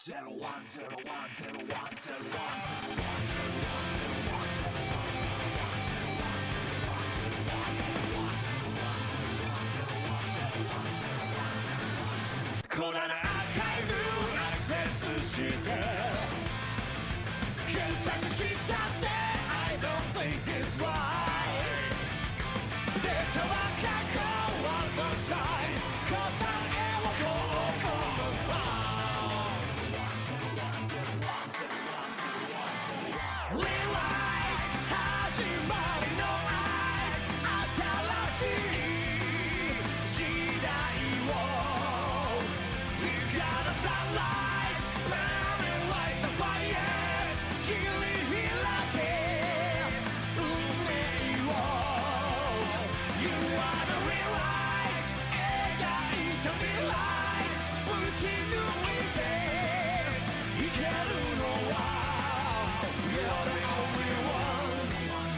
このアーカイブアクセスして検索したって I don't think it's right データは過去を残したい答えをこうこうと Realize 始まりの新しい時代をSunlight, burning like the fire 切り開け運命を You wanna realize 描いた未来ぶち抜いていけるのは You're the only one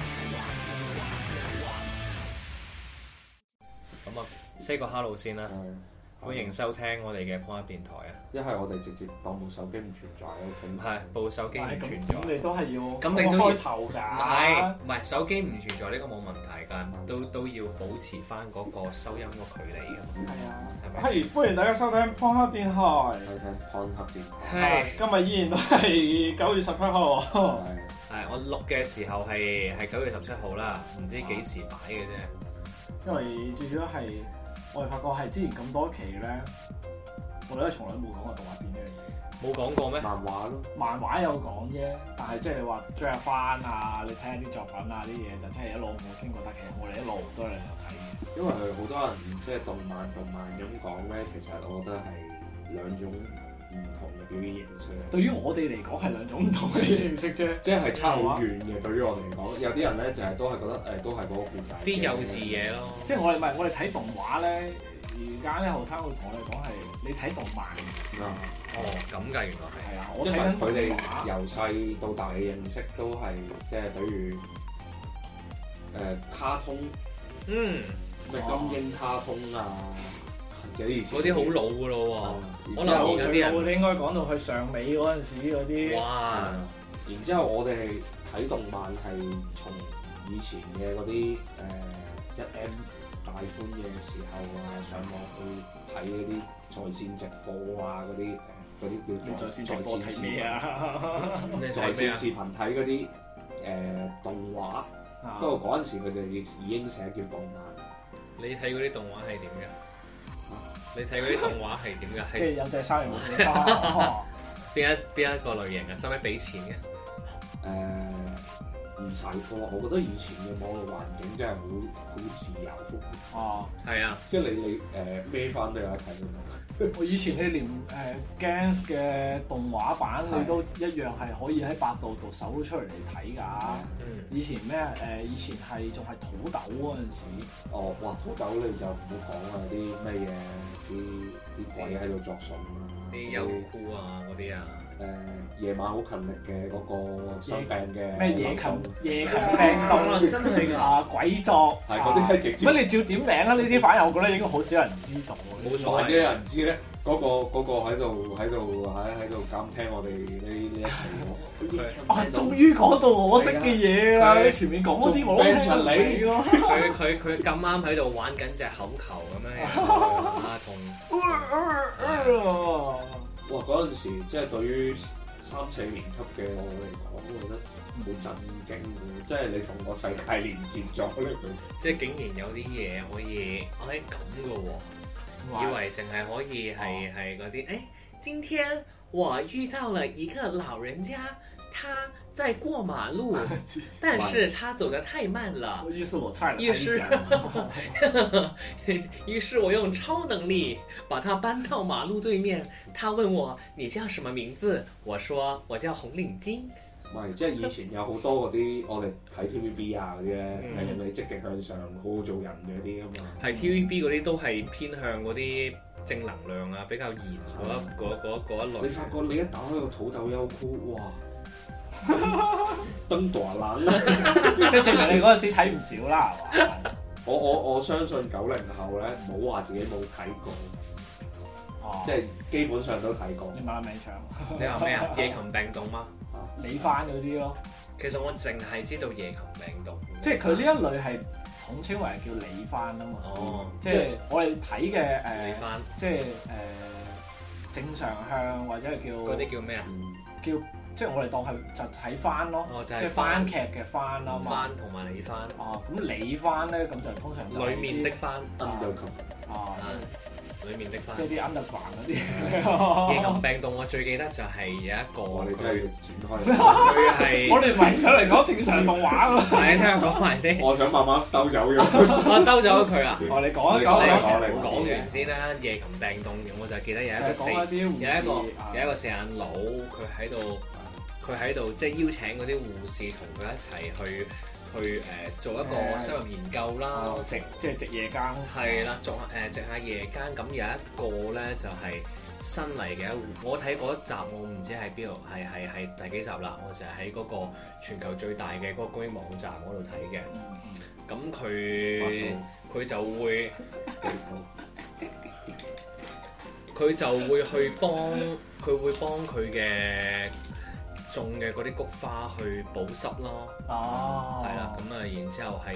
咁啊 ，say 個 hello 先啦。歡迎收聽我哋嘅 Pop Up 電台啊！ 一係我哋直接當部手機唔存在咯， 係部手機唔存在。 咁你都係要咁你都要開頭㗎。 唔係手機唔存在呢個冇問題㗎，都要保持翻嗰個收音個距離㗎。 係啊， 係咪？ 係歡迎大家收聽 Pop Up 電台。 收聽 Pop Up 電台。 今日依然都係9月17號。 係我錄嘅時候係9月17號啦，唔知幾時擺嘅啫。 因為最主要係我哋發覺係之前咁多期咧，我哋都從來冇講過動畫片呢樣嘢。 冇講過咩？ 漫畫咯， 漫畫有講啫，但係即係你話追下番啊，你睇下啲作品啊啲嘢，就真係一路冇傾過。但其實我哋一路都係有睇嘅。 因為好多人即係動漫咁講咧，其實我覺得係兩種唔同嘅表演形式。 對於我哋嚟講係兩種唔同嘅形式啫， 即係差好遠嘅。對於我哋嚟講，有啲人咧就係都係覺得都係嗰個故仔。 啲幼稚嘢咯。 即係我哋睇動畫咧，而家咧後生會同我哋講係你睇動漫。 哦，咁㗎，原來係啊， 因為佢哋由細到大嘅認識都係即係比如卡通，咩金鷹卡通啊，或者以前嗰啲好老㗎咯喎。可能而家啲人你應該講到去上尾嗰陣時嗰啲。 哇！ 然之後我哋睇動漫係從以前嘅嗰啲1M 大寬嘅時候啊，上網去睇嗰啲在線直播啊，嗰啲叫在線直播睇咩啊？在線視頻睇嗰啲動畫，不過嗰陣時佢哋已經寫叫動漫。 你睇嗰啲動畫係點嘅？你睇嗰啲動畫係點嘅？ 即係有隻鯊魚冇隻鯊。 邊一個類型啊？使唔使俾錢嘅？ 唔使喎，我覺得以前嘅網絡環境真係好自由。 哦， 係啊， 即係你孭翻都有得睇㗎嘛。 我以前你連Gans 嘅動畫版你都一樣係可以喺百度度搜出嚟睇㗎。以前咩以前係仲係土豆嗰陣時。 哦，哇！土豆你就唔好講啦，啲咩嘢啲鬼喺度作祟啊， 啲優酷啊嗰啲啊。 夜晚好勤力嘅嗰個生病嘅咩夜勤病毒真係㗎鬼作係嗰啲係直接乜你照點名啊？呢啲反而我覺得應該好少人知道。 冇所謂嘅人知咧，嗰個喺度監聽我哋呢一期喎。 終於講到我識嘅嘢啦！你前面講嗰啲我都聽唔明喎。 佢咁啱喺度玩緊隻口球咁樣啊， 哇！嗰陣時即係對於3、4年級嘅我嚟講，我覺得好震驚嘅，即係你同個世界連接咗呢佢。 即係竟然有啲嘢可以咁嘅喎，以為淨係可以係嗰啲誒，今天我遇到了一個老人家，他在過馬路，但是他走得太慢了。 於是我踹了他於是我用超能力把他搬到馬路對面。他問我你叫什麼名字？我說我叫紅領巾。 唔係，即係以前有好多嗰啲我哋睇 TVB 啊嗰啲咧，係令你積極向上、好好做人嘅啲啊嘛。 係 TVB 嗰啲都係偏向嗰啲正能量啊，比較嚴嗰一類。 你發覺你一打開個土豆優酷，哇！登大冷啦， 即係證明你嗰陣時睇唔少啦，係嘛？ 我相信90後咧，唔好話自己冇睇過。 即係基本上都睇過。 你問下名唱。 你話咩啊？夜勤病棟嗎？ 李翻嗰啲咯。 其實我淨係知道夜勤病棟。 即係佢呢一類係統稱為叫李翻啊嘛。 哦。 即係我哋睇嘅李翻。 即係正常向或者係叫。 嗰啲叫咩啊？ 叫即係我哋當係就睇翻咯。 哦，就係即係番劇嘅番啦嘛。 番同埋李翻。 哦，咁李翻咧咁就通常就裡面的番。裡面的番。 即係啲 underground 嗰啲。 夜勤病棟我最記得就係有一個。 我哋真係要展開。 佢係。 我哋唔係上嚟講正常動畫喎。 係，聽我講埋先。 我想慢慢兜走咗。 我兜走咗佢啊！ 哦，你講一講。 講完先啦，夜勤病棟我就記得有一個四眼佬，佢喺度即係邀請嗰啲護士同佢一齊去做一個深入研究啦， 即係值夜更。 係啦，值下夜更。咁有一個咧就係新嚟嘅，我睇嗰一集我唔知喺邊度，係第幾集啦？我就係喺嗰個全球最大嘅嗰個公益網站嗰度睇嘅。咁佢就會去幫佢嘅種嘅嗰啲菊花去保濕咯。 哦， 係啦，咁啊，然之後喺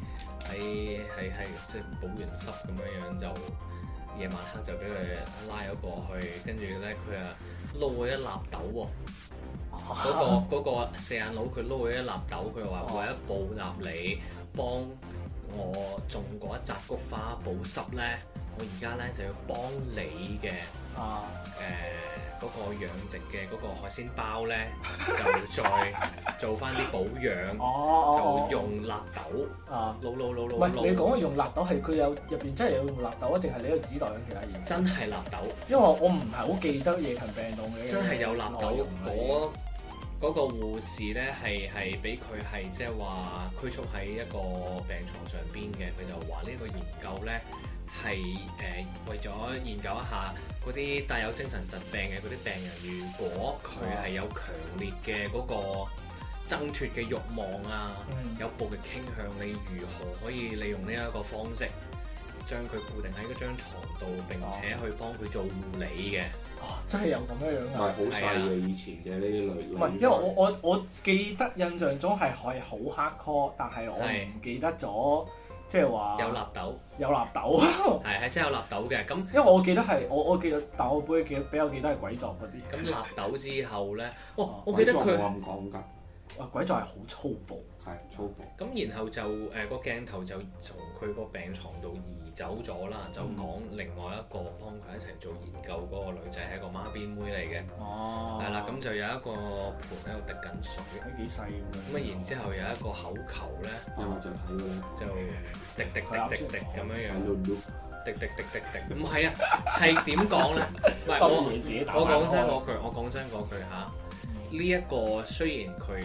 即係保完濕咁樣就夜晚黑就俾佢拉咗過去，跟住咧佢啊撈咗一納豆喎。嗰個四眼佬佢撈咗一納豆，佢話為咗報答你幫我種嗰一紮菊花保濕咧，我而家咧就要幫你嘅嗰個養殖嘅嗰個海鮮包咧，就再做翻啲保養，就用納豆撈。 唔係你講嘅用納豆係佢有入邊真係有用納豆啊，定係你喺度指代緊其他嘢？ 真係納豆， 因為我唔係好記得夜勤病棟嘅。 真係有納豆。嗰個護士咧係俾佢係即係話拘束喺一個病床上邊嘅，佢就話呢個研究咧係為咗研究一下嗰啲帶有精神疾病嘅嗰啲病人，如果佢係有強烈嘅嗰個掙脫嘅慾望啊，有暴力傾向，你如何可以利用呢一個方式將佢固定喺嗰張牀度，並且去幫佢做護理嘅。 真係有咁樣啊！ 唔係好細嘅以前嘅呢啲類。 唔係，因為我記得印象中係好 hardcore，但係我唔記得咗，即係話有納豆。 有納豆。 係真係有納豆嘅。咁因為我記得係我記得，但我比較記得係鬼作嗰啲。 咁納豆之後咧，我記得佢咁講㗎。 鬼作係好粗暴。 係粗暴。 咁然後就個鏡頭就從佢個病床度移走咗啦，就講另外一個幫佢一齊做研究嗰個女仔係一個孖辮妹嚟嘅。係啦，咁就有一個盤喺度滴緊水。 睇幾細喎。 咁啊，然之後有一個口球咧， 因為就睇到就滴咁樣樣。滴，唔係啊，係點講咧？唔係我講真嗰句嚇。呢一個雖然佢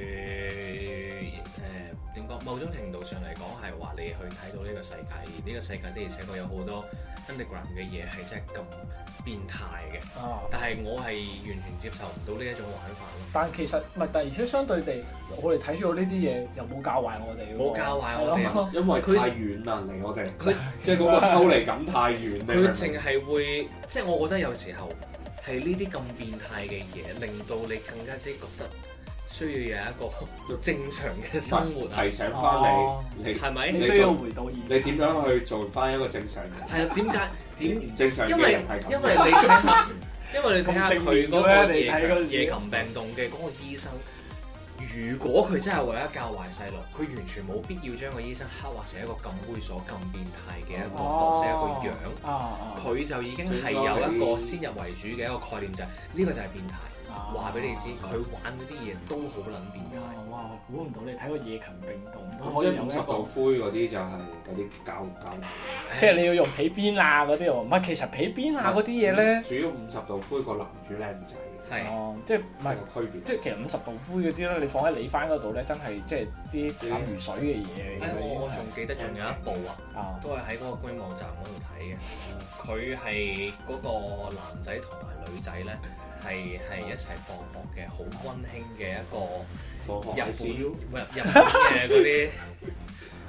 點講，某種程度上嚟講係話你去睇到呢個世界，而呢個世界的而且確有好多 underground 嘅嘢係真係咁變態嘅。但係我係完全接受唔到呢一種玩法咯。 但其實唔係，但而且相對地，我哋睇咗呢啲嘢又冇教壞我哋。 冇教壞我哋， 因為太遠啦離我哋。佢即係嗰個抽離感太遠。 佢淨係會，即係我覺得有時候。係呢啲咁變態嘅嘢，令到你更加之覺得需要有一個正常嘅生活。 提醒翻你係咪？ 你需要回到現。 你點樣去做翻一個正常人？ 係啊，點唔正常嘅人係咁？ 因為你睇下佢嗰個夜勤病棟嘅嗰個醫生。如果佢真係為咗教壞細路，佢完全冇必要將個醫生刻畫成一個咁猥瑣、咁變態嘅一個角色、一個樣。佢就已經係有一個先入為主嘅一個概念，就係呢個就係變態。話俾你知，佢玩嗰啲嘢都好撚變態。 哇！估唔到你睇個夜勤病棟都可以有50度灰嗰啲就係嗰啲膠， 即係你要用皮鞭啊嗰啲喎。唔係，其實皮鞭啊嗰啲嘢咧， 主要50度灰個男主靚仔。 係即係唔係個區別？ 即係其實50度灰嗰啲咧，你放喺你翻嗰度咧，真係即係啲淡如水嘅嘢嚟嘅。 我仲記得仲有一部啊，都係喺嗰個公益網站嗰度睇嘅。佢係嗰個男仔同埋女仔咧，係一齊放學嘅，好溫馨嘅一個日本嘅嗰啲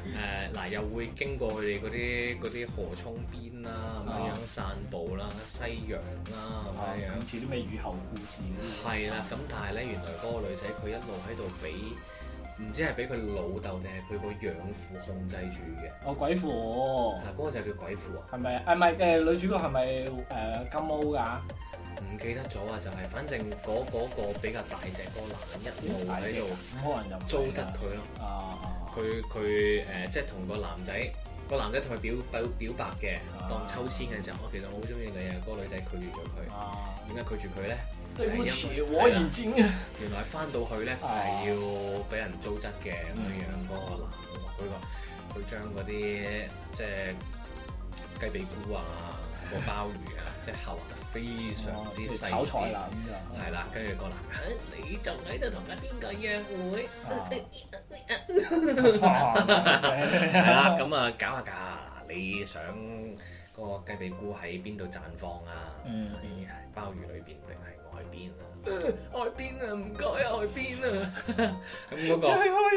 嗱又會經過佢哋嗰啲河涌邊啦，咁樣散步啦、西洋啦咁樣， 似啲咩雨後故事嗰啲。係啦，咁但係咧原來嗰個女仔佢一路喺度俾，唔知係俾佢老豆定係佢個養父控制住嘅。 哦，鬼父喎。 嗰個就叫鬼父啊。係咪？唔係女主角係咪金毛㗎？ 唔記得咗啊！就係反正嗰個比較大隻嗰個男人一路喺度， 可能就糟質佢咯。佢即係同個男仔同佢表白嘅，當抽籤嘅時候，我其實我好中意你啊！嗰個女仔拒絕咗佢。點解拒絕佢咧？ 對不起，我已經原來翻到去咧係要俾人糟質嘅咁樣。嗰個男佢將嗰啲即係雞髀菇啊、個鮑魚啊，即係厚得非常之細緻。炒菜啦咁就係啦，跟住個男人，你仲喺度同緊邊個約會？係啦，咁啊搞下搞下，你想嗰個雞髀菇喺邊度綻放啊？係鮑魚裏邊定係外邊啊？外邊啊，唔該外邊啊！咁嗰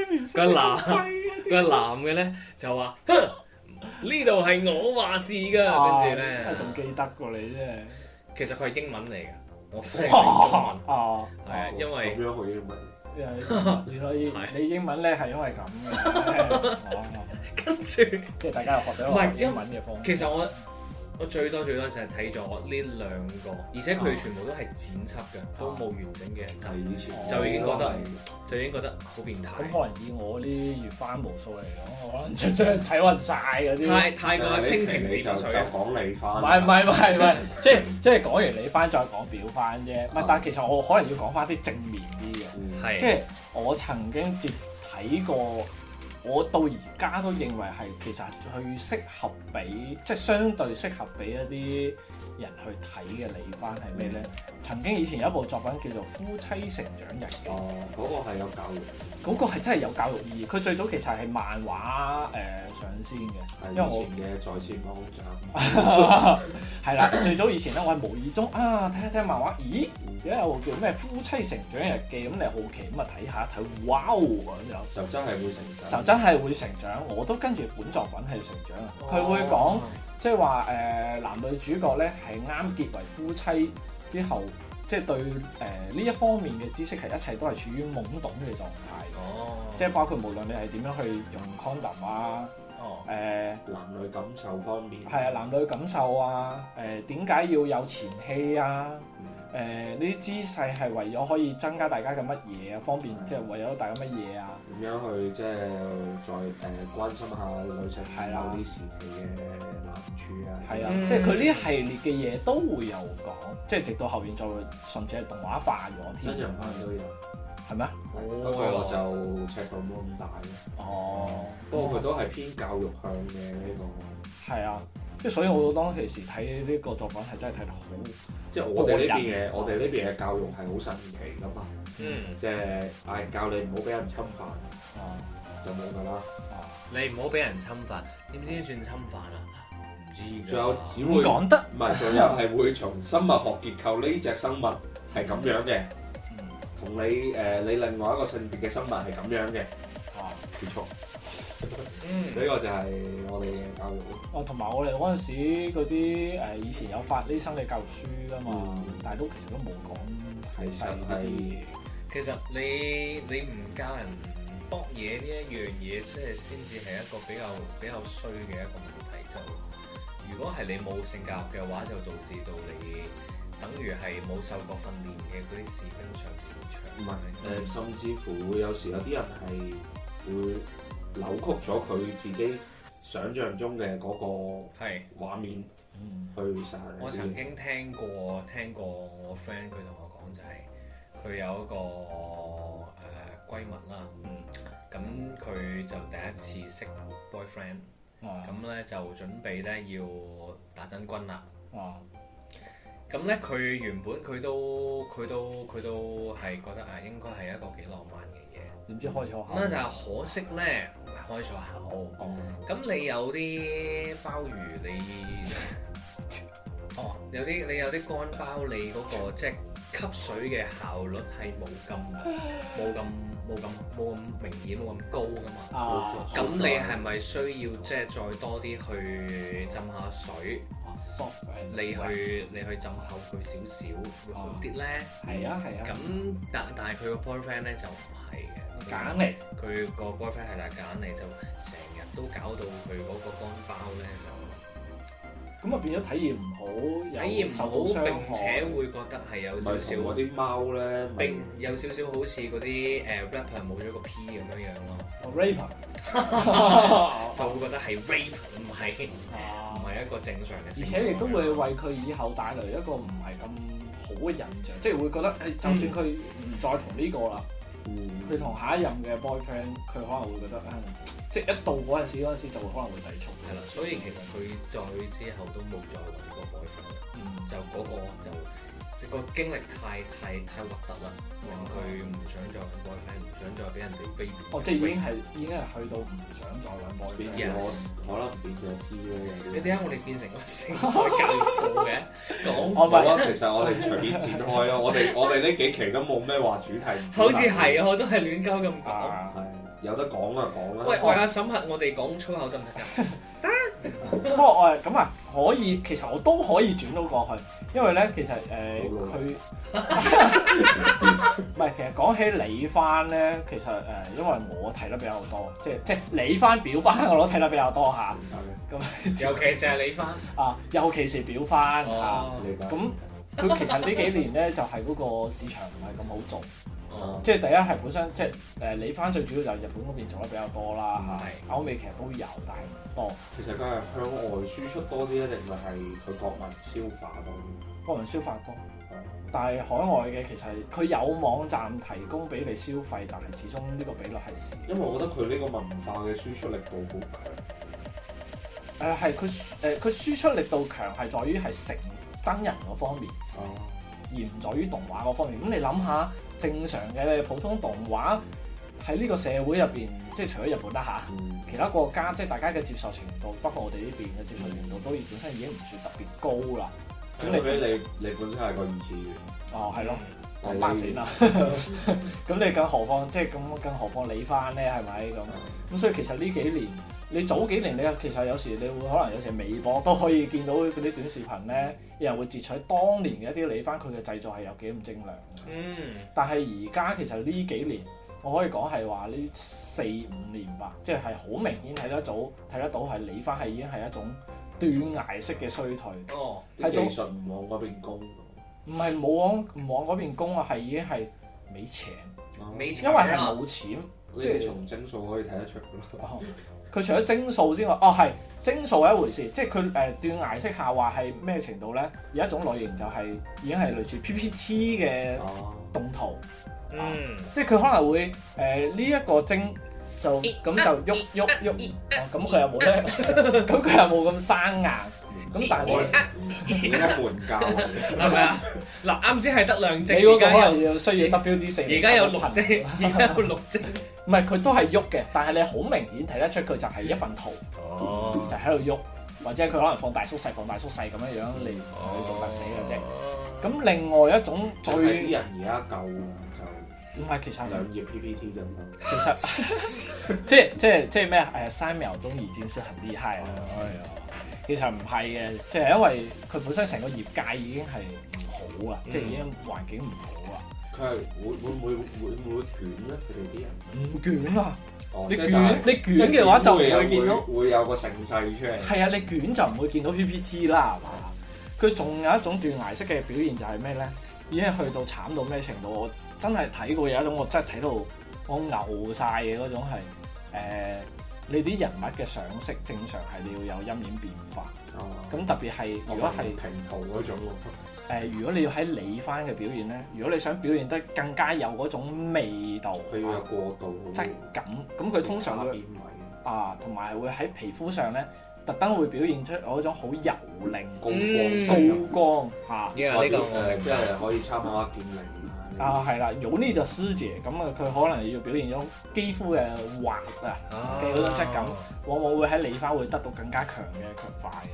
個男嘅咧就話：呢度係我話事㗎。跟住咧， 仲記得過你啫。 其實佢係英文嚟嘅，我翻譯成中文。係啊，因為咁樣學英文。 原來你英文咧係因為咁嘅。 跟住即係大家又學到學英文嘅方法。 其實我最多就係睇咗呢兩個，而且佢哋全部都係剪輯嘅，都冇完整嘅。就以前就已經覺得好變態。 咁可能以我啲月番無數嚟講，我可能真係睇暈晒嗰啲。 太過蜻蜓點水。 就講你番。 唔係，即係講完你番再講表番啫。唔係，但係其實我可能要講翻啲正面啲嘅。即係我曾經睇過。我到而家都認為係其實最適合俾，即係相對適合俾一啲人去睇嘅你番係咩咧？曾經以前有一部作品叫做《夫妻成長日記》。 嗰個係有教育。 嗰個係真係有教育意義。佢最早其實係漫畫上先嘅，因為我以前嘅在線網站。 係啦，最早以前咧，我係無意中睇漫畫，咦？而家有個叫咩《夫妻成長日記》，咁你好奇咁啊睇下一睇，哇咁就真係會成長。 就真係會成長，我都跟住本作品係成長。佢會講即係話男女主角咧係啱結為夫妻之後，即係對呢一方面嘅知識係一切都係處於懵懂嘅狀態。即係包括無論你係點樣去用 condom 啊， 男女感受方面。 係啊，男女感受啊，點解要有前戲啊？呢啲姿勢係為咗可以增加大家嘅乜嘢啊？方便即係為咗大家乜嘢啊？ 點樣去即係再關心下女性某啲時期嘅難處啊？ 係啊，即係佢呢一系列嘅嘢都會有講，即係直到後邊再甚至係動畫化咗添。 真人版都有， 係咩？ 不過我就尺度冇咁大咯。不過佢都係偏教育向嘅呢個。係啊， 即係所以我當其時睇呢個作品係真係睇得好。 即係我哋呢邊嘅教育係好神奇噶嘛，即係教你唔好俾人侵犯，就冇噶啦。 你唔好俾人侵犯，點知算侵犯啊？唔知。 仲有只會講得， 唔係，仲有係會從生物學結構呢隻生物係咁樣嘅，同你另外一個性別嘅生物係咁樣嘅，結束。呢個就係我哋嘅教育咯。 同埋我哋嗰陣時嗰啲以前有發呢生嘅教育書㗎嘛，但係其實都冇講係細啲嘢。 其實你唔教人搏嘢呢一樣嘢，即係先至係一個比較衰嘅一個問題。就如果係你冇性教育嘅話，就導致到你等於係冇受過訓練嘅嗰啲士兵上戰場。 唔係甚至乎會有時有啲人係會扭曲咗佢自己想像中嘅嗰個畫面，去殺人。 我曾經聽過我 friend 佢同我講就係佢有一個閨蜜啦，咁佢就第一次識 boyfriend，咁咧就準備咧要打真軍啦。咁咧佢原本佢都係覺得應該係一個幾浪漫嘅嘢， 點知開錯口。 咁但係可惜咧唔係開錯口。咁你有啲鮑魚你有啲乾包，你嗰個即係吸水嘅效率係冇咁明顯冇咁高噶嘛。咁你係咪需要即係再多啲去浸下水？你去浸厚佢少少會好啲咧。 係啊。 咁但係佢個 boyfriend 咧就唔係嘅， 揀嚟。 佢個 boyfriend 係揀嚟就成日都搞到佢嗰個乾包咧就。 咁啊變咗體驗唔好， 體驗唔好，並且會覺得係有少少嗰啲貓咧， 並有少少好似嗰啲rapper 冇咗個 P 咁樣咯。 rapper 就會覺得係 rape 唔係一個正常嘅。 而且亦都會為佢以後帶來一個唔係咁好嘅印象，即係會覺得就算佢唔再同呢個啦，佢同下一任嘅 boyfriend，佢可能會覺得即係一到嗰陣時就會可能會抵觸。 係啦，所以其實佢再之後都冇再揾過 boyfriend，就嗰個即係個經歷太核突啦，令佢唔想再揾 boyfriend，唔想再俾人哋 baby。 即係已經係去到唔想再揾 boyfriend。 可能變咗 P 咧。 你點解我哋變成個性愛教育課嘅？講其實我哋隨便展開咯，我哋呢幾期都冇咩話主題。 好似係我都係亂鳩咁講。 有得講啊講啦。 喂，阿審核我哋講粗口得唔得㗎？ 不過咁啊，可以，其實我都可以轉到過去，因為咧其實佢唔係，其實講起李番咧，其實因為我睇得比較多，即係李番表番我都睇得比較多下。咁尤其是係李番尤其是表番咁佢其實呢幾年咧就係嗰個市場唔係咁好做。即係第一係本身即係李番最主要就係日本嗰邊做得比較多啦，歐美其實都有，但係唔多。 其實佢係向外輸出多啲，定係佢國民消化多啲？ 國民消化多，但係海外嘅其實佢有網站提供俾你消費，但係始終呢個比率係少。 因為我覺得佢呢個文化嘅輸出力度好強。 係佢輸出力度強係在於係成真人嗰方面，而唔在於動畫嗰方面。咁你諗下，正常嘅普通動畫喺呢個社會入邊，即係除咗日本啦其他國家即係大家嘅接受程度，包括我哋呢邊嘅接受程度，都本身已經唔算特別高啦。 咁你本身係個二次元。 係咯，我8線啦。咁你更何況即係更何況你翻咧係咪咁？所以其實呢幾年，你早幾年你其實有時你會可能有時微博都可以見到嗰啲短視頻咧，有人會截取當年嘅一啲你翻佢嘅製作係有幾咁精良。但係而家其實呢幾年，我可以講係話呢4-5年吧，即係好明顯睇得到係你翻係已經係一種斷崖式嘅衰退。 啲技術唔往嗰邊攻。 唔係唔往嗰邊攻啊，係已經係沒錢，因為係冇錢。 即係從幀數可以睇得出㗎啦。 佢除咗幀數之外，係幀數係一回事，即係佢斷崖式下滑係咩程度咧？有一種類型就係已經係類似 PPT 嘅動圖，即係佢可能會呢一個幀就咁就喐，咁佢又冇咧，咁佢又冇咁生硬。咁但係點解門教係咪啊？嗱，啱先係得2幀， 你嗰個可能要需要 WD4， 而家有6幀，而家有6幀。 唔係佢都係喐嘅，但係你好明顯睇得出佢就係一份圖，就喺度喐，或者佢可能放大縮細咁樣樣嚟做特寫嘅啫。咁另外一種最啲人而家夠就唔係其實 2頁 PPT 啫嘛。 其實即係咩3秒鐘已經是很厲害啦。其實唔係嘅，即係因為佢本身成個業界已經係唔好啦，即係已經環境唔好啦。 佢係會唔會捲咧？佢哋啲人唔捲啊！你捲嘅嘅話就唔會見到會有個盛世出嚟。 係啊，你捲就唔會見到 PPT 啦，係嘛？佢仲有一種斷崖式嘅表現就係咩咧？已經去到慘到咩程度？我真係睇過有一種我真係睇到我牛晒嘅嗰種係你啲人物嘅上色正常係你要有陰影變化，咁特別係如果係平圖嗰種如果你要喺你翻嘅表現咧，如果你想表現得更加有嗰種味道， 佢要有過渡質感，咁佢通常會同埋會喺皮膚上咧特登會表現出嗰種好油靈高光嚇。 呢個即係可以參考下劍靈。 係啦，有呢就師姐咁佢可能要表現咗肌膚嘅滑嘅嗰種質感，往往會喺理花會得到更加強嘅強化嘅。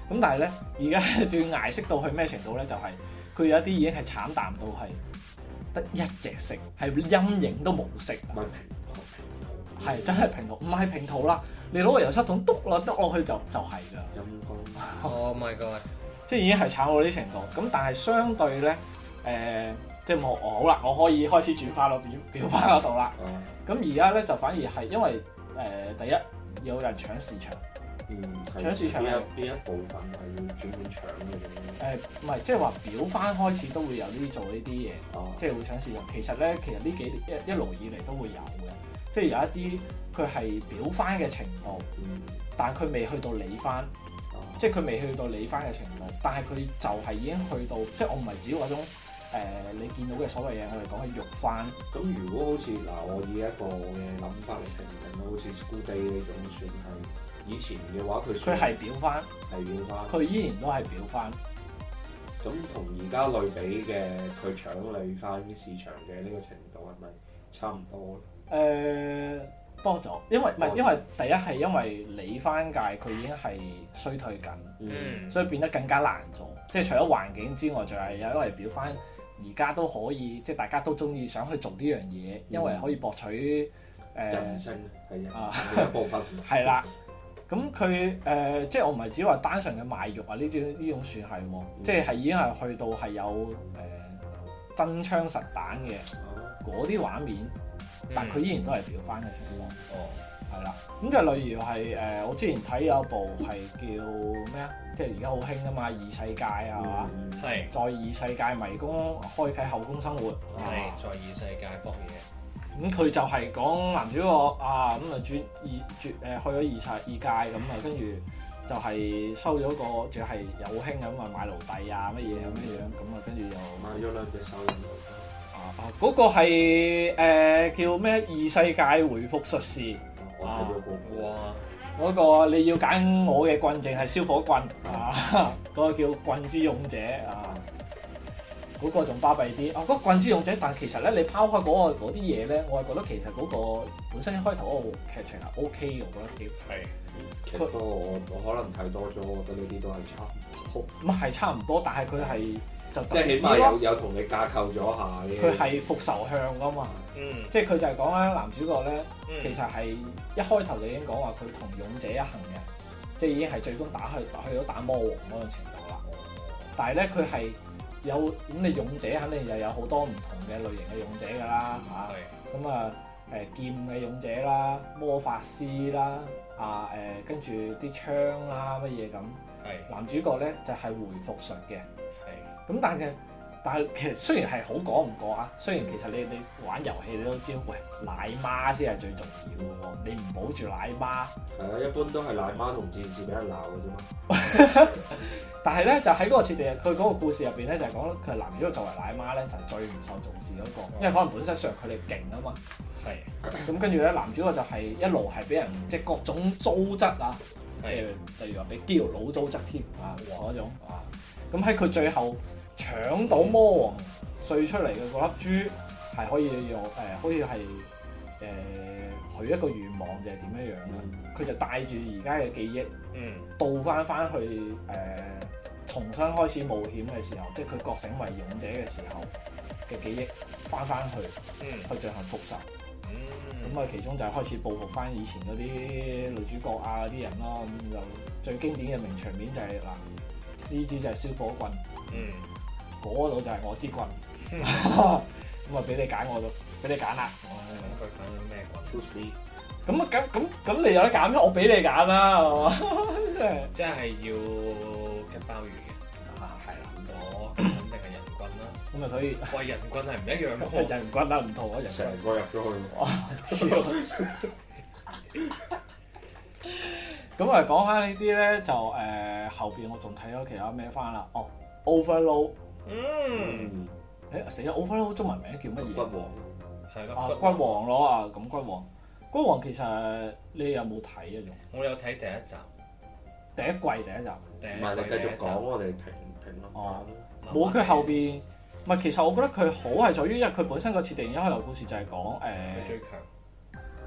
咁但係咧，而家仲要捱色到去咩程度咧？就係、佢有一啲已經係慘淡到係得一隻色，係陰影都冇色。 唔係平係真係平塗，唔係平塗啦。你攞個油漆桶篤落去就係㗎。 陰公。 Oh my god！ 即係已經係慘到呢程度。咁但係相對咧，即係好啦，我可以開始轉化到裱花嗰度啦。咁而家咧就反而係因為第一有人搶市場。搶市場邊一部分係要專門搶嘅？ 唔係，即係話裱翻開始都會有做呢啲嘢，即係會搶市場。其實呢幾年一路以嚟都會有嘅，即係有一啲佢係裱翻嘅程度，但係佢未去到理翻，即係佢未去到理翻嘅程度，但係佢就係已經去到，即係我唔係指嗰種你見到嘅所謂嘢，我哋講係肉翻。 咁如果好似我以一個嘅諗法嚟評定好似 School Day 呢種算係。以前嘅話，佢係裱翻，佢依然都係裱翻。 咁同而家類比嘅，佢搶理翻市場嘅呢個程度係咪差唔多咧？ 多咗，因為第一係因為理翻界佢已經係衰退緊，所以變得更加難做。即係除咗環境之外，仲係因為裱翻而家都可以，即係大家都中意想去做呢樣嘢，因為可以博取人性係一部分。 係啦。咁佢即係我唔係只話單純嘅賣肉啊，呢種算係喎，即係已經係去到係有真槍實彈嘅嗰啲畫面，但佢依然都係裱翻嘅情況。係啦，咁就例如係我之前睇有一部係叫咩啊？即係而家好興啊嘛，異世界啊嘛， 係在異世界迷宮開啟後宮生活， 係在異世界搏嘢。 咁佢就係講男主角啊，咁啊去咗異界咁啊，跟住就係收咗個，仲係有興咁啊買奴隸啊乜嘢咁樣，咁啊跟住又買咗兩隻手錶。 嗰個係叫咩？異世界回復術士。 我睇咗個。 哇！ 嗰個你要揀我嘅棍，淨係燒火棍啊！嗰個叫棍之勇者啊。嗰個仲巴閉啲嗰個棍之勇者，但其實咧，你拋開嗰啲嘢咧，我係覺得其實嗰個本身一開頭嗰個劇情係 OK 嘅，我覺得幾係。不過我可能睇多咗，我覺得呢啲都係差唔多。 咁係差唔多，但係佢係就即係起碼有同你架構咗下嘅。 佢係復仇向噶嘛，即係佢就係講咧男主角咧，其實係一開頭就已經講話佢同勇者一行嘅，即係已經係最終打去到打魔王嗰種程度啦。但係咧佢係。有咁你勇者肯定就有好多唔同嘅類型嘅勇者㗎啦嚇，咁劍嘅勇者啦、魔法師啦跟住啲槍啦乜嘢咁。男主角咧就係回復術嘅，咁但係其實雖然係好講唔過啊，雖然其實你玩遊戲你都知，喂奶媽先係最重要嘅喎，你唔保住奶媽。 係啊，一般都係奶媽同戰士俾人鬧嘅啫嘛。 但係咧就喺嗰個設定，佢嗰個故事入邊咧就係講佢男主角作為奶媽咧就係最唔受重視嗰個，因為可能本身上佢哋勁啊嘛。咁跟住咧男主角就係一路係俾人即係各種糟質啊，例如話俾基佬佬糟質添啊嗰種啊。咁喺佢最後搶到魔王碎出嚟嘅嗰粒珠，係可以用好似係許一個願望定係點樣樣咧？佢就帶住而家嘅記憶，倒翻去重新開始冒險嘅時候，即係佢覺醒為勇者嘅時候嘅記憶翻去，去進行復仇。咁其中就係開始報復翻以前嗰啲女主角啊啲人咯。咁就最經典嘅名場面就係呢支就係燒火棍，嗰度就係我支棍。咁俾你揀，我都俾你揀啦。 佢揀咗咩棍 ？Choose me。 咁你有得揀咩？我俾你揀啦，係嘛？ 即係要吉鮑魚嘅。 係啦。 我肯定係人棍啦。 咁啊，所以喂，人棍係唔一樣嘅。 人棍啊，唔同啊，人成個入咗去。 咁啊，講翻呢啲咧，就後邊我仲睇咗其他咩翻啦。Overload。死咗 Overload 中文名叫乜嘢？ 骨王。 係咯。 骨王咯啊，咁骨王其實你有冇睇啊？仲我有睇第一集， 第一集。 唔係你繼續講，我哋評論。 冇佢後邊，唔係其實我覺得佢好係在於，因為佢本身個設定一開頭故事就係講最強。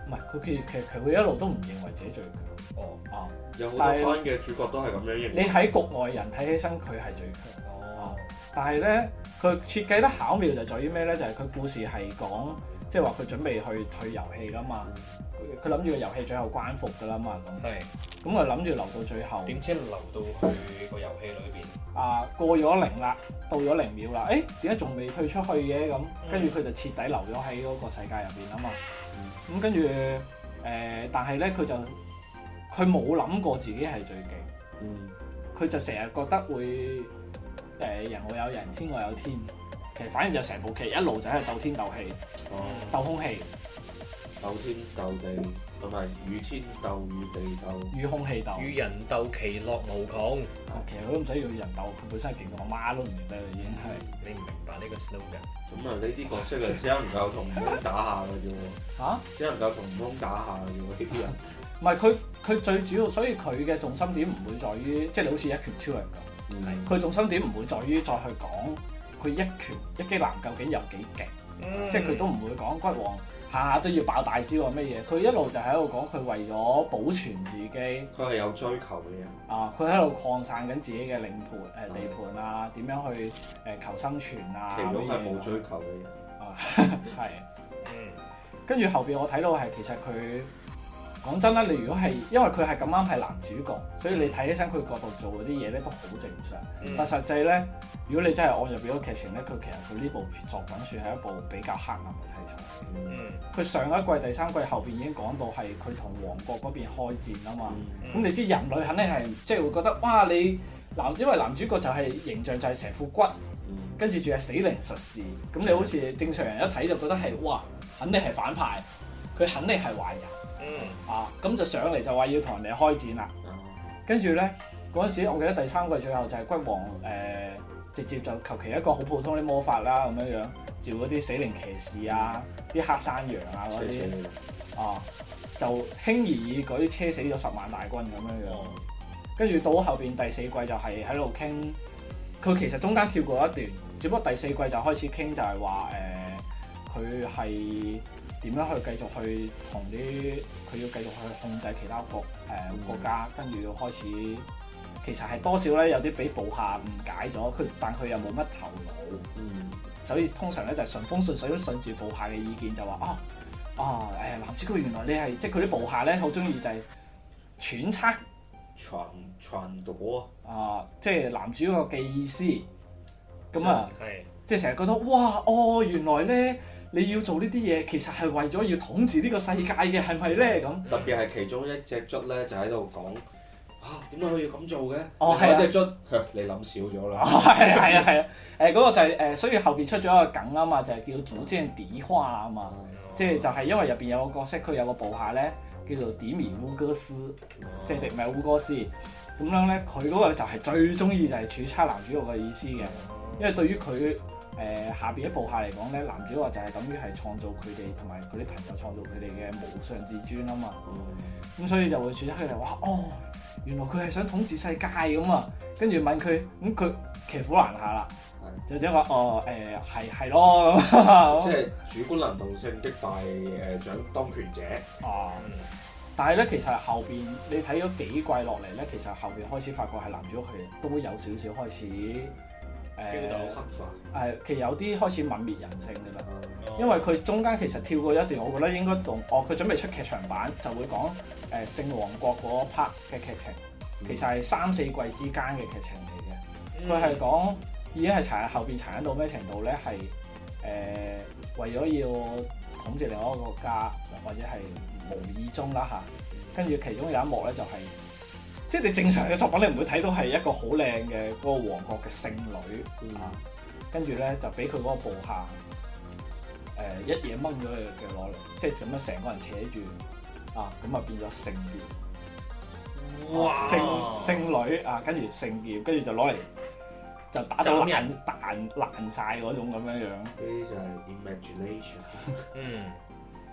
唔係佢一路都唔認為自己最強。 哦， 啊， 有好多番嘅主角都係咁樣認為。 你喺局外人睇起身佢係最強。 哦， 但係咧，佢設計得巧妙就在於咩咧？就係、是、佢故事係講，即係話佢準備去退遊戲啦嘛。佢諗住個遊戲最後關服㗎啦嘛。咁佢諗住留到最後。 點知留到去個遊戲裏邊？ 過咗0啦，到咗0秒啦。點解仲未退出去嘅咁？跟住佢就徹底留咗喺嗰個世界入邊啊嘛。咁跟住但係咧佢冇諗過自己係最勁。佢就成日覺得會人外有人，天外有天。其實反而就成部劇一路就喺度鬥天鬥氣，鬥空氣， 鬥天鬥地，同埋與天鬥與地鬥， 與空氣鬥， 與人鬥，其樂無窮。 其實佢都唔使要人鬥，佢本身係勁到我媽都唔認得啦，已經係。 你唔明白呢個 slogan？ 咁呢啲角色啊，只能夠同悟空打下嘅啫喎。只能夠同悟空打下嘅啫喎，呢啲人。 唔係佢最主要，所以佢嘅重心點唔會在於，即係你好似一拳超人咁。佢重心點唔會在於再去講佢一拳一擊男究竟有幾勁，即係佢都唔會講骨王下下都要爆大招啊乜嘢。佢一路就喺度講佢為咗保存自己，佢係有追求嘅人。 佢喺度擴散緊自己嘅領盤地盤啊，點樣去求生存啊。 其實係冇追求嘅人。 係。跟住後邊我睇到係其實佢。講真啦，你如果係因為佢係咁啱係男主角，所以你睇起身佢角度做嗰啲嘢咧都好正常。但實際咧，如果你真係按入邊個劇情咧，佢其實佢呢部作品算係一部比較黑暗嘅題材。佢上一季第3季後邊已經講到係佢同王國嗰邊開戰啊嘛。咁你知人類肯定係即係會覺得哇，因為男主角就係形象就係成副骨，跟住仲係死靈術士。咁你好似正常人一睇就覺得係哇，肯定係反派，佢肯定係壞人。咁就上嚟就話要同人哋開戰啦。跟住咧嗰陣時，我記得第3季最後就係骨王直接就求其一個好普通啲魔法啦咁樣召嗰啲死靈騎士啊、啲黑山羊啊嗰啲就輕而易舉車死咗10萬大軍咁樣。跟住到後邊第4季就係喺度傾，佢其實中間跳過一段，只不過第4季就開始傾就係話佢係。點樣去繼續去同佢要繼續去控制其他國家，跟住要開始，其實係多少咧有啲俾部下誤解咗，但佢又冇乜頭腦，所以通常咧就係順風順水咁順住部下嘅意見就話男主角原來你係即係佢啲部下咧好中意就係揣測傳導即係男主角嘅意思，咁即係成日覺得哇原來咧。你要做呢啲嘢，其實係為咗要統治呢個世界嘅，係咪咧？咁特別係其中一隻卒咧，就喺度講點解佢要咁做嘅？ 係隻卒，你諗少咗啦。 係嗰個就係所以後邊出咗一個梗啊嘛，就係叫組織底花啊嘛，即係就係因為入邊有個角色，佢有個部下咧叫做迪米烏哥斯，即係迪米烏哥斯咁樣咧，佢嗰個就係最中意就係揣測男主角嘅意思嘅，因為對於佢。下邊一部下嚟講咧，男主角就係等於係創造佢哋同埋佢啲朋友創造佢哋嘅無上至尊啊嘛。咁所以就會轉出嚟話原來佢係想統治世界咁啊。跟住問佢，咁佢騎虎難下啦，就即係話係咯。 即係主觀能動性擊敗掌當權者。 但係咧，其實後邊你睇咗幾季落嚟咧，其實後邊開始發覺係男主角佢都有少少開始。 跳到黑化， 其實有啲開始泯滅人性嘅啦，因為佢中間其實跳過一段，我覺得應該同佢準備出劇場版就會講聖王國嗰 part 嘅劇情，其實係3-4季之間嘅劇情嚟嘅。佢係講已經係後邊殘忍到咩程度咧？係為咗要統治另外一個國家，或者係無意中啦嚇。跟住其中有一幕咧就係。即係你正常嘅作品，你唔會睇到係一個好靚嘅嗰個王國嘅聖女跟住咧就俾佢嗰個部下一嘢掹咗佢嘅攞嚟，即係咁樣成個人扯住咁啊變咗聖劍，聖女跟住聖劍，跟住就攞嚟就打到爛晒嗰種咁樣樣。 呢啲就係 imagination。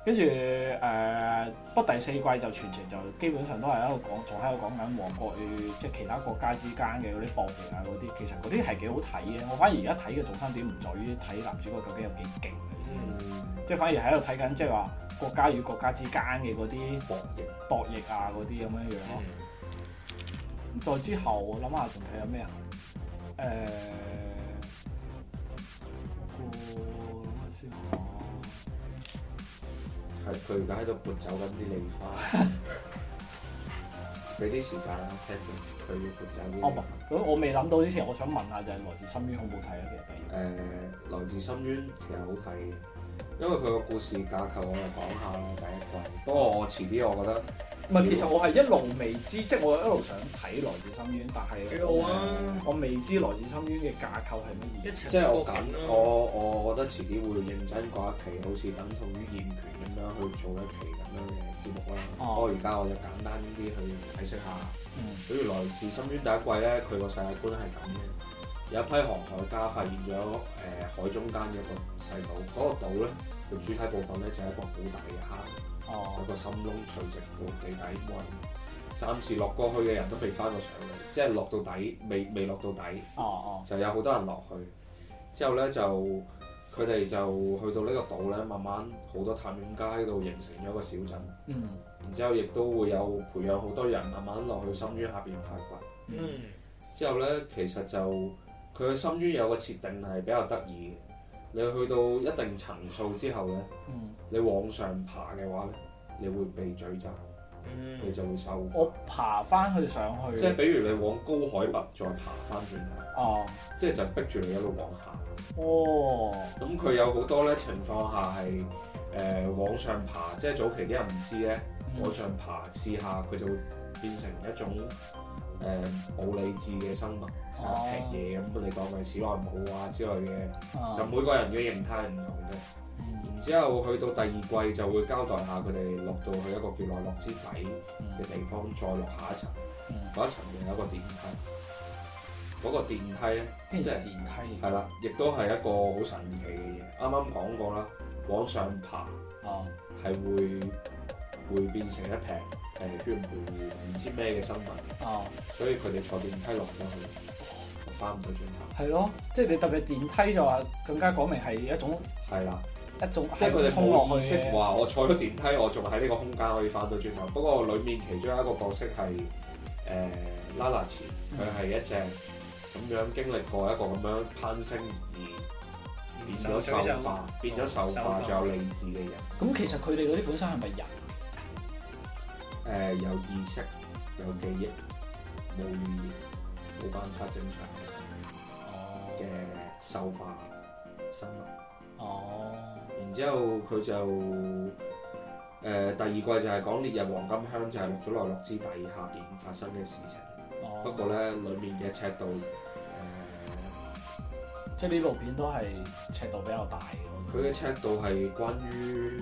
跟住不過第4季就全程就基本上都係喺度講，仲喺度講緊王國與即係其他國家之間嘅嗰啲博弈啊嗰啲，其實嗰啲係幾好睇嘅。我反而而家睇嘅重心點唔在於睇男主角究竟有幾勁嘅，即係反而喺度睇緊即係話國家與國家之間嘅嗰啲博弈啊嗰啲咁樣樣咯。再之後我諗下仲睇有咩啊？ 係佢而家喺度撥走緊啲梨花，俾啲時間啦，聽到佢撥走啲。 哦，咁我未諗到之前，我想問下就係來自深淵好唔好睇啊？其實第二來自深淵其實好睇嘅，因為佢個故事架構我就講下啦，第一季。不過我遲啲我覺得唔係，其實我係一路未知，即係我一路想睇來自深淵，但係我未知來自深淵嘅架構係乜嘢。 即係我覺得遲啲會認真講一期，好似等同於燕權咁樣去做一期咁樣嘅節目啦。不過而家我就簡單啲去解釋下。比如來自深淵第一季咧，佢個世界觀係咁嘅，有一批航海家發現咗海中間嘅一個細島，嗰個島咧佢主體部分咧就係一個好大嘅坑。有個深窿垂直到地底，冇人暫時落過去嘅人都未翻過上嚟，即係落到底未落到底，就有好多人落去。之後咧就佢哋就去到呢個島咧，慢慢好多探險家喺度形成咗一個小鎮。然之後亦都會有培養好多人慢慢落去深淵下邊發掘。之後咧其實就佢嘅深淵有個設定係比較得意嘅。你去到一定層數之後咧，你往上爬嘅話咧，你會被詛咒，你就會受苦。 我爬翻去上去， 即係比如你往高海拔再爬翻轉頭，即係就逼住你一路往下。咁佢有好多咧情況下係往上爬，即係早期啲人唔知咧，往上爬試下佢就會變成一種冇理智嘅生物，劈嘢咁，你當係史萊姆啊之類嘅，就每個人嘅形態唔同嘅。然之後去到第二季就會交代下佢哋落到去一個叫內洛之底嘅地方，再落下一層，嗰一層又有一個電梯。嗰個電梯咧，即係電梯，係啦，亦都係一個好神奇嘅嘢。啱啱講過啦，往上爬係會變成一撇血糊糊唔知咩嘅生物，所以佢哋坐電梯落咗去，翻唔到轉頭。係咯，即係你特別電梯就話更加講明係一種係啦， 一種即係佢哋冇意識話我坐咗電梯，我仲喺呢個空間可以翻到轉頭。不過裡面其中一個角色係拉納茨，佢係一隻咁樣經歷過一個咁樣攀升而變咗獸化，仲有理智嘅人。 咁其實佢哋嗰啲本身係咪人？ 有意識、有記憶、冇語言、冇辦法正常嘅獸化生物。然之後佢就第二季就係講烈日黃金鄉，就係落咗內洛之底下邊發生嘅事情。不過咧，裡面嘅尺度即係呢部片都係尺度比較大嘅。 佢嘅尺度係關於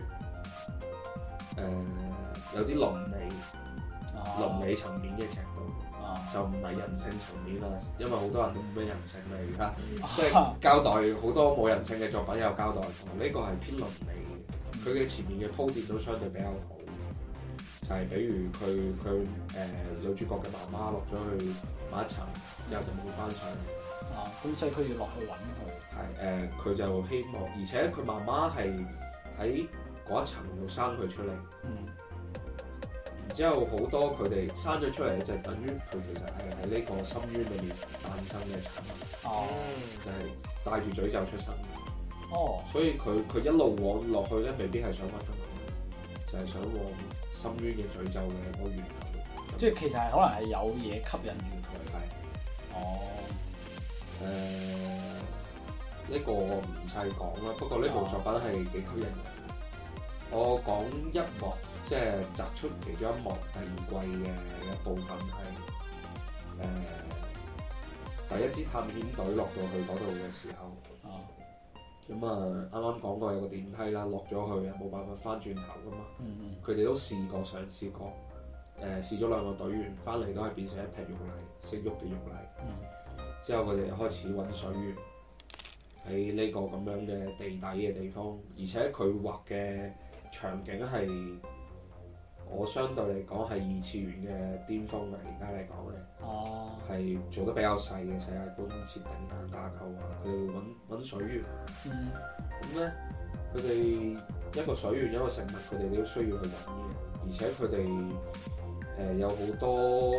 有啲倫理層面嘅尺度，就唔係人性層面啦。因為好多人都冇咩人性啦，而家即係交代好多冇人性嘅作品有交代過。呢個係偏倫理嘅，佢嘅前面嘅鋪墊都相對比較好。就係比如佢女主角嘅媽媽落咗去某一層之後就冇翻上嚟。 咁所以佢要落去揾佢。 係佢就希望，而且佢媽媽係喺嗰一層度生佢出嚟。然之後好多佢哋生咗出嚟就等於佢其實係喺呢個深淵裏面誕生嘅產物。就係帶住詛咒出生。所以佢一路往落去咧，未必係想揾佢，就係想往深淵嘅詛咒嘅嗰個源頭。 即係其實係可能係有嘢吸引住佢。 呢個我唔細講啦。不過呢部作品係幾吸引人。我講一幕，即係摘出其中一幕第二季嘅一部分係第一支探險隊落到去嗰度嘅時候。咁啱啱講過有個電梯啦，落咗去冇辦法翻轉頭噶嘛。佢哋都嘗試過，試咗兩個隊員翻嚟都係變成一劈肉泥，識喐嘅肉泥。之後佢哋開始揾水源喺呢個咁樣嘅地底嘅地方，而且佢畫嘅場景係我相對嚟講係二次元嘅巔峰嘅，而家嚟講咧，係做得比較細嘅世界觀設定啊、架構啊，佢哋會揾水源。咁咧，佢哋一個水源一個食物，佢哋都需要去揾嘅，而且佢哋有好多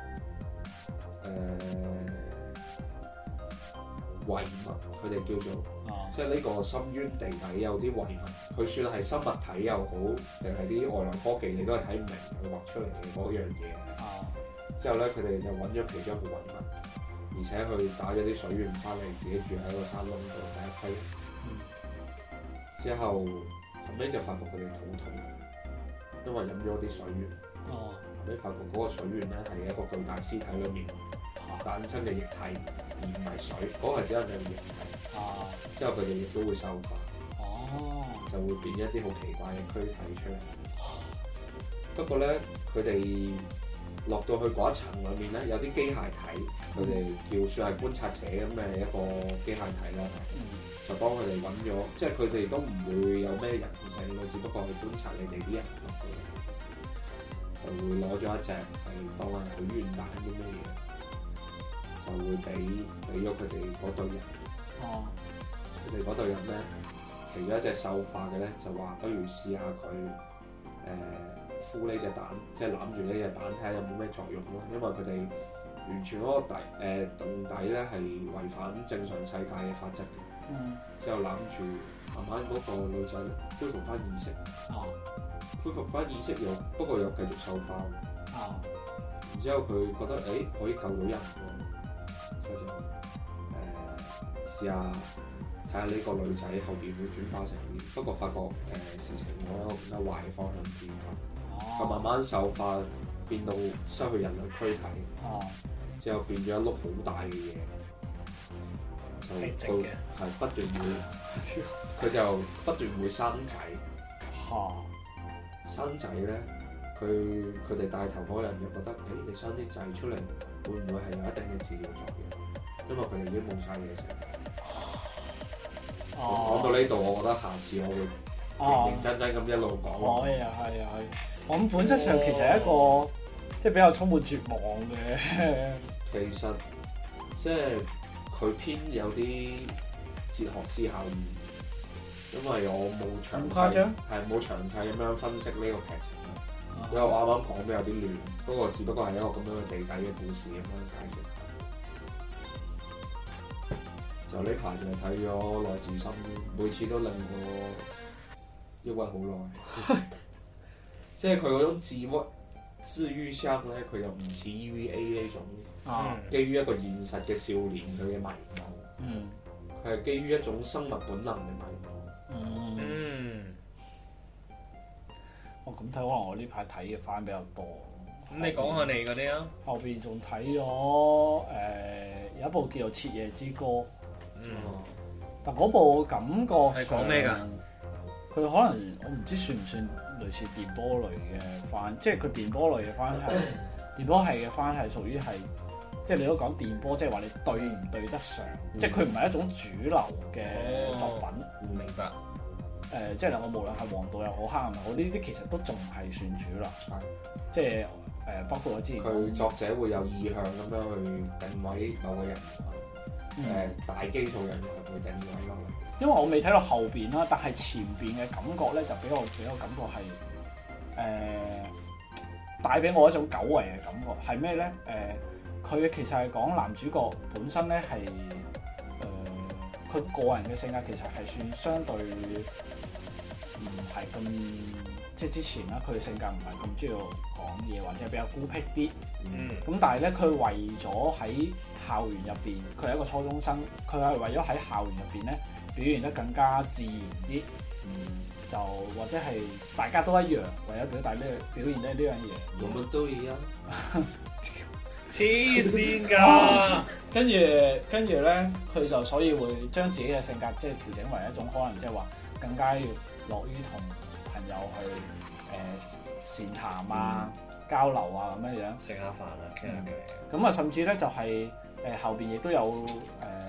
遺物，佢哋叫做。即係呢個深淵地底有啲遺物，佢算係生物體又好，定係啲外來科技，你都係睇唔明佢畫出嚟嘅嗰樣嘢。之後咧，佢哋就揾咗其中一個遺物，而且佢打咗啲水源翻嚟，自己住喺個山窿度第一批。之後尾就發覺佢哋肚痛，因為飲咗啲水源。後尾發覺嗰個水源咧係一個巨大屍體裏面誕生嘅液體，而唔係水。嗰個係只係液體。之後佢哋亦都會獸化，就會變一啲好奇怪嘅軀體出嚟。不過咧，佢哋落到去嗰一層裏面咧，有啲機械體，佢哋叫算係觀察者咁嘅一個機械體啦，就幫佢哋揾咗，即係佢哋都唔會有咩人性嘅，只不過係觀察你哋啲人落去，就會攞咗一隻係當係許願蛋啲咩嘢，就會俾咗佢哋嗰隊人。佢哋嗰隊人咧，其中一隻獸化嘅咧就話：不如試下佢孵呢隻蛋，即係攬住呢隻蛋睇下有冇咩作用咯。因為佢哋完全嗰個洞底咧係違反正常世界嘅法則嘅。之後攬住，慢慢嗰個女仔恢復翻意識。恢復翻意識不過又繼續獸化。然之後佢覺得可以救到人喎，所以就試下睇下呢個女仔後邊會轉化成點，不過發覺事情往一個更加壞嘅方向變化，佢慢慢獸化變到失去人類軀體，之後變咗一碌好大嘅嘢，就係不斷會，佢就不斷會生仔。生仔咧，佢哋帶頭嗰人就覺得，你生啲仔出嚟，會唔會係有一定嘅治療作用？因為佢哋已經冇晒嘢食。講到呢度，我覺得下次我會認認真真咁一路講。 可以。我諗本質上其實係一個即係比較充滿絕望嘅。 其實即係佢偏有啲哲學思考意義，因為我冇詳細咁樣分析呢個劇情。因為我啱啱講得有啲亂，不過只不過係一個咁樣嘅地底嘅故事咁樣解釋。就呢排就睇咗《來自深淵》，每次都令我抑鬱好耐。即係佢嗰種治癒箱咧，佢又唔似 EVA 呢種，基於一個現實嘅少年佢嘅迷茫。佢係基於一種生物本能嘅迷茫。 咁睇可能我呢排睇嘅番比較多。 咁你講下你嗰啲啊？ 後邊仲睇咗有一部叫做《徹夜之歌》。但嗰部感覺係講咩㗎？ 佢可能我唔知算唔算類似電波類嘅番，即係佢電波類嘅番係電波系嘅番係屬於係，即係你都講電波，即係話你對唔對得上，即係佢唔係一種主流嘅作品。 明白。 即係我無論係黃道又好，黑暗又好，呢啲其實都仲係算主流。即係包括我之前佢作者會有意向咁樣去定位某個人。大基數人會定位咯。 因為我未睇到後邊啦，但係前邊嘅感覺咧就俾我感覺係帶俾我一種久違嘅感覺。係咩咧？佢其實係講男主角本身咧係佢個人嘅性格其實係算相對唔係咁，即係之前啦，佢嘅性格唔係咁中意講嘢，或者係比較孤僻啲。咁但係咧，佢為咗喺校園入邊，佢係一個初中生，佢係為咗喺校園入邊咧表現得更加自然啲。就或者係大家都一樣，為咗表現得呢樣嘢。 我們都一樣。 黐線㗎！ 跟住咧，佢就所以會將自己嘅性格即係調整為一種可能即係話更加要樂於同朋友去善談啊、交流啊咁樣樣， 食下飯啊，傾下偈。 咁啊，甚至咧就係後邊亦都有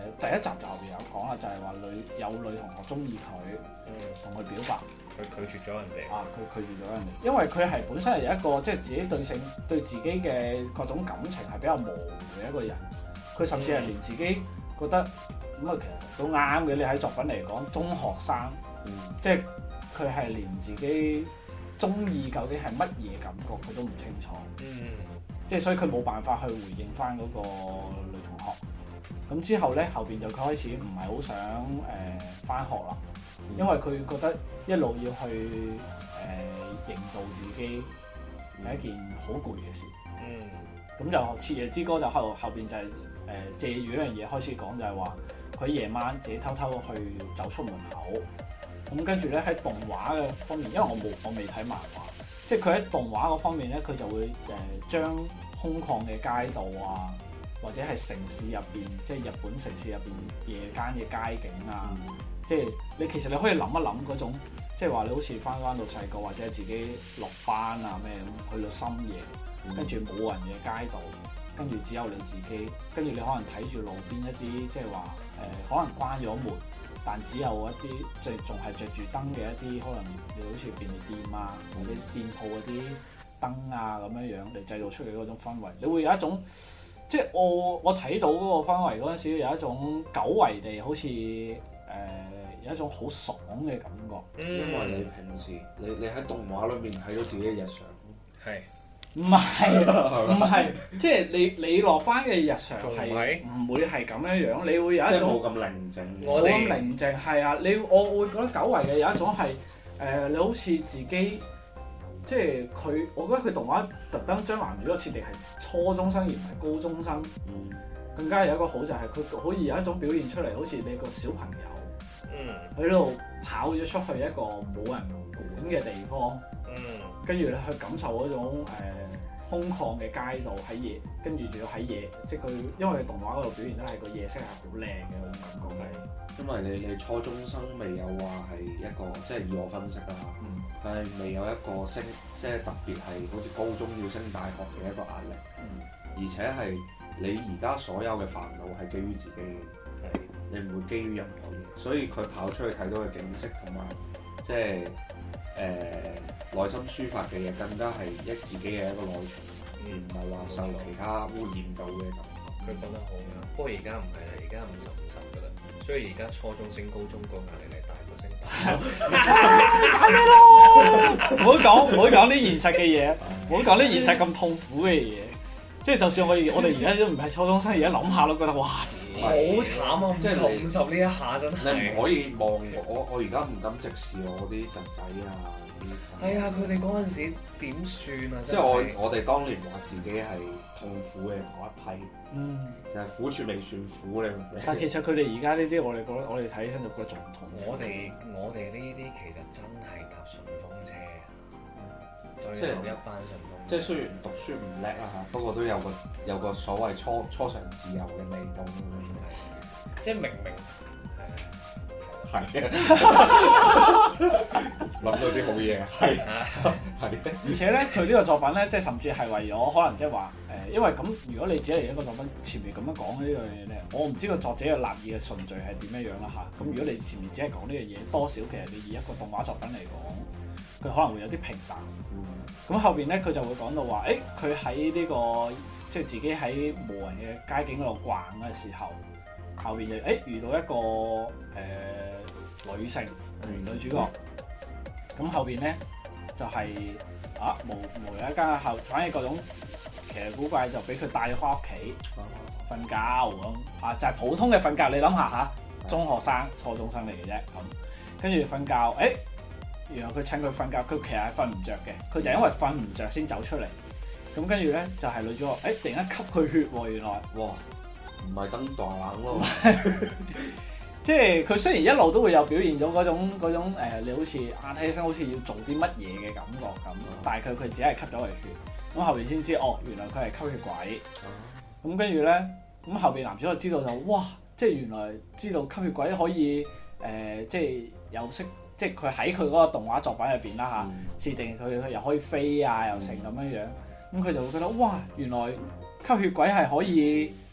第一集就後邊有講啦，就係話有女同學中意佢，同佢表白， 佢拒絕咗人哋。 佢拒絕咗人哋，因為佢係本身係有一個即係自己對自己嘅各種感情係比較模糊嘅一個人，佢甚至係連自己覺得咁啊，其實都啱嘅。你喺作品嚟講，中學生，即係佢係連自己中意究竟係乜嘢感覺佢都唔清楚，即係所以佢冇辦法去回應翻嗰個女同學。咁之後咧，後邊就佢開始唔係好想翻學啦，因為佢覺得一路要去營造自己係一件好攰嘅事。咁就《徹夜之歌》就後邊就係借住呢樣嘢開始講，就係話佢夜晚自己偷偷去走出門口。咁跟住咧喺動畫嘅方面，因為我未睇漫畫，即係佢喺動畫嗰方面咧，佢就會將空曠嘅街道啊，或者係城市入邊，即係日本城市入邊夜間嘅街景啊，即係其實你可以諗一諗嗰種，即係話你好似翻到細個或者自己落班啊咩咁，去到深夜，跟住冇人嘅街道，跟住只有你自己，跟住你可能睇住路邊一啲即係話可能關咗門。但只有一啲即係仲係着住燈嘅一啲，可能你好似便利店啊，或者店鋪嗰啲燈啊咁樣嚟製造出嚟嗰種氛圍，你會有一種即係我睇到嗰個氛圍嗰陣時，有一種久違地好似有一種好爽嘅感覺。 因為你平時你喺動畫裏面睇到自己嘅日常， 係唔係，即係你落班嘅日常係唔會係咁樣樣，你會有一種冇咁寧靜， 冇咁寧靜係啊！我會覺得久違嘅有一種係你好似自己即係佢，我覺得佢動畫特登將男主角設定係初中生而唔係高中生，更加有一個好就係佢可以有一種表現出嚟，好似你個小朋友喺度跑咗出去一個冇人管嘅地方，跟住你去感受嗰種空曠嘅街道喺夜，跟住仲要喺夜，即係佢因為動畫嗰度表現得係個夜色係好靚嘅嗰種感覺係。 因為你初中生未有話係一個即係以我分析啦，佢係未有一個升即係特別係好似高中要升大學嘅一個壓力，而且係你而家所有嘅煩惱係基於自己嘅，你唔會基於任何嘢，所以佢跑出去睇到嘅景色同埋即係內心抒發嘅嘢，更加係自己嘅一個內情，而唔係話受其他污染到嘅感覺。 佢講得好啱，不過而家唔係啦，而家50-50㗎啦，所以而家初中升高中個壓力係大過升大學。 唔好講啲現實嘅嘢，唔好講啲現實咁痛苦嘅嘢。即係就算我哋而家都唔係初中生，而家諗下都覺得哇， 好慘啊！即係50呢一下真係。 你唔可以望我而家唔敢直視我啲侄仔啊！ 係啊，佢哋嗰陣時點算啊？ 即係我哋當年話自己係痛苦嘅嗰一批，就係苦處未算苦你。 但其實佢哋而家呢啲，我哋睇起身就覺得仲痛。 我哋呢啲其實真係搭順風車，即係一班順風車。 即係雖然讀書唔叻啦嚇，不過都有個所謂初嘗自由嘅味道咁樣。 即係明係啊，諗到啲好嘢，係。 而且咧，佢呢個作品咧，即係甚至係為咗可能即係話因為咁，如果你只係一個作品前面咁樣講呢樣嘢咧，我唔知個作者嘅立意嘅順序係點樣樣啦嚇。咁如果你前面只係講呢樣嘢，多少其實你以一個動畫作品嚟講，佢可能會有啲平淡。咁後邊咧，佢就會講到話，佢喺呢個即係自己喺無人嘅街景嗰度逛嘅時候，後邊就遇到一個女性女主角。咁後邊咧就係無人一間後，反正各種奇奇古怪就俾佢帶咗翻屋企瞓覺咁就係普通嘅瞓覺。你諗下嚇，中學生、初中生嚟嘅啫咁，跟住瞓覺原來佢趁佢瞓覺，佢其實係瞓唔着嘅，佢就係因為瞓唔着先走出嚟。咁跟住咧就係女主角，突然間吸佢血喎，原來， 哇，唔係燈大冷咯， 即係佢雖然一路都會有表現咗嗰種你好似睇起身好似要做啲乜嘢嘅感覺咁，但係佢只係吸咗佢血。咁後邊先知原來佢係吸血鬼。咁跟住咧，咁後邊男主角知道就哇，即係原來知道吸血鬼可以即係有識。即係佢喺佢嗰個動畫作品入邊啦嚇，設定佢又可以飛啊，又成咁樣樣，咁佢就會覺得哇，原來吸血鬼係可以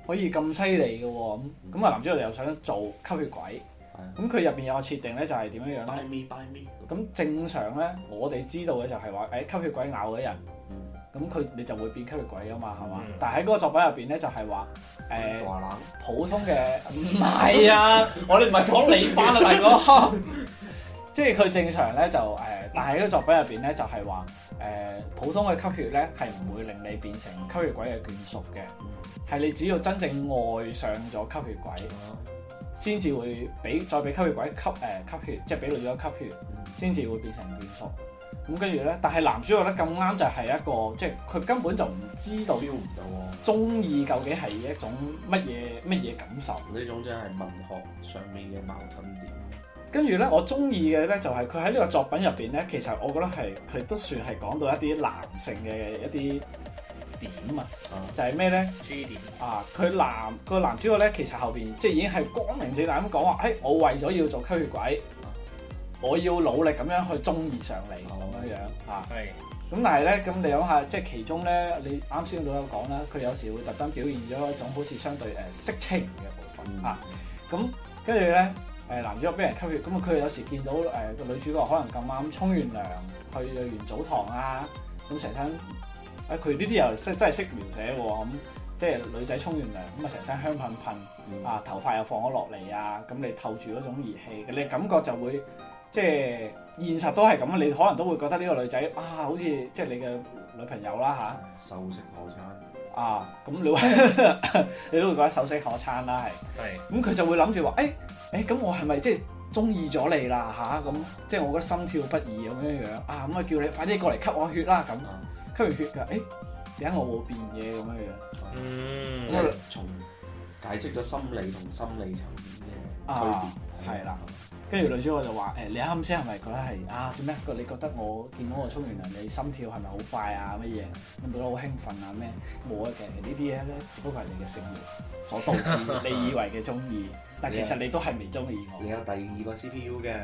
可以咁犀利嘅喎，咁啊男主角又想做吸血鬼，咁佢入邊有個設定咧就係點樣樣咧？ Buy me 咁正常咧，我哋知道嘅就係話，吸血鬼咬咗人，咁你就會變吸血鬼啊嘛，係嘛？但係喺嗰個作品入邊咧就係話，普通嘅唔係啊，我哋唔係講你翻啦，大哥。即係佢正常咧就但係喺個作品入邊咧就係話普通嘅吸血咧係唔會令你變成吸血鬼嘅眷屬嘅，係你只要真正愛上咗吸血鬼，先至會再俾吸血鬼吸血，即係俾女咗吸血，先至會變成眷屬。咁跟住咧，但係男主角咧咁啱就係一個，即係佢根本就唔知道 feel 唔到中意究竟係一種乜嘢感受。 呢種真係文學上面嘅矛盾點。 跟住咧，我中意嘅咧就係佢喺呢個作品入邊咧，其實我覺得佢都算係講到一啲男性嘅一啲點啊，就係咩咧？G 點啊！個男主角咧，其實後邊即係已經係光明正大咁講話，我為咗要做吸血鬼，我要努力咁樣去中意上你咁樣樣啊。係。咁但係咧，咁你諗下，即係其中咧，你啱先都有講啦，佢有時會特登表現咗一種好似相對色情嘅部分啊。咁跟住咧。男主角俾人吸血，咁佢有時見到個女主角可能咁啱沖完涼，去完澡堂啊，咁成身佢呢啲又真係識描寫喎，咁即係女仔沖完涼，咁啊成身香噴噴，啊頭髮又放咗落嚟啊，咁你透住嗰種熱氣，你感覺就會即係現實都係咁，你可能都會覺得呢個女仔好似即係你嘅女朋友啦嚇， 秀色可餐。 咁你都會覺得秀色可餐啦，係。咁佢就會諗住話，咁我係咪即係中意咗你啦嚇？咁即係我覺得心跳不已咁樣樣咁啊叫你快啲過嚟吸我血啦咁，吸完血㗎，點解我會變嘢咁樣樣？ 即係從解釋咗心理同心理層面嘅區別。 係啦。跟住女主角就話：你啱先係咪覺得係點咩？你覺得我見到我沖完涼，你心跳係咪好快啊？乜嘢？你覺得好興奮啊？咩？冇嘅，呢啲嘢咧，只不過係你嘅性慾所導致你以為嘅中意，但其實你都係未中意我。 你有第二個 CPU 嘅。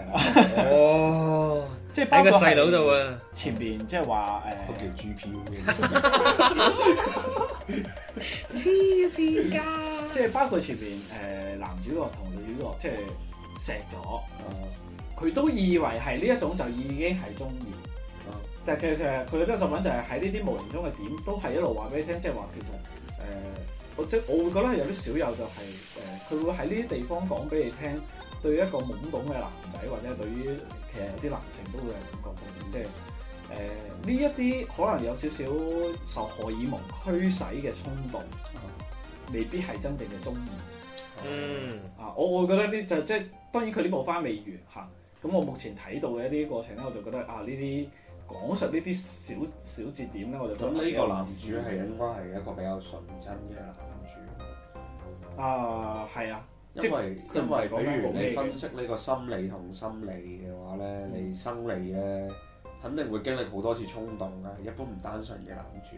即係包括喺個細佬度啊！ 前邊即係話都叫 GPU 嘅。 黐線㗎！ 即係包括前邊男主角同女主角即係。錫咗，佢都以為係呢一種就已經係中意，但係其實佢呢個作品就係喺呢啲無形中嘅點，都係一路話俾你聽，即係話其實我會覺得係有啲少有就係佢會喺呢啲地方講俾你聽，對於一個懵懂嘅男仔或者對於其實有啲男性都會有感覺，即係呢一啲可能有少少受荷爾蒙驅使嘅衝動，未必係真正嘅中意。我會覺得呢就即係當然佢呢部番未完嚇，咁我目前睇到嘅一啲過程咧，我就覺得呢啲講述呢啲小節點咧，我就覺得咁呢個男主係應該係一個比較純真嘅男主。 係啊， 因為比如你分析呢個心理同心理嘅話咧，你生理咧肯定會經歷好多次衝動啊，一般唔單純嘅男主。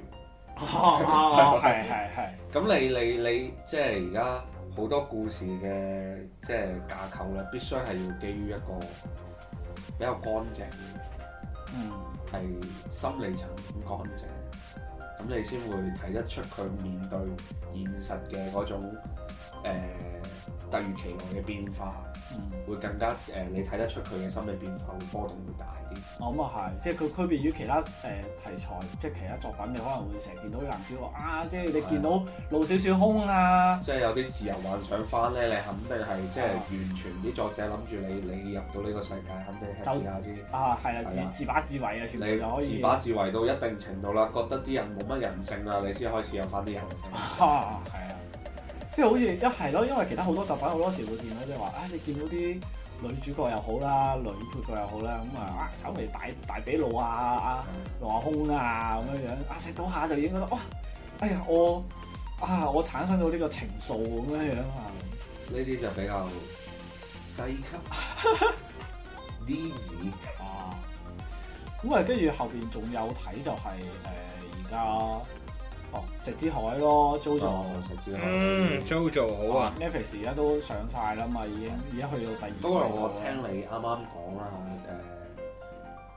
係。咁你即係而家。好多故事嘅即係架構咧，必須係要基於一個比較乾淨嘅，係心理層面乾淨，咁你先會睇得出佢面對現實嘅嗰種突如其來嘅變化，會更加你睇得出佢嘅心理變化會波動會大啲。 咁啊係，即係佢區別於其他題材，即係其他作品，你可能會成日見到啲男主角即係你見到露少少胸啊， 即係有啲自由幻想翻咧，你肯定係即係完全啲作者諗住你入到呢個世界，肯定係試下先。 係啊，自把自為啊，全部就可以。 自把自為到一定程度啦，覺得啲人冇乜人性啦，你先開始有翻啲人性。 係啊。即係好似係咯，因為其他好多作品好多時會見到即係話你見到啲女主角又好啦，女配角又好啦，咁稍微大髀露下胸啊咁樣樣，食到下就已經覺得哇，我產生到呢個情愫咁樣樣啊！ 呢啲就比較低級啲子咁跟住後邊仲有睇就係而家。石之海咯 ，JoJo， 石之海 ，JoJo 好啊 ，Netflix 而家都上晒啦嘛，已經而家去到第二季。 不過我聽你啱啱講啦，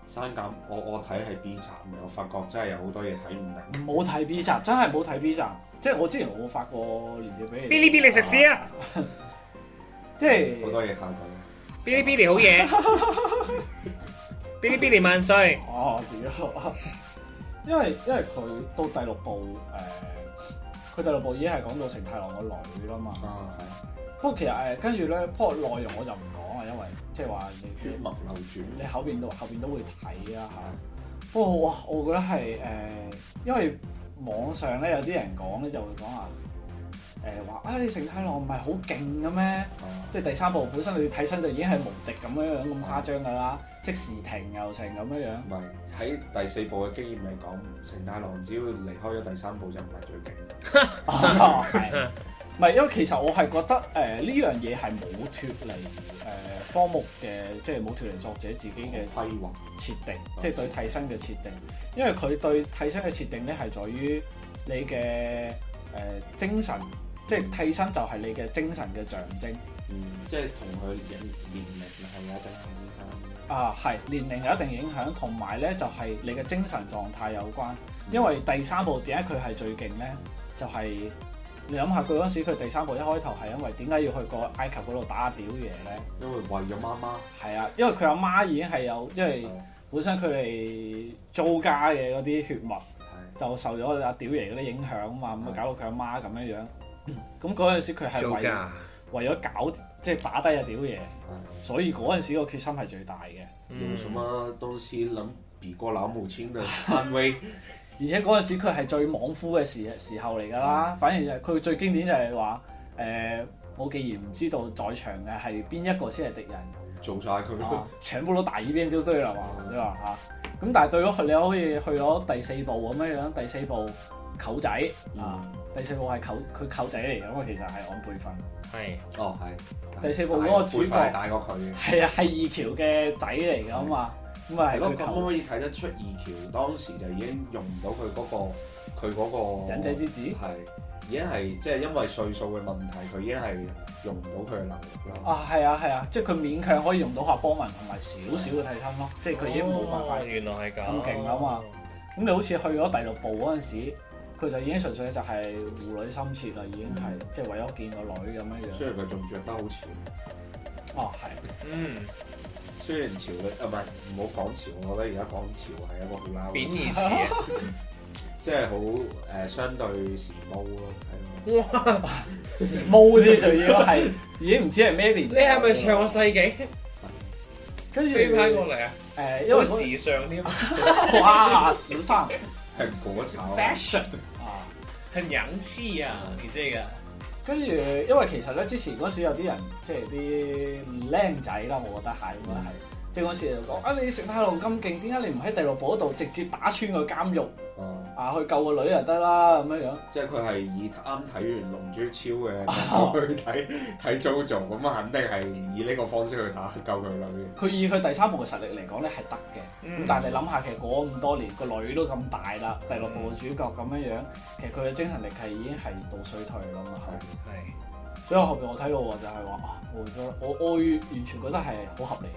刪減我睇係 B 站嘅，我發覺真係有好多嘢睇唔明。 冇睇 B 站，真係冇睇 B 站。即係我之前我發過鏈接俾你。 嗶哩嗶哩食屎啊！ 即係好多嘢靠佢。 嗶哩嗶哩好嘢，嗶哩嗶哩萬歲。 哦，屌！因為佢到第六部佢第六部已經係講到成太郎個女啦嘛。 係。 不過其實跟住咧，不過內容我就唔講啦，因為即係話你血脈流轉， 你後邊都會睇啊嚇。不過哇，我覺得係因為網上咧有啲人講咧就會講話話你成太郎唔係好勁嘅咩？即係第三部本身你睇親就已經係無敵咁樣咁誇張㗎啦，即時停又成咁樣。 唔係喺第四部嘅經驗嚟講，成太郎只要離開咗第三部就唔係最勁。 係。唔係，因為其實我係覺得呢樣嘢係冇脫離科目嘅，即係冇脫離作者自己嘅規劃設定，即係對替身嘅設定。因為佢對替身嘅設定咧係在於你嘅精神，即係替身就係你嘅精神嘅象徵。 即係同佢年齡係有一定影響。 係年齡有一定影響，同埋咧就係你嘅精神狀態有關。因為第三部點解佢係最勁咧？就係你諗下佢嗰陣時，佢第三部一開頭係因為點解要去個埃及嗰度打阿屌爺咧？ 因為為咗媽媽。 係啊，因為佢阿媽已經係有，因為本身佢哋租家嘅嗰啲血脈就受咗阿屌爺嗰啲影響啊嘛，咁啊搞到佢阿媽咁樣樣。咁嗰陣時佢係為咗搞即係打低阿屌爺，所以嗰陣時個決心係最大嘅。 用什麼東西能比過老母親的安危？ 而且嗰陣時佢係最莽夫嘅時候嚟㗎啦，反而佢最經典就係話我既然唔知道在場嘅係邊一個先係敵人， 做晒佢咯， 全部都打依邊就對啦嘛，你話嚇。咁但係對咗佢，你可以去咗第四部咁樣樣，第四部舅仔第四部係佢舅仔嚟㗎嘛，其實係按輩分。 係。 係。 第四部嗰個主角大過佢嘅。 係啊，係二橋嘅仔嚟㗎嘛。咁啊係佢咁可以睇得出二橋當時就已經用唔到佢嗰個忍者之子， 係已經係即係因為歲數嘅問題，佢已經係用唔到佢嘅能力啦。 係啊，即係佢勉強可以用到夏波文同埋少少嘅替身咯，即係佢已經冇辦法原來係咁勁啊嘛。咁你好似去咗第六部嗰陣時，佢就已經純粹就係父女心切啦，已經係即係為咗見個女咁樣樣。 雖然佢仲着得好潮。 係。 雖然潮嘅唔好講潮，我覺得而家講潮係一個好撈貶義詞啊， 即係好相對時髦咯， 哇！時髦啲就已經唔知係咩年。 你係咪上個世紀？ 跟住飛翻過嚟啊！ 因為時尚添。 哇！時尚蘋果炒 fashion 很洋氣啊！你這個。 跟住，因為其實咧，之前嗰時有啲人即係啲僆仔啦，我覺得係應該係，即係嗰時就講你成太郎咁勁，點解你唔喺第六部嗰度直接打穿個監獄？去救個女就得啦咁樣樣。 即係佢係以啱睇完《龍珠超》嘅去睇 JoJo，咁啊肯定係以呢個方式去救佢女。 佢以佢第三部嘅實力嚟講咧係得嘅，咁但係你諗下，其實過咁多年，個女都咁大啦，第六部嘅主角咁樣樣，其實佢嘅精神力係已經係到衰退啦嘛。係。所以後邊我睇到就係話我完全覺得係好合理。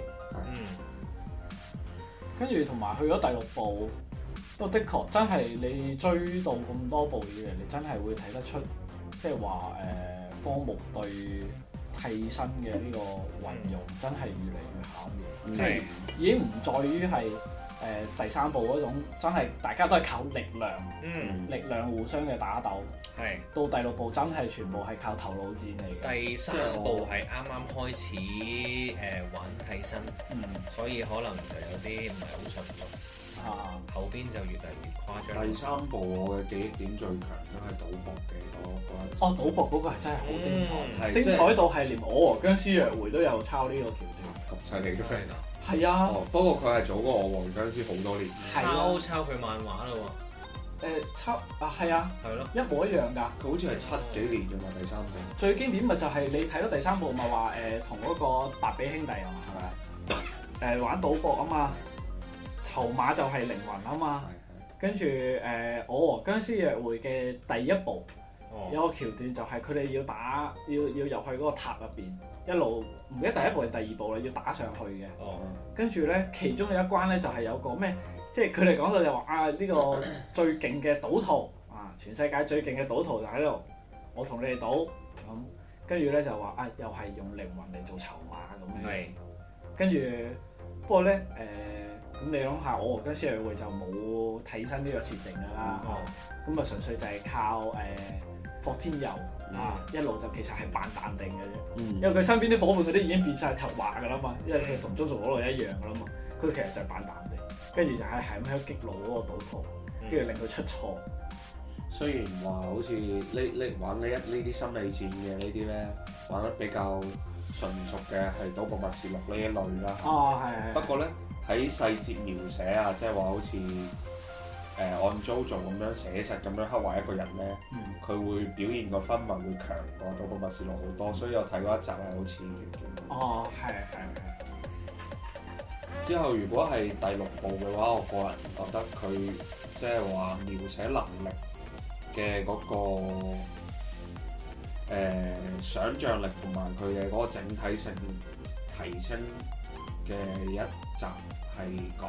跟住同埋去咗第六部。不過的確真係你追到咁多部以嚟，你真係會睇得出，即係話科目對替身嘅呢個運用真係越嚟越巧妙，即係已經唔在於係第三部嗰種真係大家都係靠力量，力量互相嘅打鬥。係到第六部真係全部係靠頭腦戰嚟嘅。 第三部係啱啱開始玩替身，所以可能就有啲唔係好順熟。後邊就越嚟越誇張。第三部我嘅記憶點最強都係賭博嘅嗰一。賭博嗰個係真係好精彩，精彩到係連我和僵屍約會都有抄呢個橋段。咁犀利嘅咩？係啊。不過佢係早過我和僵屍好多年。抄佢漫畫咯喎。抄係啊。係咯。一模一樣㗎。佢好似係7幾年㗎嘛，第三部。最經典咪就係你睇到第三部咪話同嗰個白比兄弟啊嘛，係咪？玩賭博啊嘛。籌碼就係靈魂啊嘛，跟住我和僵屍約會嘅第一部有個橋段就係佢哋要入去嗰個塔入邊，一路唔記得第一步定第二步啦，要打上去嘅。跟住咧，其中有一關咧就係有個咩，即係佢哋講到就話呢個最勁嘅賭徒全世界最勁嘅賭徒就喺度，我同你哋賭咁。跟住咧就話又係用靈魂嚟做籌碼咁樣。跟住不過咧咁你諗下，我跟施偉會就冇睇身呢個設定㗎啦。咁純粹就係靠霍天佑一路就其實係扮淡定嘅啫。因為佢身邊啲伙伴嗰啲已經變晒籌碼㗎啦嘛，因為佢同中數嗰度一樣㗎啦嘛。佢其實就係扮淡定，跟住就係咁喺度激怒嗰個賭徒，跟住令佢出錯。 雖然話好似玩呢啲心理戰嘅呢啲咧，玩得比較純熟嘅係《賭博默示錄》呢一類啦。 係。不過咧喺細節描寫啊，即係話好似按 JoJo 咁樣寫實咁樣刻畫一個人咧，佢會表現個氛圍會強過《賭博默示錄》好多，所以我睇過一集係好刺激嘅。 係。 之後如果係第6部嘅話，我個人覺得佢即係話描寫能力嘅嗰個想像力同埋佢嘅嗰個整體性提升嘅一集係講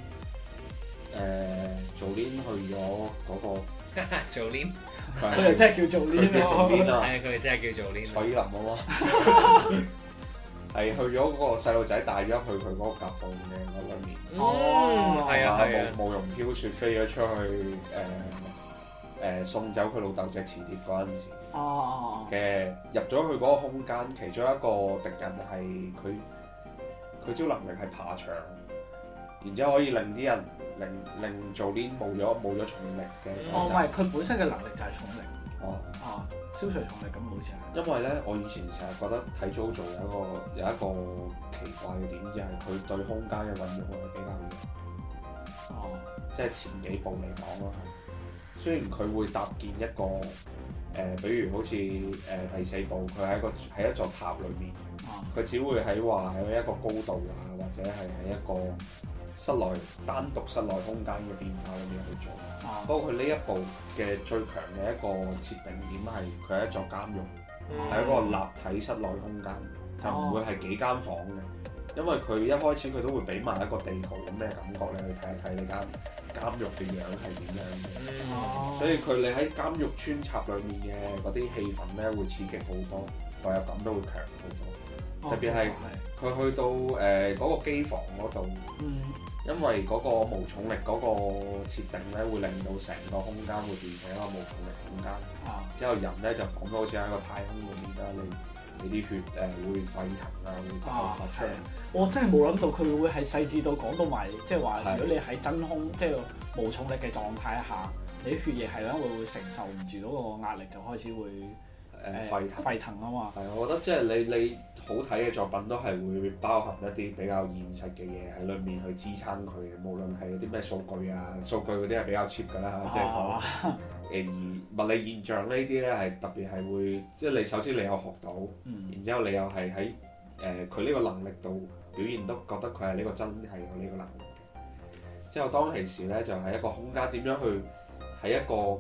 Jolene 去咗嗰個 Jolene， 佢哋真係叫Jolene啊！ 係佢哋真係叫Jolene。 蔡依林啊嘛，係去咗嗰個細路仔帶咗去佢嗰個夾縫嘅嗰裏面。 係啊， 慕容飄雪飛咗出去送走佢老豆隻磁鐵嗰陣時，嘅入咗去嗰個空間，其中一個敵人係佢招能力係爬牆，然之後可以令啲人令做啲冇咗重力嘅。 唔係，佢本身嘅能力就係重力。消除重力咁好似係。 因為咧，我以前成日覺得睇 JoJo 有一個奇怪嘅點，就係佢對空間嘅運用係比較弱。即係前幾部嚟講咯。雖然佢會搭建一個比如好似第4部，佢喺一座塔裏面，佢只會喺一個高度或者係喺一個單獨室內空間嘅變化裏面去做。不過佢呢一部嘅最強嘅一個設定點係佢係一座監獄，係一個立體室內空間，就唔會係幾間房嘅。因為佢一開始佢都會俾埋一個地圖咁嘅感覺，你去睇一睇你間監獄嘅樣係點樣嘅。所以你喺監獄穿插裏面嘅嗰啲氣氛咧，會刺激好多，代入感都會強好多。特別係佢去到嗰個機房嗰度，因為嗰個無重力嗰個設定咧，會令到成個空間會變成一個無重力空間。之後人咧就彷彿好似喺個太空裏面啦，你啲血會沸騰會爆發出嚟。 我真係冇諗到佢會係細緻到講到埋，即係話如果你喺真空即係無重力嘅狀態下，你血液係會承受唔住嗰個壓力，就開始會沸騰啊嘛。 係，我覺得即係你好睇嘅作品都係會包含一啲比較現實嘅嘢喺裏面去支撐佢嘅，無論係啲咩數據嗰啲係比較 cheap 㗎啦，即係講而物理現象呢啲咧係特別係會，即係你首先你有學到，然之後你又係喺佢呢個能力度表現得覺得佢係呢個真係有呢個能力嘅。之後當其時咧就係一個空間點樣去喺一個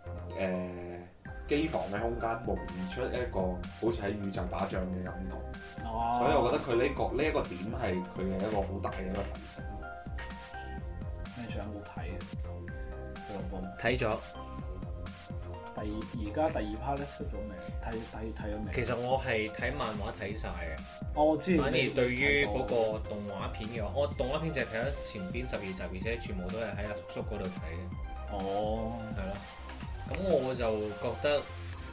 機房嘅空間模擬出一個好似喺宇宙打仗嘅感覺。所以我覺得佢呢一個點係佢嘅一個好大嘅一個提升。 你想冇睇嘅？ 睇咗。 而家第2 part 咧出咗未？睇咗未？ 其實我係睇漫畫睇晒嘅。 我知。 反而對於嗰個動畫片嘅話，我動畫片就係睇咗前邊12集，而且全部都係喺阿叔嗰度睇嘅。係咯。咁我就覺得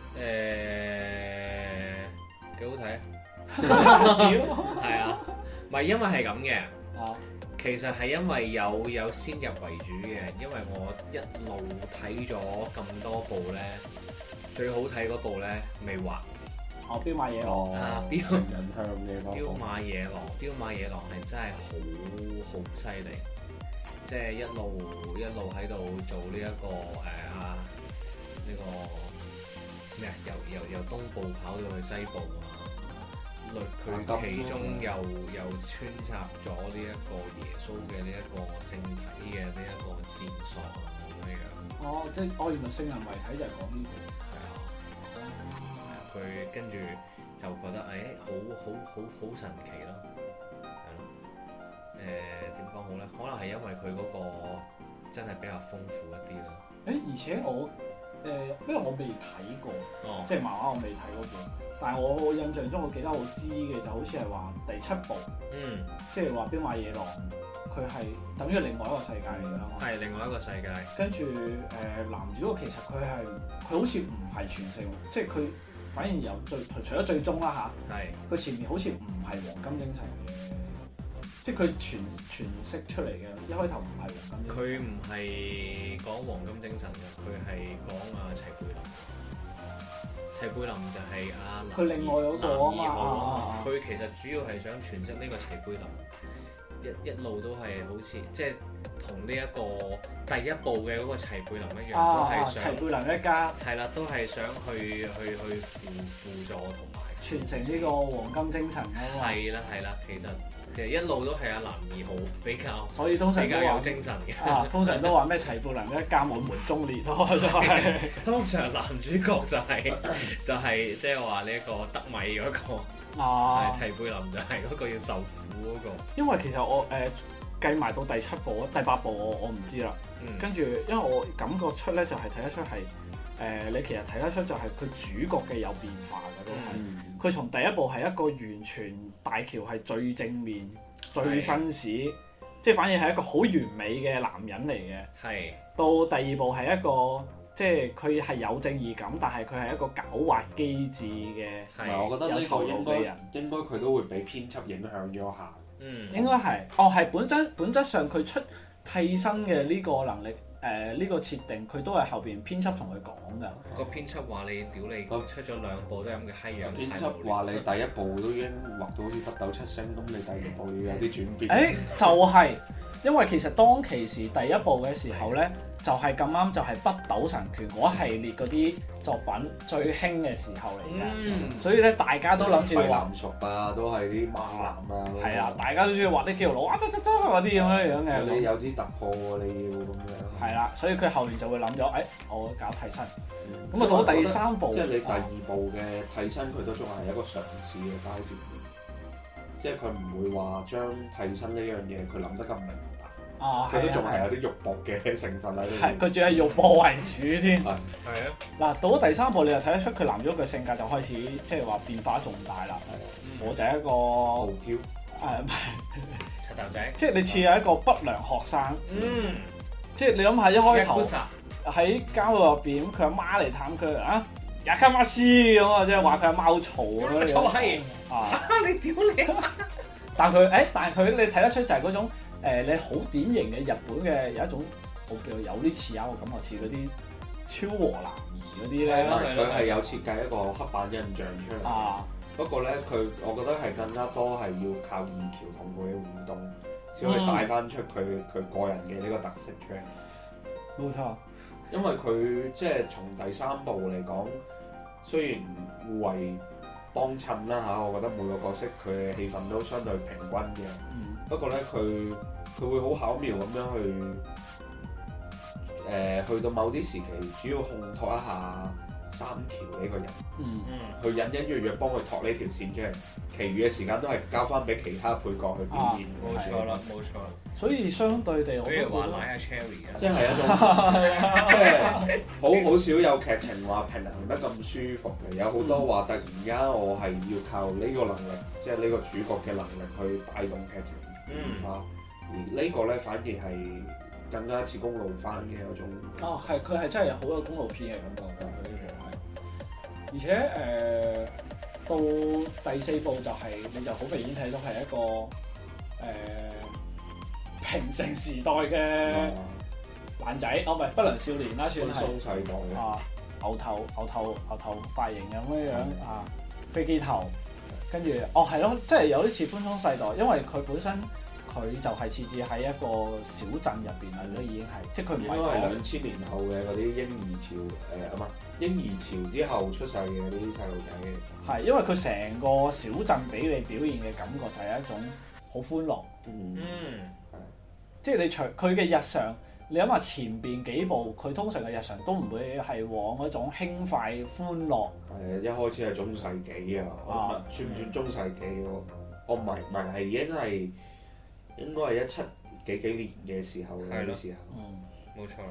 幾好睇啊！係啊，唔係因為係咁嘅。其實係因為有先入為主嘅，因為我一路睇咗咁多部咧，最好睇嗰部咧未畫。 彪馬野狼成人向嘅嗰個。 彪馬野狼係真係好犀利，即係一路喺度做呢一個呢個咩啊？由東部跑到去西部啊！佢其中又穿插咗呢一個耶穌嘅呢一個聖體嘅呢一個線索啊咁樣。 即係原來聖人遺體就係講呢個。 係啊， 佢跟住就覺得好神奇咯，係咯。點講好咧？可能係因為佢嗰個真係比較豐富一啲咯。 而且我因為我未睇過，即係漫畫我未睇嗰本，但係我印象中我記得我知嘅就好似係話第7部，即係話兵馬野狼，佢係等於另外一個世界嚟㗎嘛。 係另外一個世界。跟住男主角其實佢好似唔係全盛，即係佢反而由除咗最終啦嚇，佢前面好似唔係黃金精神嘅。即係佢詮釋出嚟嘅，一開頭唔係黃金精神。佢唔係講黃金精神嘅，佢係講齊貝林。齊貝林就係佢另外嗰個啊嘛。 佢其實主要係想詮釋呢個齊貝林，一路都係好似即係同呢一個第一部嘅嗰個齊貝林一樣，都係想齊貝林一家。係啦，都係想去輔助同埋傳承呢個黃金精神啊嘛。 係啦，其實一路都係男二號比較， 所以通常比較有精神嘅。 通常都話咩齊貝林一家滿門忠烈咯，就係。 通常男主角就係即係話呢一個德米嗰個，齊貝林就係嗰個要受苦嗰個。 因為其實我計埋到第7部、第8部我唔知啦。跟住因為我感覺出咧就係睇得出係你其實睇得出就係佢主角嘅有變化嘅都係。佢從第一部係一個完全大喬係最正面、最紳士，即係反而係一個好完美嘅男人嚟嘅。係。到第2部係一個即係佢係有正義感，但係佢係一個狡猾機智嘅。 係。我覺得呢個應該佢都會俾編輯影響咗下。 應該係。係本質上佢出替身嘅呢個能力。呢個設定佢都係後邊編輯同佢講㗎。 個編輯話你屌你，出咗2部都係咁嘅閪樣。 編輯話你第1部都已經畫到好似北斗七星，咁你第2部要有啲轉變。 就係因為其實當其時第1部嘅時候咧，就係咁啱就係北斗神拳嗰系列嗰啲作品最興嘅時候嚟嘅。所以咧大家都諗住畫男熟啊，都係啲猛男啊。 係啊，大家都中意畫啲肌肉佬嗰啲咁樣嘅。 你有啲突破喎，你要咁樣。 係啦，所以佢後面就會諗咗，我搞替身。咁啊到第3部， 即係你第2部嘅替身，佢都仲係一個嘗試嘅階段。即係佢唔會話將替身呢樣嘢佢諗得咁明白。佢都仲係有啲肉搏嘅成分喺度。係，佢仲係肉搏為主添。係啊。嗱，到咗第3部，你就睇得出佢男主角嘅性格就開始即係話變化重大啦。我就係一個傲嬌。 唔係。 柒頭仔。 即係你似係一個不良學生。即係你諗下一開頭喺監獄入邊，佢阿媽嚟探佢也卡馬斯咁啊，即係話佢阿貓嘈咁樣。 嘈閪你屌你！ 但係佢你睇得出就係嗰種你好典型嘅日本嘅有一種我叫有啲似我感覺似嗰啲超和男兒嗰啲咧。 佢係有設計一個黑板印象出嚟。不過咧，我覺得係更加多係要靠二喬同佢嘅互動。先可以帶翻出佢個人嘅呢個特色出嚟。 冇錯， 因為佢即係從第3部嚟講，雖然互為幫襯啦嚇，我覺得每個角色佢嘅戲份都相對平均嘅。不過咧，佢會好巧妙咁樣去到某啲時期，主要烘托一下三橋呢個人，去隱隱約約幫佢托呢條線出嚟，其餘嘅時間都係交翻俾其他配角去表現。 冇錯啦，冇錯。 所以相對地， 比如話奶阿 Cherry 啊， 即係一種即係好少有劇情話平衡得咁舒服嘅，有好多話突然間我係要靠呢個能力，即係呢個主角嘅能力去帶動劇情變化，而呢個咧反而係更加似公路番嘅嗰種。 係佢係真係好有公路片嘅感覺㗎，佢呢部係。而且到第4部就係、你就好明顯睇到係一個平成時代嘅爛仔，唔係不良少年啦，算係。 寬鬆世代牛頭髮型咁樣飛機頭，跟住係咯，即係有啲似寬鬆世代，因為佢本身佢就係設置喺一個小鎮入邊啦，都已經係，即係佢唔係講2000年後嘅嗰啲嬰兒潮嬰兒潮之後出世嘅嗰啲細路仔。係， 因為佢成個小鎮俾你表現嘅感覺就係一種好歡樂。即係你除佢嘅日常， 你諗下前邊幾部佢通常嘅日常都唔會係往嗰種輕快歡樂。 係一開始係中世紀啊，算唔算中世紀喎？我唔係係應該係17幾年嘅時候嗰啲時候。 冇錯。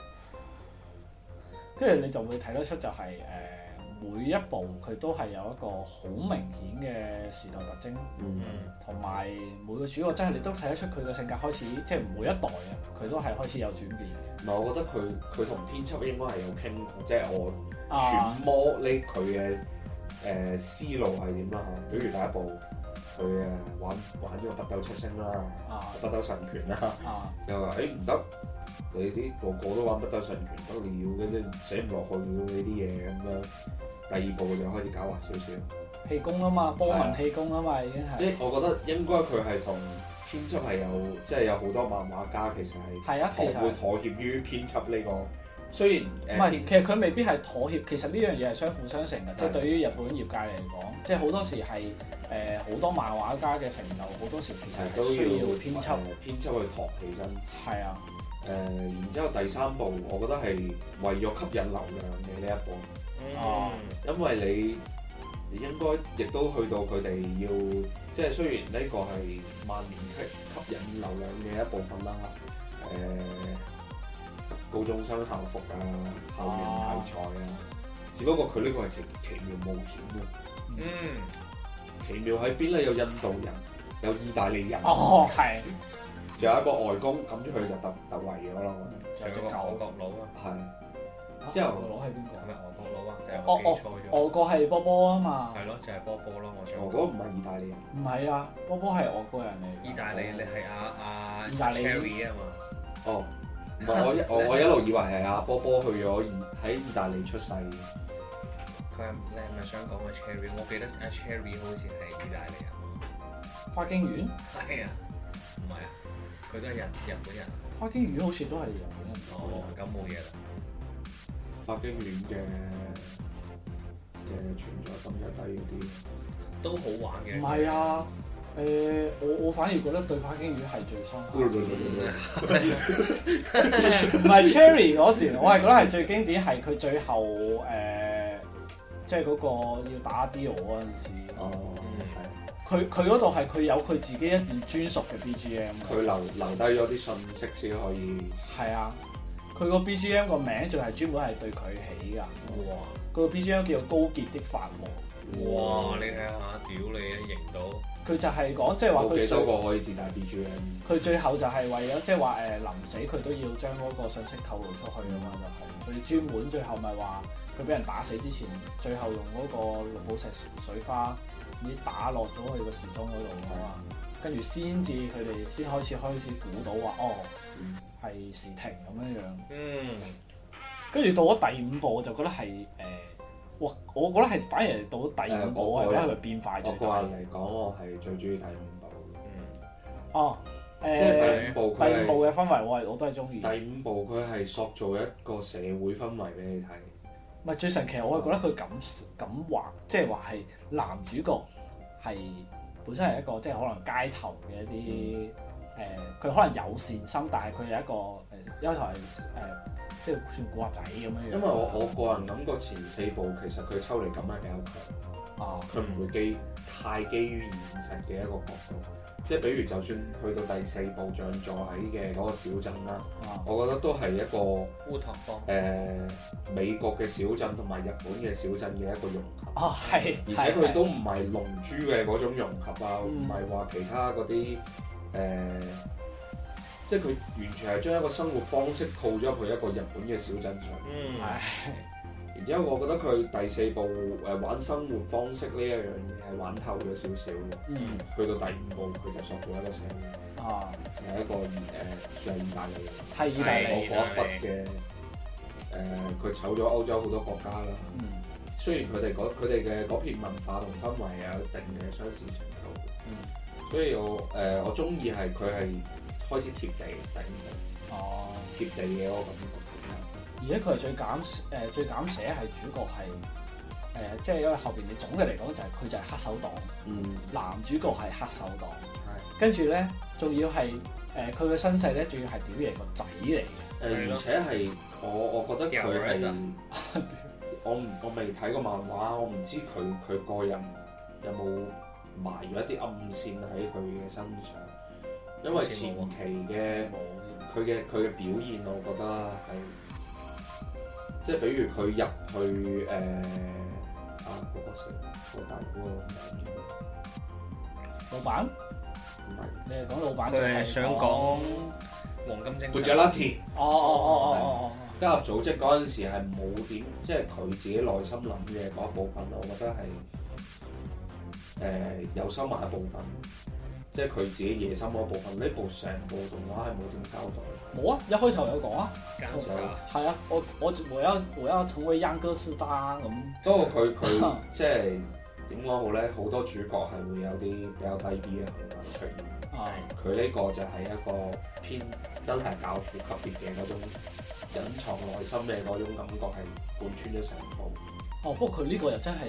跟住你就會睇得出就係每一部佢都係有一個好明顯嘅時代特徵，同埋每個主角真係你都睇得出佢嘅性格開始，即係每一代啊，佢都係開始有轉變嘅。 唔係，我覺得佢同編輯應該係有傾，即係我揣摩呢佢嘅思路係點啦嚇。比如第一部佢玩呢個北斗七星啦，北斗神拳啦，又話唔得。你啲個個都玩北斗神拳得了，嘅啫寫唔落去呢啲嘢咁樣。第二部就開始狡猾少少， 氣功啊嘛，波紋氣功啊嘛，已經係。 即係我覺得應該佢係同編輯係有，即係有好多漫畫家其實係會妥協於編輯呢個。雖然唔係，其實佢未必係妥協，其實呢樣嘢係相輔相成嘅。即係對於日本業界嚟講，即係好多時係好多漫畫家嘅成就，好多時其實都需要編輯去托起身。 係啊。 然之後第三部，我覺得係為咗吸引流量嘅呢一部。因為你應該亦都去到佢哋要，即係雖然呢個係萬年吸引流量嘅一部分啦。高中生校服啊，校園題材啊，只不過佢呢個係奇妙冒險嘅。奇妙喺邊咧？有印度人，有意大利人。 係。 仲有一個外公，咁出去就突圍咗啦。 仲有個外國佬啊。 係。之後外國佬係邊個？ 係咪外國佬啊？定係我記錯咗？ 外國係波波啊嘛。 係咯，就係波波咯。 外國唔係意大利人。 唔係啊，波波係外國人嚟。 意大利你係阿意大利 Cherry 啊嘛。 哦，唔係我一路以為係阿波波去咗喺意大利出世。 你係咪想講個 Cherry？我記得阿 Cherry 好似係意大利人。 花京院？ 係啊，唔係啊，佢都係日本人。 花京院好似都係日本人。 咁冇嘢啦。 花京院嘅存在感又低嗰啲， 都好玩嘅。 唔係啊，我反而覺得對花京院係最深刻。唔係 Cherry 嗰段，我係覺得係最經典，係佢最後即係嗰個要打 Dio 嗰陣時。佢嗰度係佢有佢自己一段專屬嘅 BGM。 佢留低咗啲信息先可以。係啊。佢個 BGM 個名仲係專門係對佢起㗎。哇！佢個 BGM 叫做高潔的法王。 哇！你睇下，屌你啊，認到。 佢就係講即係話佢幾多個可以自帶 BGM。 佢最後就係為咗即係話臨死佢都要將嗰個信息透露出去啊嘛，就係佢專門最後咪話佢俾人打死之前，最後用嗰個綠寶石水花已經打落咗去個時鐘嗰度啊嘛，跟住先至佢哋先開始估到話係時停咁樣樣。跟住到咗第五部，我就覺得係我覺得係反而到咗第五部係因為變化最大。 我個人嚟講，我係最中意第五部。即係第五部嘅氛圍，我都係中意。 第五部佢係塑造一個社會氛圍俾你睇。 唔係最神奇，我係覺得佢咁畫，即係話係男主角係本身係一個即係可能街頭嘅一啲佢可能有善心，但係佢有一個一開頭係即係算古惑仔咁樣樣。因為我個人感覺前四部其實佢抽離感係比較強，佢唔會太基於現實嘅一個角度。即係比如就算去到第四部像座喺嘅嗰個小鎮啦，我覺得都係一個烏托邦美國嘅小鎮同埋日本嘅小鎮嘅一個融合。 係， 而且佢都唔係龍珠嘅嗰種融合啊，唔係話其他嗰啲即係佢完全係將一個生活方式套咗入去一個日本嘅小鎮上。然之後，我覺得佢第四部玩生活方式呢一樣嘢係玩透咗少少嘅。去到第五部，佢就塑造一個社會，就係一個算係意大利人。 係意大利嗰一忽嘅佢走咗歐洲好多國家啦。雖然佢哋嘅嗰片文化同氛圍有一定嘅相似程度。所以我中意係佢係開始貼地第五部。貼地嘅嗰個感覺。 而且佢係最減寫係主角係即係因為後邊你總嘅嚟講就係佢就係黑手黨，男主角係黑手黨，跟住咧仲要係佢嘅身世咧，仲要係屌爺個仔嚟嘅。 而且係我覺得佢係我未睇過漫畫，我唔知佢個人有冇埋咗一啲暗線喺佢嘅身上，因為前期嘅佢嘅表現，我覺得係即係比如佢入去嗰個誰個大嗰個名老闆？ 唔係， 你係講老闆？ 佢係想講黃金精神。 Bujalaty 哦。 加入組織嗰陣時係冇點，即係佢自己內心諗嘅嗰一部分，我覺得係有收埋一部分，即係佢自己野心嗰一部分。呢部成部動畫係冇點交代。 冇啊，一開頭有講啊。係啊，我要成為秧歌斯達咁。 不過佢即係點講好咧？好多主角係會有啲比較低 B 嘅行為出現。佢呢個就係一個偏真係教父級別嘅嗰種隱藏內心嘅嗰種感覺，係貫穿咗成部。 不過佢呢個又真係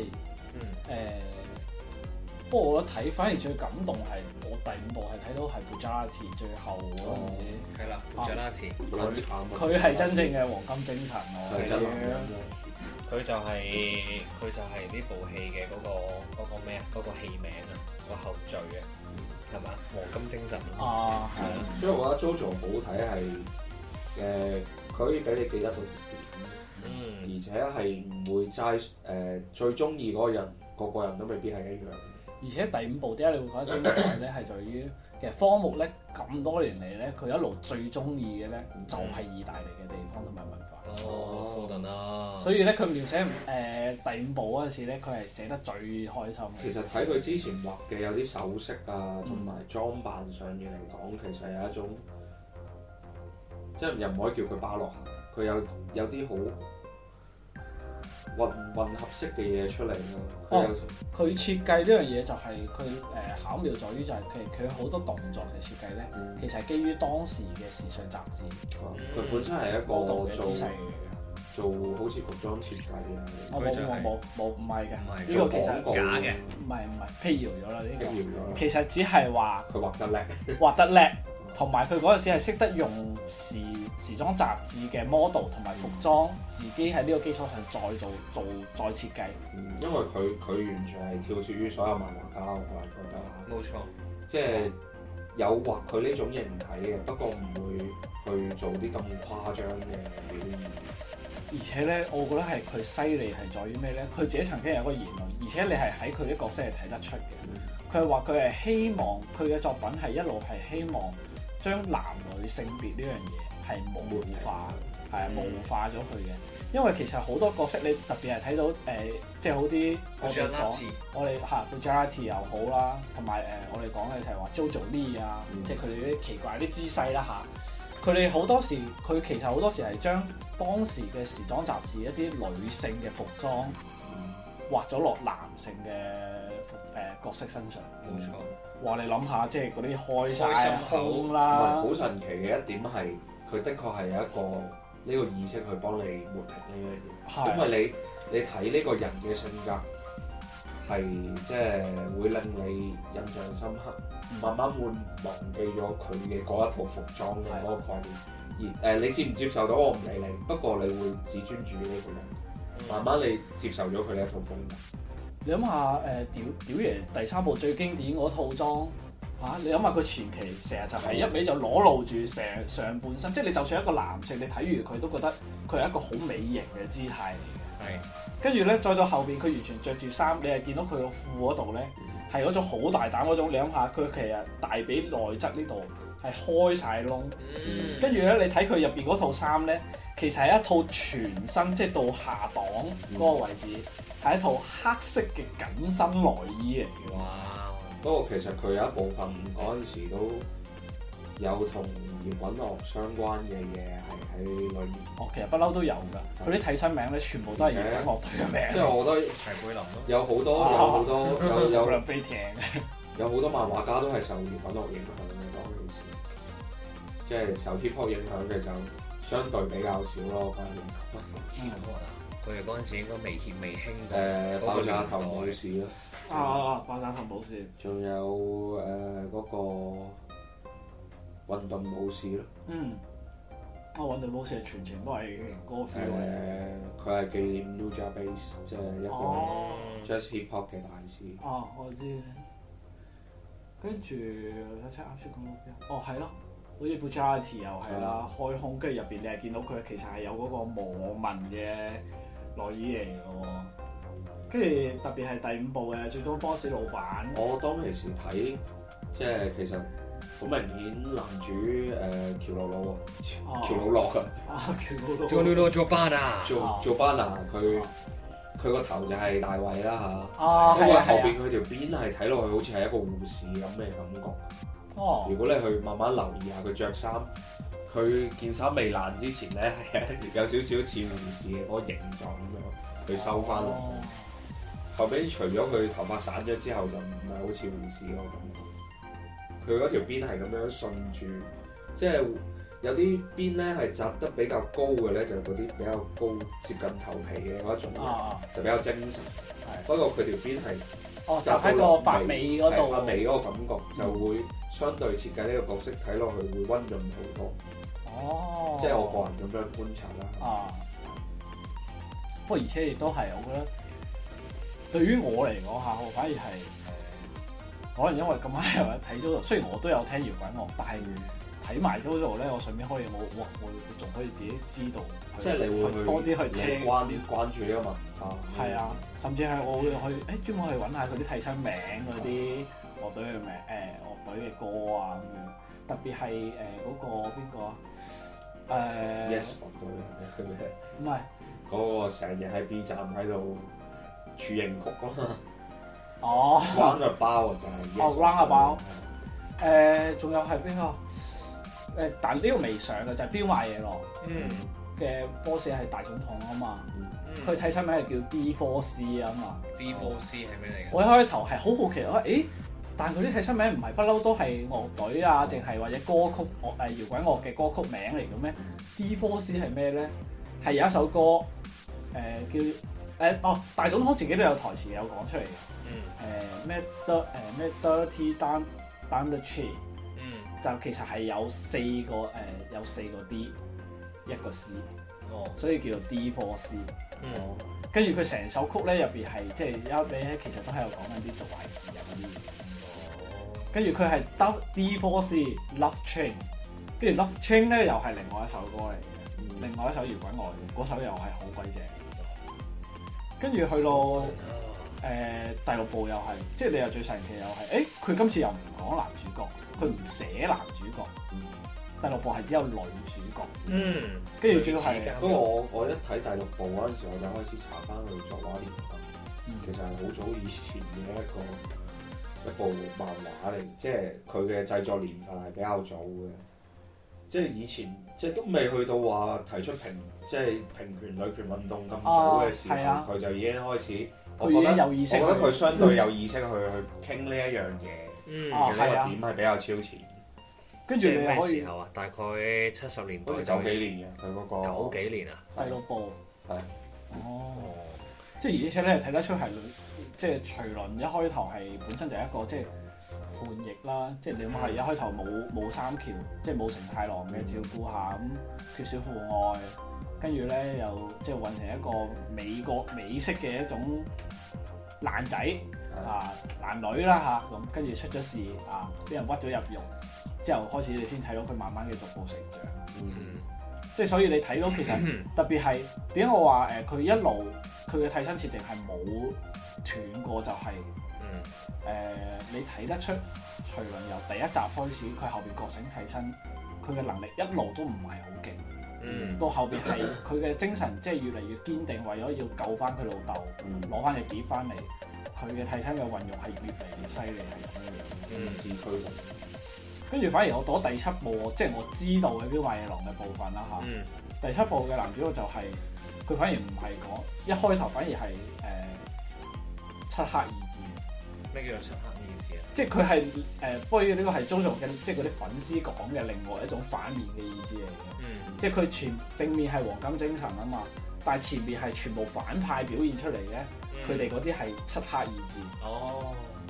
不過我覺得睇反而最感動係我第5部係睇到係 Bujalaty 最後嗰陣時。係啦 Bujalaty 佢係真正嘅黃金精神佢就係呢部戲嘅嗰個咩啊？嗰個戲名啊，個後序啊，係嘛？黃金精神啊，係。 所以我覺得 JoJo 好睇係佢可以俾你記得到點，而且係唔會齋最中意嗰個人，個個人都未必係一樣。 而且第5部點解你會覺得精彩咧？係在於其實荒木咧咁多年嚟咧，佢一路最中意嘅咧就係意大利嘅地方同埋文化。 蘇頓啊！ 所以咧，佢描寫第5部嗰陣時咧，佢係寫得最開心。 其實睇佢之前畫嘅有啲首飾啊，同埋裝扮上面嚟講，其實有一種即係又唔可以叫佢巴洛克，佢有啲好混合式嘅嘢出嚟咯。 佢設計呢樣嘢就係佢巧妙在於就係佢好多動作嘅設計咧，其實係基於當時嘅時尚雜誌。 佢本身係一個嘅姿勢做好似服裝設計嘅。 冇唔係嘅，呢個其實假嘅。 唔係辟謠咗啦呢個。 辟謠咗。 其實只係話佢畫得叻， 畫得叻。同埋佢嗰陣時係識得用時裝雜誌嘅 model 同埋服裝，自己喺呢個基礎上再設計。 因為佢完全係跳脫於所有漫畫家，我係覺得。 冇錯。 即係有畫佢呢種形體嘅，不過唔會去做啲咁誇張嘅表現。 而且咧，我覺得係佢犀利係在於咩咧？佢自己曾經有個言論，而且你係喺佢啲角色係睇得出嘅。佢係話佢係希望佢嘅作品係一路係希望將男女性別呢樣嘢係模糊化，係模糊化咗佢嘅。因為其實好多角色你特別係睇到即係好啲我哋Bujalaty 又好啦，同埋我哋講嘅就係話 JoJo Lee 啊，即係佢哋啲奇怪啲姿勢啦嚇。佢哋好多時佢其實好多時係將當時嘅時裝雜誌一啲女性嘅服裝畫咗落男性嘅角色身上。 冇錯。 哇！ 你諗下，即係嗰啲開晒胸啦。 好神奇嘅一點係，佢的確係有一個呢個意識去幫你抹平呢樣嘢。因為你睇呢個人嘅性格係即係會令你印象深刻，慢慢會忘記咗佢嘅嗰一套服裝嘅嗰個概念。而你接唔接受到我唔理你，不過你會只專注呢個人。慢慢你接受咗佢呢一套風格。 你諗下屌爺第3部最經典嗰套裝嚇，你諗下佢前期成日就係一味就裸露住成上半身，即係你就算一個男性，你睇完佢都覺得佢係一個好美型嘅姿態嚟嘅。 係。 跟住咧，再到後邊佢完全着住衫，你係見到佢個褲嗰度咧係嗰種好大膽嗰種。你諗下佢其實大髀內側呢度係開晒窿，跟住咧你睇佢入邊嗰套衫咧，其實係一套全身即係到下檔嗰個位置。係一套黑色嘅緊身內衣嚟嘅。 哇！ 不過其實佢有一部分嗰陣時都有同搖滾樂相關嘅嘢係喺裏面。 其實不嬲都有㗎。佢啲替身名咧，全部都係搖滾樂隊嘅名。 即係我覺得齊貝林咯。 有好多有梁飛艇。 有好多漫畫家都係受搖滾樂影響嘅嗰陣時，即係受 hip hop 影響嘅就相對比較少咯。反而。 佢哋嗰陣時應該未興爆炸頭武士咯。 爆炸頭武士。 仲有嗰個運動武士咯。 運動武士係全程都係嗰個 feel 嚟。 佢係紀念 Nujabes， 即係一個 Jazz Hip Hop 嘅大師。 我知。跟住睇下啱先講到邊？係咯，好似 Bugatti 又係啦，開胸，跟住入邊你係見到佢其實係有嗰個磨紋嘅內衣嚟嘅喎。跟住特別係第5部嘅最終 boss 老闆。 我當其時睇，即係其實好明顯男主喬魯魯喎，喬魯諾做魯魯做班啊， 做班啊，佢個頭就係大衛啦嚇， 因為後邊佢條辮係睇落去好似係一個護士咁嘅感覺。如果你去慢慢留意下佢着衫，佢件衫未爛之前咧係有少少似護士嘅嗰個形狀咁樣，佢收翻落。後邊除咗佢頭髮散咗之後，就唔係好似護士嗰個感覺。佢嗰條辮係咁樣順住，即係有啲辮咧係紮得比較高嘅咧，就嗰啲比較高接近頭皮嘅嗰一種，就比較精神。不過佢條辮係就喺個髮尾嗰度， 髮尾嗰個感覺就會相對設計呢個角色睇落去會溫潤好多。即係我個人咁樣觀察啦。 不過而且亦都係，我覺得對於我嚟講嚇，我反而係可能因為咁啱又睇咗，雖然我都有聽搖滾樂，但係睇埋咗度咧，我順便可以我仲可以自己知道， 即係你會多啲去聽關注呢個文化。 係啊，甚至係我會去專門去揾下佢啲替身名嗰啲樂隊嘅名樂隊嘅歌啊咁樣，特別係嗰個邊個啊 ？Yes 樂隊唔係嗰個成日喺 B 站喺度處刑曲咯。Roundabout 就係 Roundabout。仲有係邊個？但呢個未上嘅就係飆買嘢咯。嘅 boss 係大總統啊嘛。佢替身名係叫 D4C 啊嘛。 D4C 係咩嚟嘅？ 我一開頭係好好奇但佢啲替身名唔係不嬲都係樂隊啊，淨係或者歌曲搖滾樂嘅歌曲名嚟嘅咩？D4C 係咩咧？係有一首歌叫大總統自己都有台詞有講出嚟嘅。咩 Dirty Down the Street。就其實係有4個 D 一個 C，所以叫做 D4C。跟住佢成首曲咧入邊係即係一尾咧，其實都喺度講緊啲做壞事啊嗰啲。跟住佢係 D4C Love Train， 跟住 Love Train 咧又係另外一首歌嚟嘅，另外一首搖滾樂嘅，嗰首又係好鬼正。跟住去到第6部又係，即係你又最神奇又係，佢今次又唔講男主角。佢唔寫男主角，第6部係只有女主角。跟住主要係， 不過我一睇第6部嗰陣時，我就開始查翻佢作畫年份。其實係好早以前嘅一部漫畫嚟，即係佢嘅製作年份係比較早嘅。即係以前即係都未去到話提出平權女權運動咁早嘅時候，佢就已經開始。我覺得佢相對有意識去傾呢一樣嘢。呢個點係比較超前。 跟住你咩時候啊？大概70年代。 好似90幾年嘅佢嗰個。 90幾年啊？ 第6部。 係。 即係而且咧睇得出係即係徐倫一開頭係本身就係一個即係叛逆啦，即係你諗下一開頭冇三橋，即係冇成太郎嘅照顧下咁缺少父愛，跟住咧又即係混成一個美式嘅一種爛仔。男女啦嚇，咁跟住出咗事俾人屈咗入獄之後，開始你先睇到佢慢慢嘅逐步成長。即係所以你睇到其實特別係點解我話佢一路佢嘅替身設定係冇斷過，就係你睇得出徐倫由第1集開始，佢後邊覺醒替身，佢嘅能力一路都唔係好勁。到後邊係佢嘅精神即係越嚟越堅定，為咗要救翻佢老豆，攞翻隻碟翻嚟。佢嘅替身嘅運用係越嚟越犀利，係咁樣自驅力。跟住反而我到咗第7部，即係我知道嘅《飆買野狼》嘅部分啦嚇。第7部嘅男主角就係佢反而唔係講一開頭，反而係漆黑意志。 咩叫做漆黑意志啊？ 即係佢係不過呢個係JoJo嘅，即係嗰啲粉絲講嘅另外一種反面嘅意志嚟嘅。即係佢正面係黃金精神啊嘛，但係前面係全部反派表現出嚟嘅。佢哋嗰啲係漆黑意志，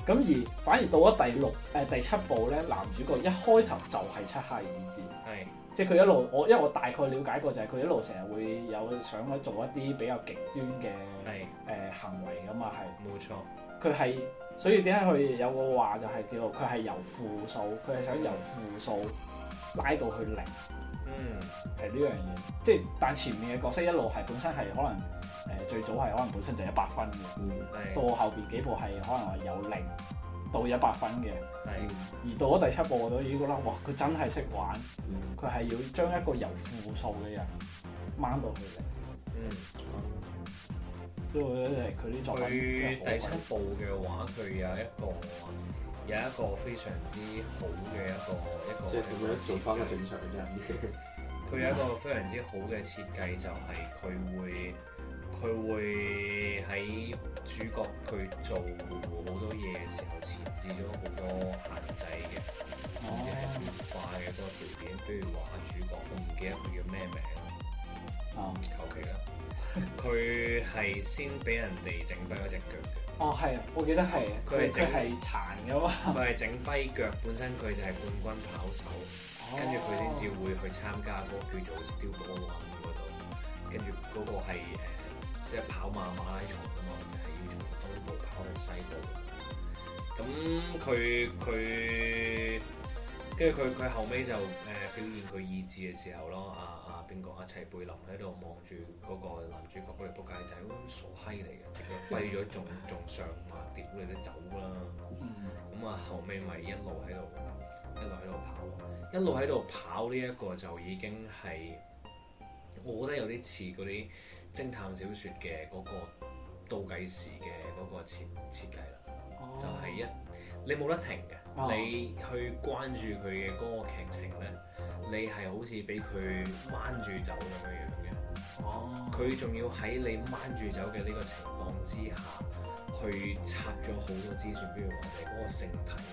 咁而反而到咗第7部咧，男主角一開頭就係漆黑意志，即係佢一路因為我大概了解過就係佢一路成日會有想做一啲比較極端嘅行為㗎嘛，係冇錯。佢係所以點解佢有個話就係叫做佢係由負數，佢係想由負數拉到去0，係呢樣嘢。即係但前面嘅角色一路係本身係可能最早係可能本身就100分嘅，到後邊幾部係可能係由0到100分嘅，而到咗第7部我都已經覺得哇，佢真係識玩，佢係要將一個由負數嘅人掹到去0。所以我覺得佢啲作品佢第7部嘅話，佢有一個非常之好嘅一個， 即係點樣做翻個正常嘅人？ 佢有一個非常之好嘅設計，就係佢會喺主角佢做好多嘢嘅時候，設置咗好多限制嘅，變化嘅嗰個條件。比如話主角，我唔記得佢叫咩名啦，求其啦。佢係先俾人哋整跛咗隻腳嘅。 係啊，我記得係。佢係殘㗎嘛。佢係整跛腳，本身佢就係冠軍跑手，跟住佢先至會去參加嗰個叫做 Steel Ball Run 嗰度，跟住嗰個係即係跑馬拉松㗎嘛，就係要從東部跑去西部。咁跟住佢後尾就表現佢意志嘅時候咯，邊個齊貝林喺度望住嗰個男主角嗰條仆街仔，傻閪嚟嘅，隻腳跛咗仲上馬，屌你都走啦！咁後尾咪一路喺度跑呢一個就已經係，我覺得有啲似嗰啲偵探小説嘅嗰個倒計時嘅嗰個設計啦，就係你冇得停嘅，你去關注佢嘅嗰個劇情咧。你係好似俾佢掹住走咁樣樣嘅，佢仲要喺你掹住走嘅呢個情況之下，去插咗好多資訊，比如話就係嗰個性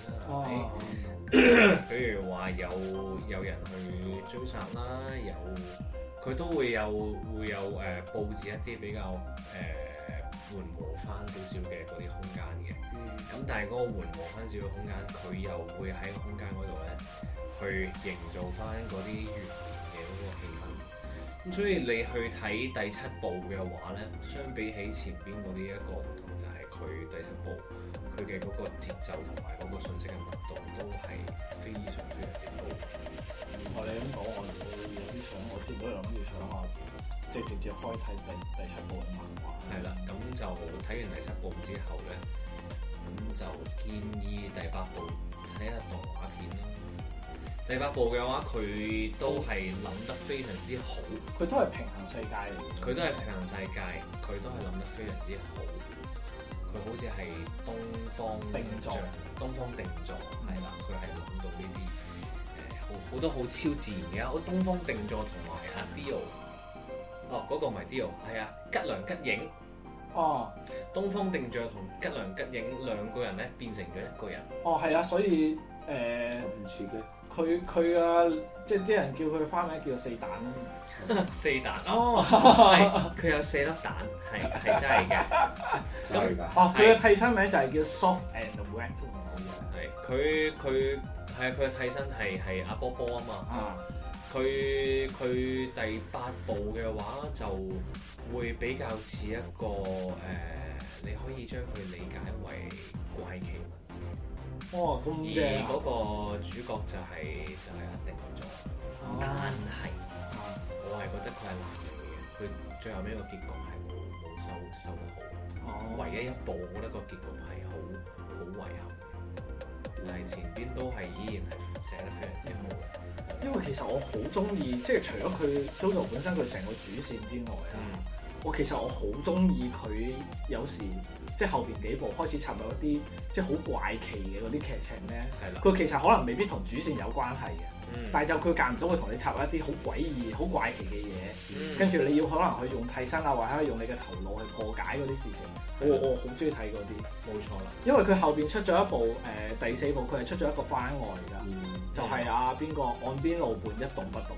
體啦，比如話有人去追殺啦，佢都會有佈置一啲比較緩和翻少少嘅嗰啲空間嘅，咁但係嗰個緩和翻少少空間，佢又會喺個空間嗰度咧，去營造翻嗰啲懸疑嘅嗰個氣氛，咁所以你去睇第7部嘅話咧，相比起前邊嗰啲一個唔同，就係佢第7部佢嘅嗰個節奏同埋嗰個信息嘅密度都係非常之高。 你咁講，我有啲想，我之前都有諗住想話，即係直接開睇第7部嘅漫畫。 係啦，咁就睇完第7部之後咧，咁就建議第8部睇下動畫片啦。第8部嘅話，佢都係諗得非常之好。 佢都係平行世界嚟嘅。 佢都係平行世界，佢都係諗得非常之好。佢好似係東方定座，係啦，佢係諗到呢啲好多好超自然嘅，好東方定座同埋阿 Dio， 嗰個唔係 Dio， 係啊吉良吉影。東方定座同吉良吉影兩個人咧變成咗一個人。 係啊，所以唔似嘅。 佢啊，即係啲人叫佢花名叫做4蛋 4蛋佢有4粒蛋，係真係嘅。 咁佢嘅替身名就係叫 Soft and Wet 佢嘅替身係阿波波啊嘛。佢第8部嘅話就會比較似一個你可以將佢理解為怪奇文。 咁正！ 而嗰個主角就係阿定座，但係我係覺得佢係爛尾嘅，佢最後尾個結局係冇收得好。唯一一部我覺得個結局係好遺憾，但係前邊都係依然係寫得非常之好嘅。 因為其實我好中意，即係除咗佢 JoJo 本身佢成個主線之外啊，其實我好中意佢有時。即係後邊幾部開始插入一啲即係好怪奇嘅嗰啲劇情咧，佢其實可能未必同主線有關係嘅，但係就佢間唔中會同你插入一啲好詭異、好怪奇嘅嘢，跟住你要可能去用替身啊，或者用你嘅頭腦去破解嗰啲事情。我好中意睇嗰啲，冇錯啦。因為佢後邊出咗一部第4部，佢係出咗一個番外㗎，就係邊個岸邊露伴一動不動。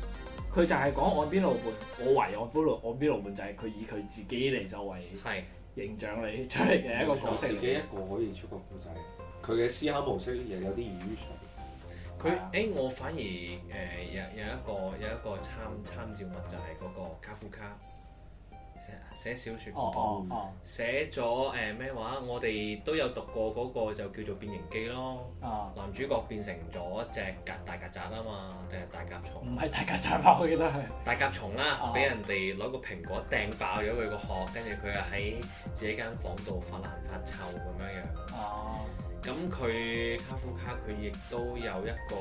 佢就係講岸邊露伴，我懷疑岸邊露伴就係佢以佢自己嚟作為形象嚟出嚟嘅一個角色。 自己一個可以出個故仔，佢嘅思考模式又有啲異於常。 我反而有一個參照物就係嗰個卡夫卡寫小説嗰個，寫咗咩話？我哋都有讀過嗰個就叫做《變形記》咯。男主角變成咗隻大曱甴啊嘛，定係大甲蟲？ 唔係大曱甴吧？我記得係大甲蟲啦，俾人哋攞個蘋果掟爆咗佢個殼，跟住佢又喺自己間房度發爛發臭咁樣樣。咁佢卡夫卡佢亦都有一個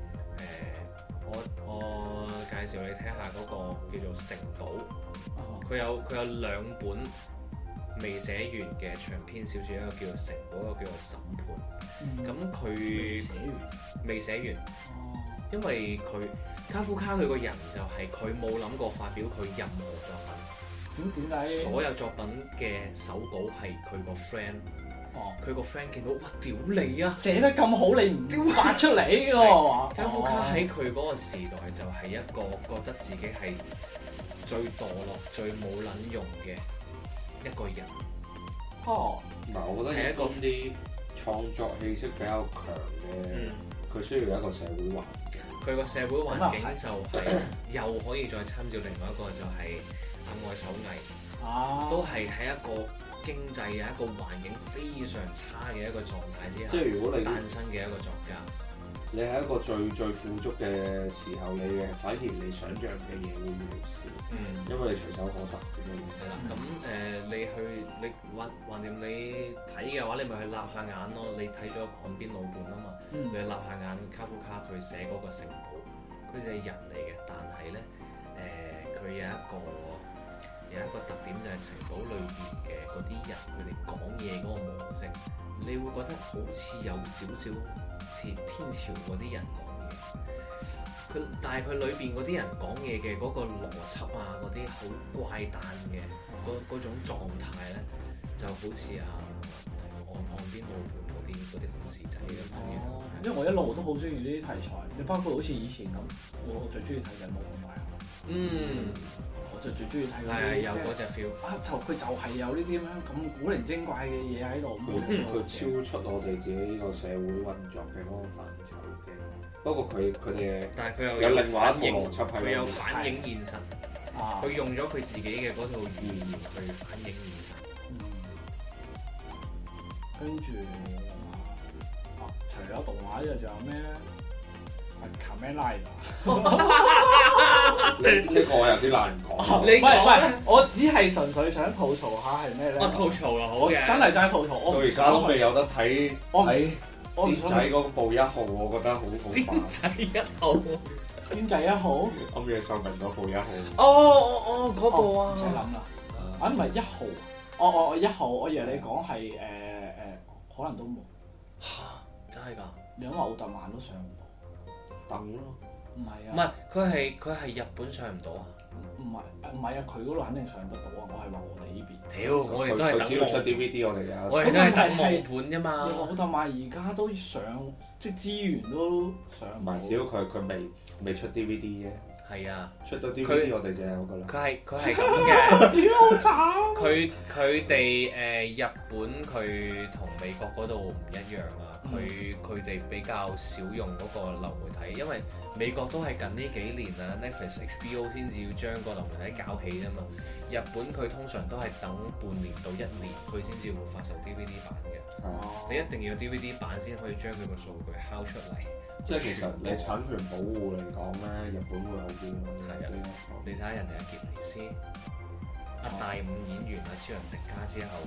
我介紹你睇下嗰個叫做《城堡》。佢有兩本未寫完嘅長篇小説，一個叫做《城堡》，一個叫做《審判》。咁佢未寫完，因為卡夫卡佢個人就係佢冇諗過發表佢任何作品。 咁點解？ 所有作品嘅手稿係佢個 friend。佢個 friend 見到，哇！屌你啊！ 寫得咁好，你唔發出嚟嘅喎。 卡夫卡喺佢嗰個時代就係一個覺得自己係最墮落、最冇撚用嘅一個人。 嗱，我覺得係一個啲創作氣息比較強嘅，佢需要有一個社會環境。佢個社會環境就係又可以再參照另外一個就係愛手藝，都係喺一個經濟嘅一個環境非常差嘅一個狀態之下，即係如果你誕生嘅一個作家，你喺一個最富足嘅時候，反而你想像嘅嘢會越嚟越少，因為你隨手可得嘅嘢。係啦，咁你橫掂你睇嘅話，你咪去立下眼咯。你睇咗岸邊露伴啊嘛，你立下眼卡夫卡佢寫嗰個城堡，佢就係人嚟嘅，但係咧佢有一個特點就係城堡裏邊嘅嗰啲人，佢哋講嘢嗰個模式，你會覺得好似有少少似天朝嗰啲人講嘢。但係佢裏邊嗰啲人講嘢嘅嗰個邏輯啊，嗰啲好怪誕嘅嗰種狀態咧，就好似岸邊露伴嗰啲故事仔咁樣。 因為我一路都好中意呢啲題材，你包括好似以前咁，我最中意睇緊《魔法大俠》。就最中意睇嗰啲， 有嗰隻 feel 佢就係有呢啲咁古靈精怪嘅嘢喺度。 佢超出我哋自己呢個社會運作嘅嗰個範疇嘅。不過佢哋， 但係佢又有另外一套邏輯， 佢有反映現實。佢用咗佢自己嘅嗰套語言去反映現實。 跟住除咗動畫之外，仲有咩咧？Kamen Rider 呢個有啲難講。 唔係，我只係純粹想吐槽下係咩咧？ 吐槽啊，好嘅。 真係吐槽。 到而家都未有得睇癲仔嗰部1號，我覺得好煩。 癲仔1號， 癲仔1號。 暗夜秀明嗰部1號。 嗰部啊。 唔使諗啦。唔係1號。1號，我以為你講係可能都冇。 嚇！真係㗎？ 你諗下奧特曼都上唔到。 等咯。 唔係啊。 唔係，佢係日本上唔到啊。 唔係啊，佢嗰度肯定上得到啊！我係話我哋呢邊。 屌，我哋都係等。 佢只要出 DVD，我哋有。 我哋都係等網盤啫嘛。 奧特曼而家都上，即係資源都上唔到。 唔係，只要佢未出 DVD 啫。 係啊， 出到 DVD 我哋就有噶啦。 佢係咁嘅。 屌好慘！ 佢哋日本佢同美國嗰度唔一樣啊。佢哋比較少用嗰個流媒體，因為美國都係近呢幾年啊 Netflix、HBO 先至要將個流媒體搞起啫嘛。日本佢通常都係等半年到1年，佢先至會發售 DVD 版嘅。你一定要 DVD 版先可以將佢個數據敲出嚟。 即係其實你產權保護嚟講咧，日本會好啲咯。 係啊，你睇下人哋阿傑尼斯、大五演員超人迪加之後，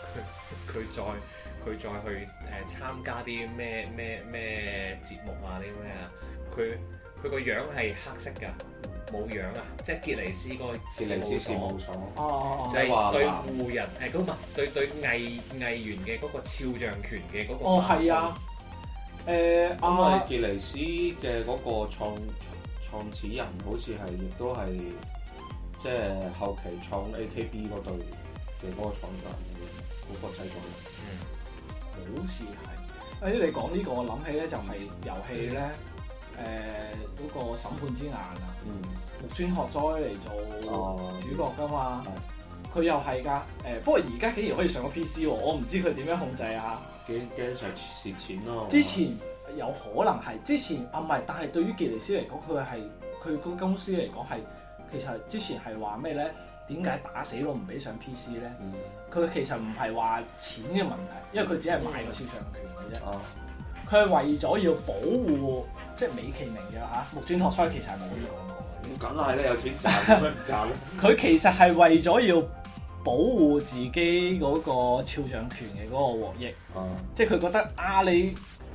佢再去參加啲咩節目啊啲咩啊，佢個樣係黑色㗎，冇樣啊，即係傑尼斯個傑尼斯事務所， 就係對戶人嗰個對藝員嘅嗰個肖像權嘅嗰個。 係啊。 因為傑尼斯嘅嗰個創始人好似係亦都係即係後期創 AKB 嗰隊嘅嗰個創辦嗰個製作人。 好似係。你講呢個，我諗起咧就係遊戲咧，嗰個審判之眼啊，木村拓哉嚟做主角㗎嘛。 佢又係㗎。不過而家竟然可以上個 PC 喎，我唔知佢點樣控制啊。 驚上蝕錢咯。 之前有可能係之前唔係，但係對於傑尼斯嚟講，佢個公司嚟講係其實之前係話咩咧？點解打死都唔俾上 PC 咧？佢其實唔係話錢嘅問題，因為佢只係買個肖像權嘅啫。佢係為咗要保護，即係美其名嘅嚇木村拓哉其實係冇咁講過。 咁梗係咧，有錢賺，點解唔賺咧？ 佢其實係為咗要保護自己嗰個肖像權嘅嗰個獲益。即係佢覺得你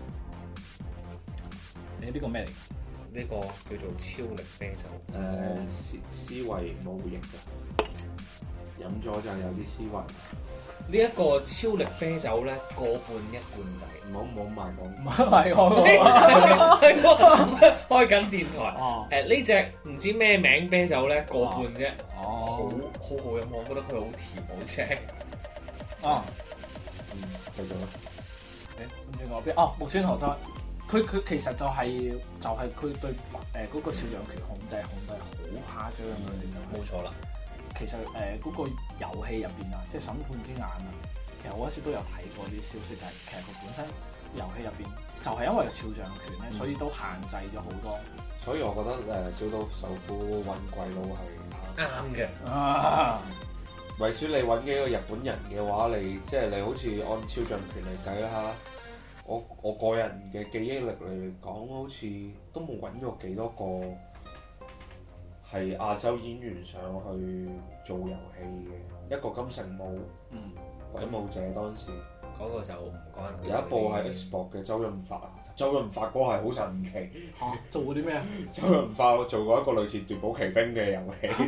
呢個咩嚟？ 呢個叫做超力啤酒。 思維冇型嘅，飲咗就有啲思維。 呢一個超力啤酒咧，個半一罐仔。 唔好賣我。 唔係我開緊電台。呢隻唔知咩名啤酒咧，個半啫。好好飲，我覺得佢好甜，好正。 繼續啦。 唔知我邊？木村拓哉。佢其實就係佢對嗰個肖像權控制好誇張嘅， 冇錯啦。 其實嗰個遊戲入邊啊，即係審判之眼啊，其實我嗰時都有睇過啲消息，就係其實佢本身遊戲入邊就係因為肖像權咧，所以都限制咗好多。 所以我覺得小島秀夫揾鬼佬係啱嘅。 為咗你揾幾個日本人嘅話，你好似按肖像權嚟計啦。我個人嘅記憶力嚟講，好似都冇揾過幾多個係亞洲演員上去做遊戲嘅。一個金城武，鬼武者當時嗰個就唔關佢。 有一部係 Xbox 嘅周潤發，周潤發嗰個係好神奇。 做過啲咩啊？ 周潤發做過一個類似奪寶奇兵嘅遊戲。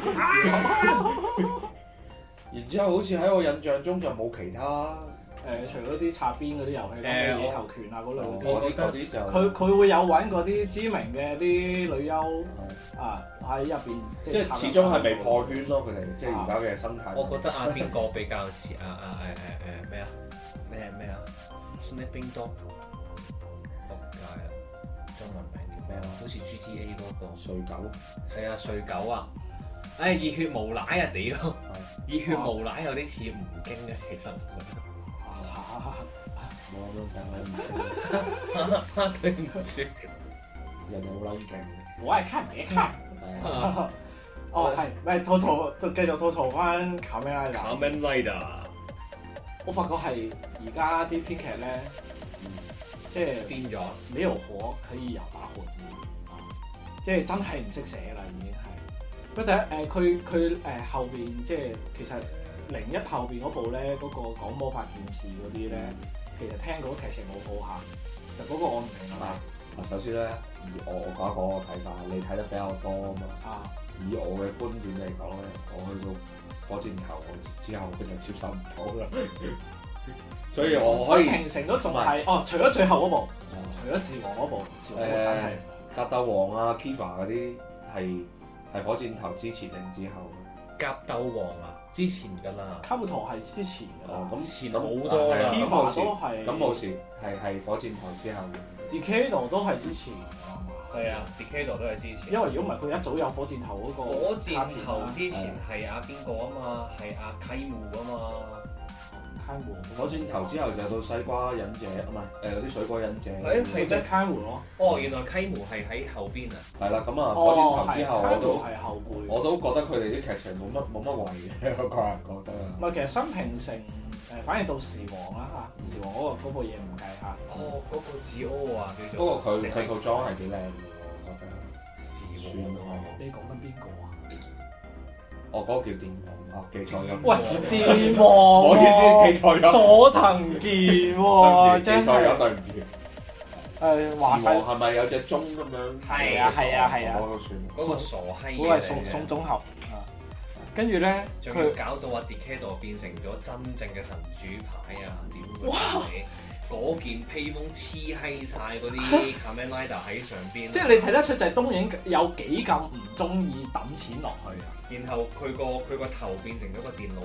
然之後好似喺我印象中就冇其他。 除咗啲擦邊嗰啲遊戲咧，野球拳啊嗰類嗰啲就佢會有揾嗰啲知名嘅啲女優喺入邊， 即係始終係未破圈咯。佢哋即係而家嘅生態。 我覺得邊個比較似咩啊 Snapping Dog 仆街啦，中文名叫咩啊？好似 GTA 嗰個睡狗。係啊，睡狗啊！熱血無賴啊屌！熱血無賴有啲似吳京嘅，其實。 冇咁樣講， 對唔住， 人哋好撚勁。 我係看別看。係，繼續吐槽翻卡梅拉達。 卡梅拉達， 我發覺係而家啲編劇咧，即係變咗， 沒有火可以有打火機，即係真係唔識寫啦，已經係。不過佢後邊即係其實01後邊嗰部咧，嗰個講魔法劍士嗰啲咧。其實聽過劇情好好下，就嗰個我唔明啊嘛。 首先咧，我講一講我睇法，你睇得比較多啊嘛。以我嘅觀點嚟講咧，我去到火箭頭之後，佢就接受唔到啦。所以我可以。新平城都仲係除咗最後嗰部，除咗時王嗰部，時王嗰部真係。格鬥王啊 Kiva 嗰啲係火箭頭之前定之後？ 格鬥王啊！之前㗎啦， 卡布托係之前㗎啦， 咁前好多啦。 Kiva 都係， 咁冇事，係火箭頭之後嘅。 Decade 都係之前㗎嘛。 係啊 Decade 都係之前。 因為如果唔係佢一早有火箭頭嗰個。 火箭頭之前係邊個啊嘛？係溪戶啊嘛。 火箭頭之後就到西瓜忍者，唔係嗰啲水果忍者。 係即係溪戶咯。 原來溪戶係喺後邊啊。 係啦，咁火箭頭之後我都覺得佢哋啲劇情冇乜謂嘅，我個人覺得。 唔係，其實新平城反而到時王啦嚇，時王嗰部嘢唔計嚇。 嗰個字啊叫做。 不過佢套裝係幾靚嘅喎，我覺得。 時王你講緊邊個啊？ 嗰個叫電王記錯咗。 喂，電王， 唔好意思，記錯咗。 佐藤健喎，真係。記錯咗， 對唔住。時王係咪有隻鐘咁樣？ 係啊。 嗰個算。 嗰個傻閪嘅。 嗰個係送綜合。跟住咧， 仲要搞到Decade變成咗真正嘅神主牌啊！點解？嗰件披風黐閪晒嗰啲 Kamen Rider 喺上邊， 即係你睇得出就係東映有幾咁唔中意抌錢落去啊！ 然後佢個頭變成咗個電腦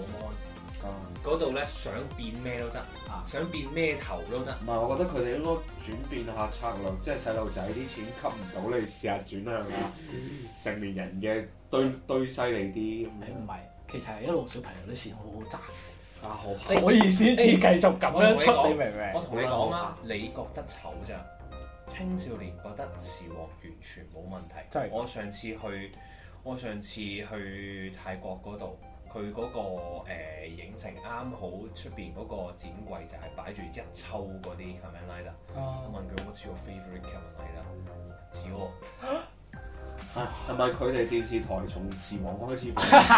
mon，嗰度咧想變咩都得，想變咩頭都得。 唔係，我覺得佢哋應該轉變下策略，即係細路仔啲錢吸唔到，你試下轉向下成年人嘅堆犀利啲。 唔係， 其實係一路小朋友啲錢好好賺。 啊好， 所以先至繼續咁樣出，你明唔明？ 我同你講啊，你覺得醜咋？青少年覺得時鑊完全冇問題。 真係我上次去泰國嗰度，佢嗰個影城啱好出邊嗰個展櫃就係擺住一抽嗰啲 Kamen Rider。我問佢 What's your favorite Kamen Rider？ 指我。 係咪佢哋電視台從時王開始？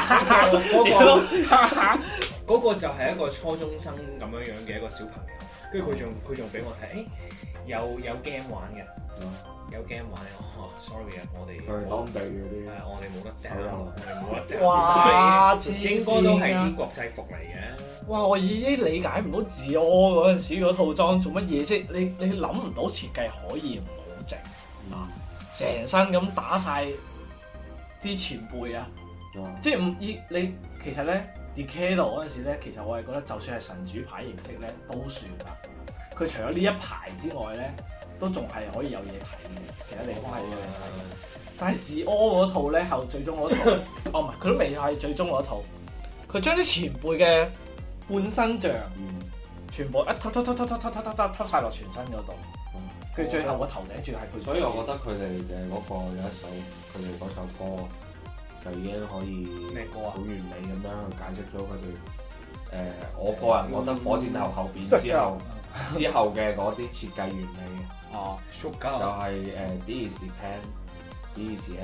嗰個就係一個初中生咁樣樣嘅一個小朋友，跟住佢仲俾我睇，有 game 玩嘅，有 game 玩嘅。sorry 啊，我哋佢係當地嗰啲， 我哋冇得掟，我哋冇得掟。 哇！ 應該都係啲國際服嚟嘅。 哇！我已經理解唔到自柯嗰陣時嗰套裝做乜嘢啫？你諗唔到設計可以唔好整啊！成身咁打晒啲前輩啊！即係你其實咧 Decade 嗰陣時咧，其實我係覺得就算係神主牌形式咧都算啦。佢除咗呢一排之外咧，都仲係可以有嘢睇嘅，其他地方係有嘢睇嘅。但係自柯嗰套咧後最終嗰套，唔係佢都未係最終嗰套，佢將啲前輩嘅半身像全部一揼晒落全身嗰度。跟住最後個頭頂住係佢， 所以我覺得佢哋嘅嗰個有一首佢哋嗰首歌就已經可以咩歌啊？ 好完美咁樣去解釋咗佢哋我個人覺得火箭頭後邊之後嘅嗰啲設計原理嘅。就係This is pen，This is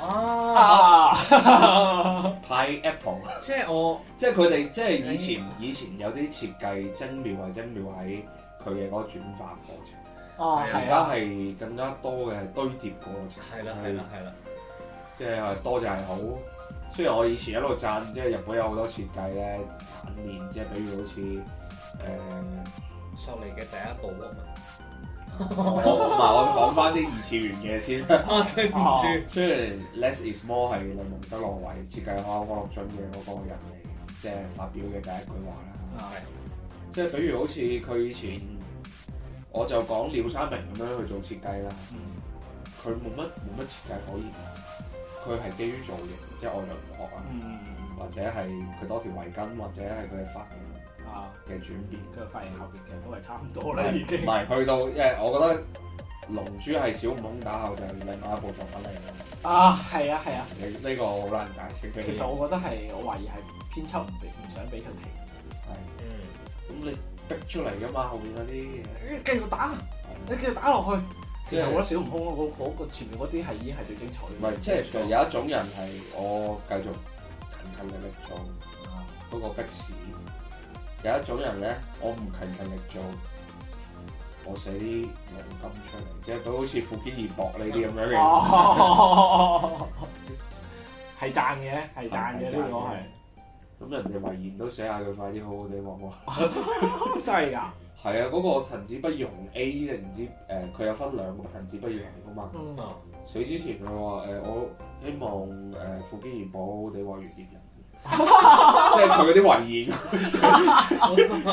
apple。Pineapple。即係佢哋即係以前有啲設計精妙係精妙喺佢嘅嗰個轉化過程。而家係更加多嘅堆疊過程。 係啦。 即係多就係好。雖然我以前一路讚，即係日本有好多設計咧簡練，即係比如好似索尼嘅第一部 Walkman。 我講翻啲二次元嘅先。 對唔住。 雖然 Less is more 係雷蒙德羅維設計開安樂津嘅嗰個人嚟，即係發表嘅第一句話啦。即係比如好似佢以前。我就講廖三明咁樣去做設計啦，佢冇乜設計可言，佢係基於造型，即係外輪廓啊，或者係佢多條圍巾，或者係佢嘅髮型嘅轉變。 佢嘅髮型後邊其實都係差唔多啦，已經。 唔係去到，因為我覺得龍珠係小悟空打後就係另外一部作品嚟嘅。係啊。呢個好難解釋。 其實我覺得係，我懷疑係編輯唔想俾佢停。 咁你逼出嚟㗎嘛，後面嗰啲嘢， 繼續打，你繼續打落去。其實我覺得小悟空嗰個前面嗰啲係已經係最精彩。 唔係，即係有一種人係我繼續勤力做嗰個逼士，有一種人咧，我唔勤力做，我寫啲黃金出嚟，即係佢好似富堅義博呢啲咁樣嘅。 係讚嘅，呢個係。 咁人哋遺言都寫下佢快啲好好地畫喎。真係㗎？ 係啊，嗰個藤子不二雄 A 定唔知佢有分兩個藤子不二雄㗎嘛。死之前佢話我希望富堅義博好好地畫月葉人，即係佢嗰啲遺言。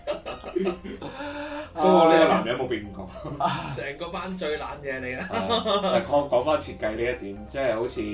不過呢個男人冇變過。 成個班最懶嘢你啦。 講翻設計呢一點，即係好似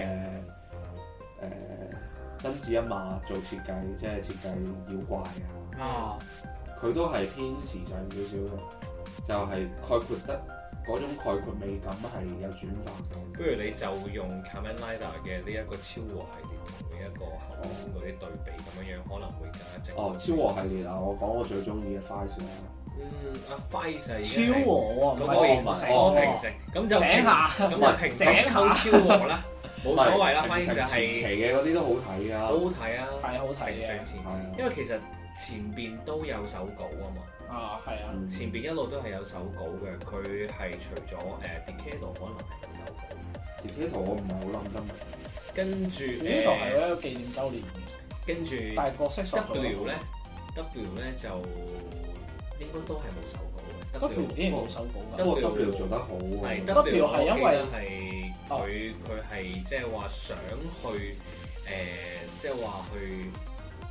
真子一馬做設計，即係設計妖怪啊，佢都係偏時尚少少嘅，就係概括得嗰種概括美感係有轉化嘅。 不如你就用 Kamen Rider 嘅呢一個超和系列同呢一個後面嗰啲對比咁樣樣，可能會更加正。 超和系列啊，我講我最中意嘅 Fice 啦。 阿 Fice 超和啊， 咁可以平靜，咁就醒下， 咁就平靜後超和啦。冇所謂啦，反正就係前期嘅嗰啲都好睇啊， 好睇啊， 係好睇嘅。 因為其實前邊都有手稿啊嘛， 係啊， 前邊一路都係有手稿嘅。佢係除咗Decade 可能係冇手稿 ，Decade 我唔係好諗得明。 跟住呢度係一個紀念週年， 跟住但係角色 W 咧就應該都係冇手稿嘅。 W 已經冇手稿㗎。 W 做得好喎。 W 係因為佢係即係話想去即係話去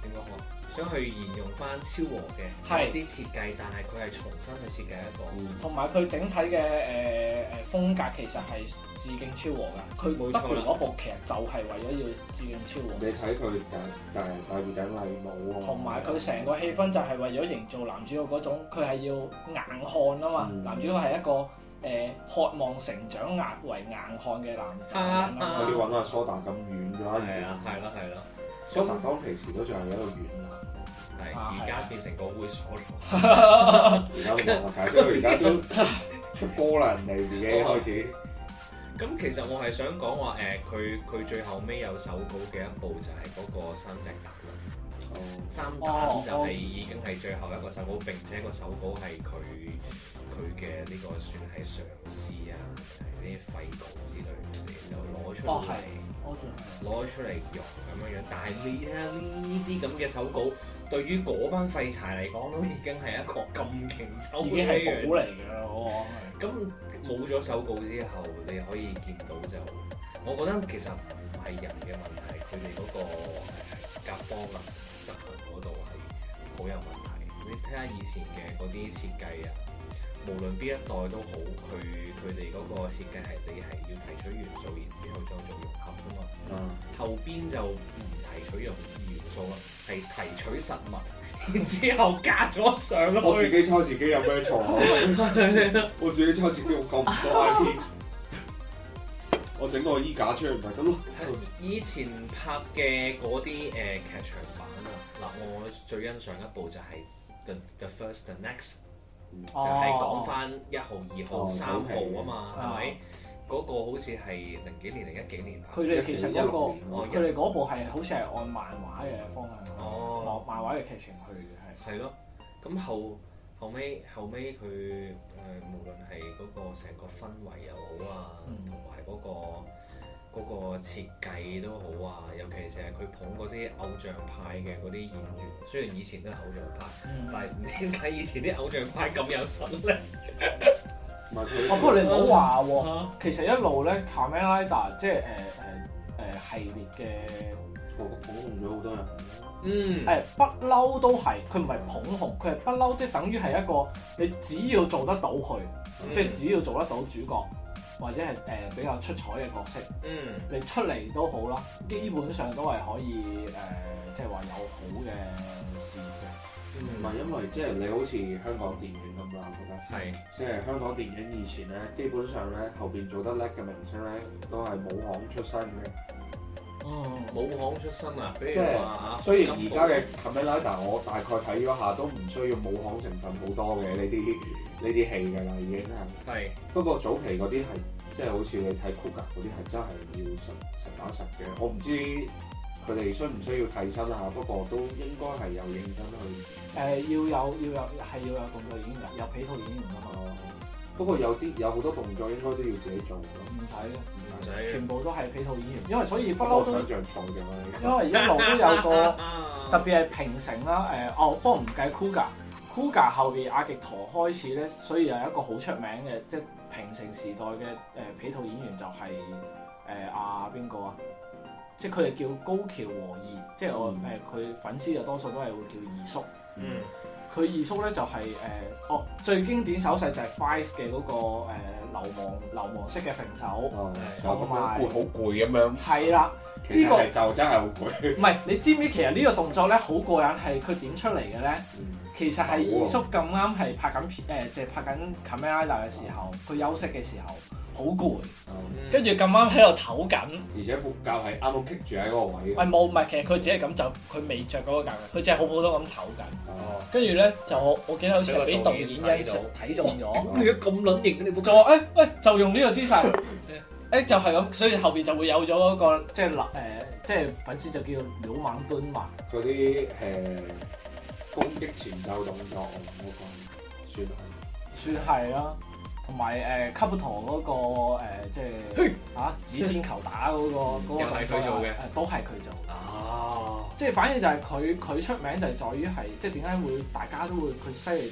點講好？想去沿用翻超和嘅啲設計，但係佢係重新去設計一個， 同埋佢整體嘅風格其實係致敬超和㗎。佢得嚟嗰部劇就係為咗要致敬超和。 你睇佢戴住頂禮帽啊， 同埋佢成個氣氛就係為咗營造男主角嗰種，佢係要硬漢啊嘛。男主角係一個渴望成長為硬漢嘅男人啦。 所以揾阿蘇打咁遠嘅啦， 係咯。 蘇打當其時都仲係一個軟男， 而家變成個猥瑣佬。 而家冇解釋，而家都出波啦，人哋自己開始。 咁其實我係想講話佢最後尾有手稿嘅一部就係嗰個三隻蛋啦。三蛋就係已經係最後一個手稿，並且個手稿係佢嘅呢個算係嘗試啊，係啲廢稿之類嘅嘢就攞出嚟。攞出嚟用咁樣，但係你睇下呢啲咁嘅手稿，對於嗰班廢柴嚟講，都已經係一個咁勁抽嘅嘢，已經係寶嚟㗎啦。咁冇咗手稿之後，你可以見到就，我覺得其實唔係人嘅問題，佢哋嗰個甲方啊執行嗰度係好有問題。你睇下以前嘅嗰啲設計啊，無論邊一代都好，佢哋嗰個設計係你係要提取元素，然之後再做融合㗎嘛。後邊就唔提取元素啦，係提取實物，然之後加咗上去。 我自己抽自己有咩錯啊？我自己抽自己，我咁唔多 IP， 我整個衣架出嚟唔係得咯。 以前拍嘅嗰啲劇場版啊，嗱我最欣賞一部就係 The First The Next。就係講翻1號、2號、3號啊嘛，係咪？嗰個好似係零幾年定10幾年拍。 佢哋其實一個，佢哋嗰部係好似係按漫畫嘅方向，漫畫嘅劇情去嘅係。係咯， 咁後尾佢無論係嗰個成個氛圍又好啊，同埋嗰個設計都好啊，尤其是係佢捧嗰啲偶像派嘅嗰啲演員，雖然以前都係偶像派，但係唔知點解以前啲偶像派咁有實力。 不過你唔好話喎，其實一路咧 Kamen Rider 即係系列嘅捧紅咗好多人。 不嬲都係，佢唔係捧紅，佢係不嬲，即係等於係一個你只要做得到佢，即係只要做得到主角。或者係比較出彩嘅角色，你出嚟都好啦，基本上都係可以即係話有好嘅事嘅。 唔係因為即係你好似香港電影咁啦，我覺得係即係香港電影以前咧，基本上咧後邊做得叻嘅明星咧都係武行出身嘅。 武行出身啊，比如話雖然而家嘅 Kamen Rider 我大概睇咗下都唔需要武行成分好多嘅呢啲戲㗎啦，已經係。不過早期嗰啲係即係好似你睇 Kuga 嗰啲係真係要實打實嘅。我唔知佢哋需唔需要替身啊，不過都應該係有認真去。 要有動作演員㗎，有皮套演員㗎嘛。 不過有好多動作應該都要自己做㗎。 唔使，全部都係皮套演員，因為所以不嬲都。想像錯咗。因為一路都有個特別係平成啦，不過唔計 Kuga 後邊阿極陀開始咧，所以有一個好出名嘅，即係平成時代嘅皮套演員就係邊個啊？即係佢哋叫高橋和義，即係我佢粉絲就多數都係會叫二叔。佢二叔咧就係最經典手勢就係 Vice 嘅嗰個流氓式嘅揈手，同埋好攰咁樣。 係啦， 呢個就真係好攰。 唔係，你知唔知其實呢個動作咧好過癮，係佢點出嚟嘅咧？其實係二叔咁啱係拍緊即係拍緊 Kamen Rider 嘅時候，佢休息嘅時候好攰，跟住咁啱喺度唞緊， 而且副教係啱啱棘住喺嗰個位。 唔係，其實佢只係咁就佢未着嗰個教嘅，佢只係好普通咁唞緊。跟住咧就我記得好似係俾導演欣賞睇中咗。 咁你咁撚型嘅你冇就話就用呢個姿勢，就係咁，所以後邊就會有咗嗰個即係粉絲就叫鳥猛蹲埋嗰啲攻擊前奏動作，我覺算係啦。同埋卡布陀嗰個即係指天球打嗰個又係佢做嘅， 都係佢做。即係反而就係佢出名就係在於係即係點解會大家都會佢犀利到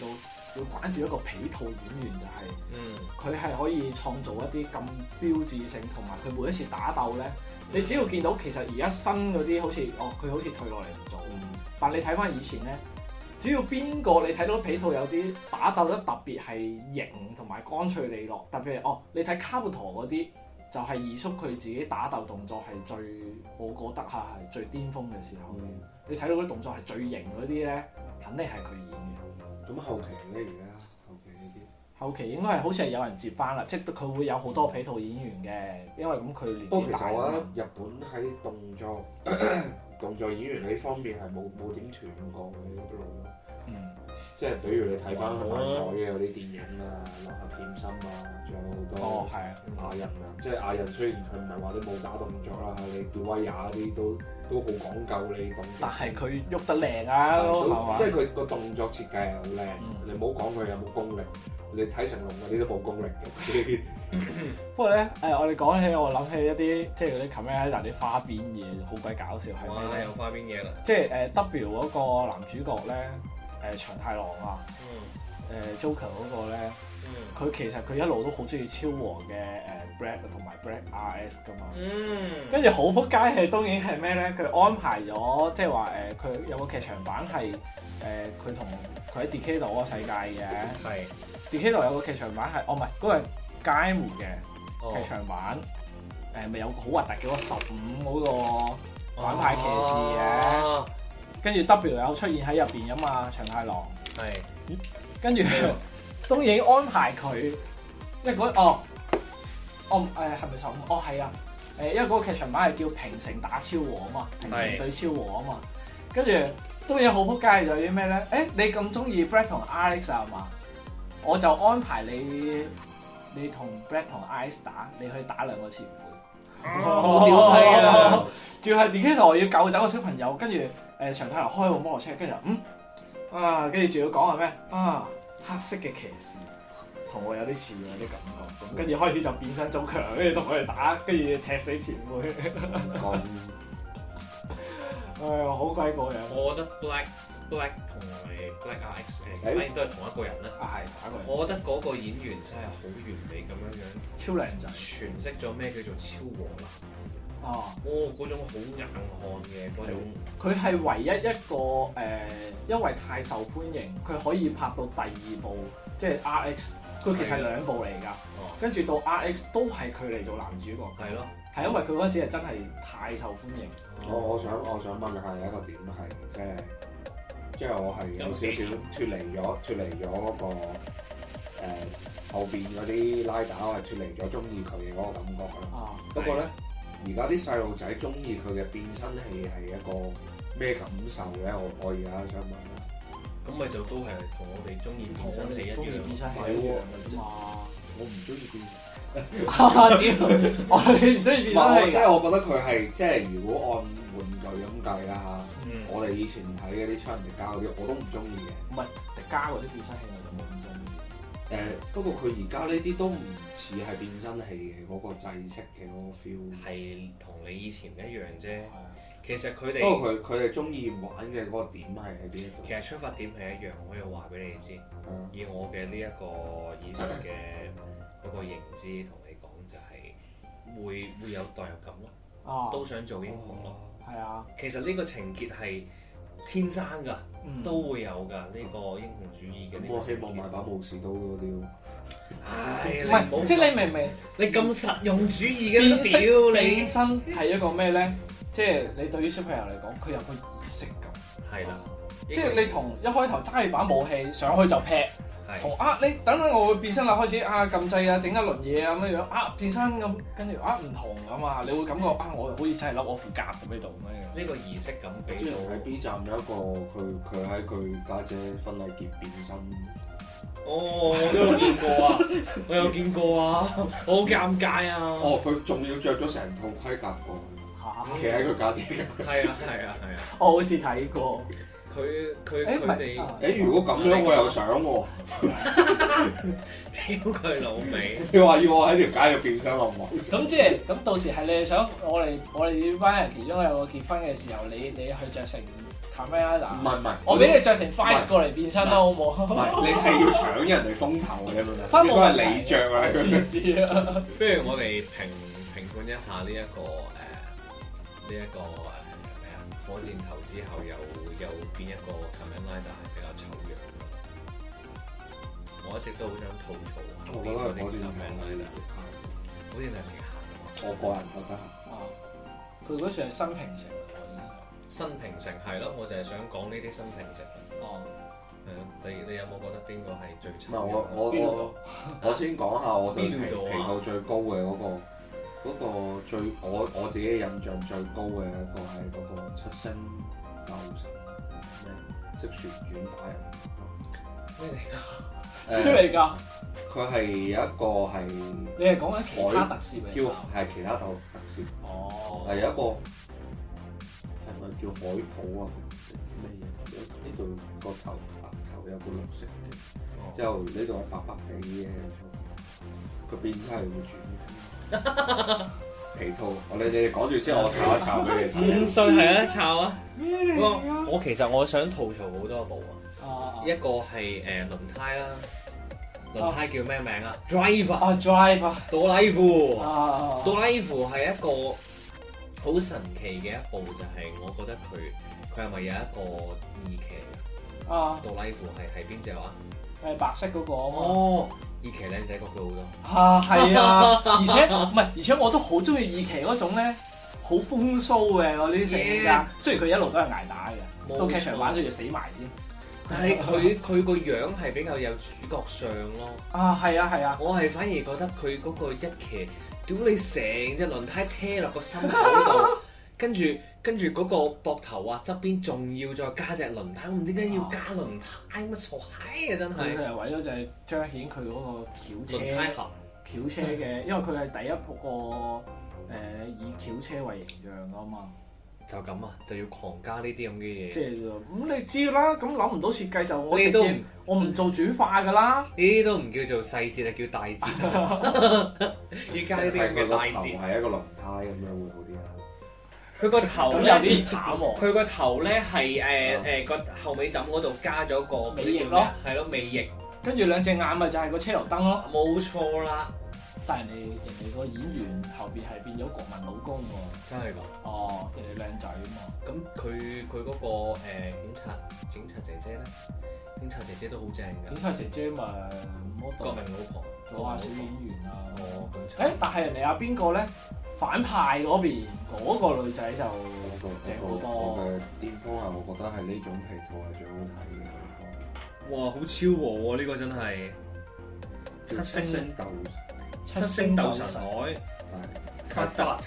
會關注一個皮套演員，就係佢係可以創造一啲咁標誌性，同埋佢每一次打鬥咧，你只要見到其實而家新嗰啲好似佢好似退落嚟唔做，但你睇翻以前咧，只要邊個你睇到皮套有啲打鬥得特別係型同埋乾脆利落，特別係你睇卡布陀嗰啲。就係二叔佢自己打鬥動作係最，我覺得係最巔峰嘅時候。你睇到嗰啲動作係最型嗰啲咧，肯定係佢演嘅。 咁後期咧，而家後期呢啲？後期應該係好似係有人接班啦，即係佢會有好多皮套演員嘅，因為咁佢年紀大。 不過其實我覺得日本喺動作演員呢方面係冇點斷過嘅一路咯。即係比如你睇翻韓國嘅嗰啲電影啊，《浪客劍心》啊，仲有好多亞人啊，即係亞人雖然佢唔係話啲武打動作啦，你叫威亞嗰啲都好講究你動作。但係佢喐得靚啊，即係佢個動作設計係好靚。你唔好講佢有冇功力，你睇成龍嗰啲都冇功力嘅。 不過咧，我哋講起我諗起一啲即係嗰啲 Kamen Rider 啲花邊嘢，好鬼搞笑係咩？ 有花邊嘢啦！ 即係W 嗰個男主角咧。長太郎啊，Joker 嗰個咧，佢其實佢一路都好中意昭和嘅Black 同埋 Black RS 噶嘛，跟住好撲街係當然係咩咧？佢安排咗即係話佢有個劇場版係佢同佢喺 Decade 嗰個世界嘅，係 Decade 有個劇場版係唔係嗰個係街門嘅劇場版，咪有個好核突嘅嗰個15嗰個反派騎士嘅。跟住 W 有出現喺入邊㗎嘛，長太郎。係。跟住東映安排佢，因為嗰係咪15？係啊。因為嗰個劇場版係叫平成打昭和啊嘛，平成對昭和啊嘛。跟住東映好撲街就係啲咩咧？你咁中意 Black 同 Alex 啊嘛？我就安排你同 Black 同 Alex 打，你去打兩個前輩。好屌批啊！仲要係 Decade 要救走個小朋友，跟住。長太郎開部摩托車，跟住跟住仲要講係咩？黑色嘅騎士同我有啲似喎啲感覺，跟住開始就變身做強，跟住同佢哋打，跟住踢死前輩。好鬼過癮！ 我覺得 Black 同埋 Black RX 反而都係同一個人啦。 係同一個人。 我覺得嗰個演員真係好完美咁樣， 超靚仔， 詮釋咗咩叫做昭和男。嗰種好硬漢嘅嗰種， 佢係唯一一個因為太受歡迎，佢可以拍到第二部，即係 RX， 佢其實係兩部嚟㗎。跟住到 RX 都係佢嚟做男主角。係咯，係因為佢嗰時係真係太受歡迎。 我想問下有一個點係，即係我係有少少脫離咗嗰個後邊嗰啲拉打，我係脫離咗中意佢嘅嗰個感覺啦。不過咧。而家啲細路仔中意佢嘅變身器係一個咩感受咧？我而家想問啦。 咁咪就都係同我哋中意變身器一樣。 變身器一樣嘅啫嘛。 我唔中意變身。 你唔中意變身器？ 即係我覺得佢係即係如果按玩具咁計啦嚇，我哋以前睇嗰啲超人迪迦嗰啲我都唔中意嘅。 唔係迪迦嗰啲變身器我就冇咁中意。 不過佢而家呢啲都唔似係變身器嘅嗰個制式嘅嗰個 feel， 係同你以前唔一樣啫。其實佢哋不過佢哋中意玩嘅嗰個點係喺邊一度？ 其實出發點係一樣，我可以話俾你知。以我嘅呢一個以前嘅嗰個認知同你講，就係會有代入感咯，都想做英雄咯。 係啊， 其實呢個情結係天生㗎，都會有㗎呢個英雄主義嘅。 我希望買把武士刀嗰啲。 唔係，即係你明唔明？ 你咁實用主義嘅屌你！ 變身係一個咩咧？即係你對於小朋友嚟講，佢有個儀式感。 係啦， 即係你同一開頭揸住把武器上去就劈，同你等等我會變身啦，開始撳掣啊，整一輪嘢啊咁樣變身咁，跟住唔同啊嘛，你會感覺我好似真係笠我副甲咁喺度咁樣。 呢個儀式感俾到。 喺 B 站有一個佢喺佢家姐婚禮結變身。 我都有見過啊！我有見過啊！好尷尬啊！ 佢仲要着咗成套盔甲過去，企喺佢家姐。係啊！ 我好似睇過。 佢哋。 如果咁樣我又想喎。 屌佢老味！ 你話要我喺條街度變身好唔好？ 咁即係咁到時係你想我哋呢班人其中有個結婚嘅時候，你去着成 Kamen Rider。 唔係， 我俾你着成 Vice 過嚟變身啦，好唔好？ 唔係，你係要搶人哋風頭嘅，應該係你着啊！ 黐線啊！ 不如我哋評判一下呢一個咩啊？火箭頭之後有邊一個 Kamen Rider 係比較醜樣？我一直都好想吐槽下邊嗰啲 Kamen Rider，好似係極限啊！ 我個人覺得佢嗰時係新平成。 新平成係咯，我就係想講呢啲新平成。 哦， 係咯，你有冇覺得邊個係最慘？ 我先講下我對皮套最高嘅嗰個最我自己印象最高嘅一個係嗰個七星鬥神咩識旋轉打人咩嚟㗎？ 咩嚟㗎？ 佢係有一個係你係講緊其他特攝嚟？ 係其他特攝。 哦， 係有一個。係咪叫海普啊？咩嘢？呢度個頭有個綠色嘅，之後呢度係白白地嘅，佢變身係會轉皮套。你哋講住先，我炒一炒俾你。 戰術係啊，炒啊！我其實我想吐槽好多部啊，一個係輪胎啦，輪胎叫咩名啊 ？Driver 多拉夫，多拉夫係一個好神奇嘅一部，就係我覺得佢係咪有一個二騎杜拉夫係邊隻話？ 係白色嗰個啊嘛。 哦，二騎靚仔過佢好多。 係啊，而且我都好中意二騎嗰種咧，好風騷嘅嗰啲性格。雖然佢一路都係捱打嘅，到劇場版就要死埋先。 但係佢個樣係比較有主角相咯。 係啊！ 我係反而覺得佢嗰個一騎。屌你成隻輪胎車落個心口度，跟住嗰個膊頭啊側邊仲要再加隻輪胎，我唔知點解要加輪胎，乜傻閪啊真係！佢係為咗就係彰顯佢嗰個轎車輪胎盒轎車嘅，因為佢係第一個以轎車為形象噶嘛。 就咁啊，就要狂加呢啲咁嘅嘢。 即係咁你知啦，咁諗唔到設計就我唔做主化㗎啦。 呢啲都唔叫做細節啊，叫大節。要加呢啲咁嘅大節。 係一個輪胎咁樣會好啲啊。 佢個頭有啲慘喎。 佢個頭咧係個後尾枕嗰度加咗個尾翼咯， 係咯尾翼。 跟住兩隻眼咪就係個車頭燈咯。 冇錯啦。 但係人哋個演員後邊係變咗國民老公喎。 真係㗎？ 哦，人哋靚仔啊嘛。 咁佢嗰個警察姐姐咧，警察姐姐都好正㗎。警察姐姐咪國民老婆， 做下小演員啊。 哦，咁但係人哋阿邊個咧？反派嗰邊嗰個女仔就正好多。 我嘅巔峰係我覺得係呢種皮套係最好睇嘅。 哇！好超和喎，呢個真係七星鬥神海，發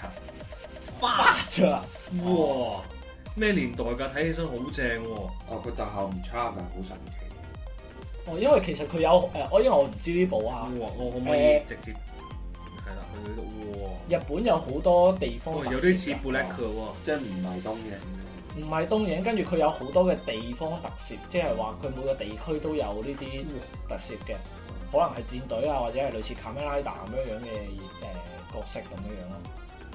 達，哇！咩年代㗎？睇起身好正喎。 佢特效唔差，但係好神奇。 因為其實佢有因為我唔知呢部啊。 我可唔可以直接係啦？去到呢度，哇！ 日本有好多地方有啲似 Black 喎， 即係唔係東映。 唔係東映，跟住佢有好多嘅地方特攝，即係話佢每個地區都有呢啲特攝嘅。可能係戰隊啊，或者係類似 Kamen Rider 咁樣嘅角色咁樣咯。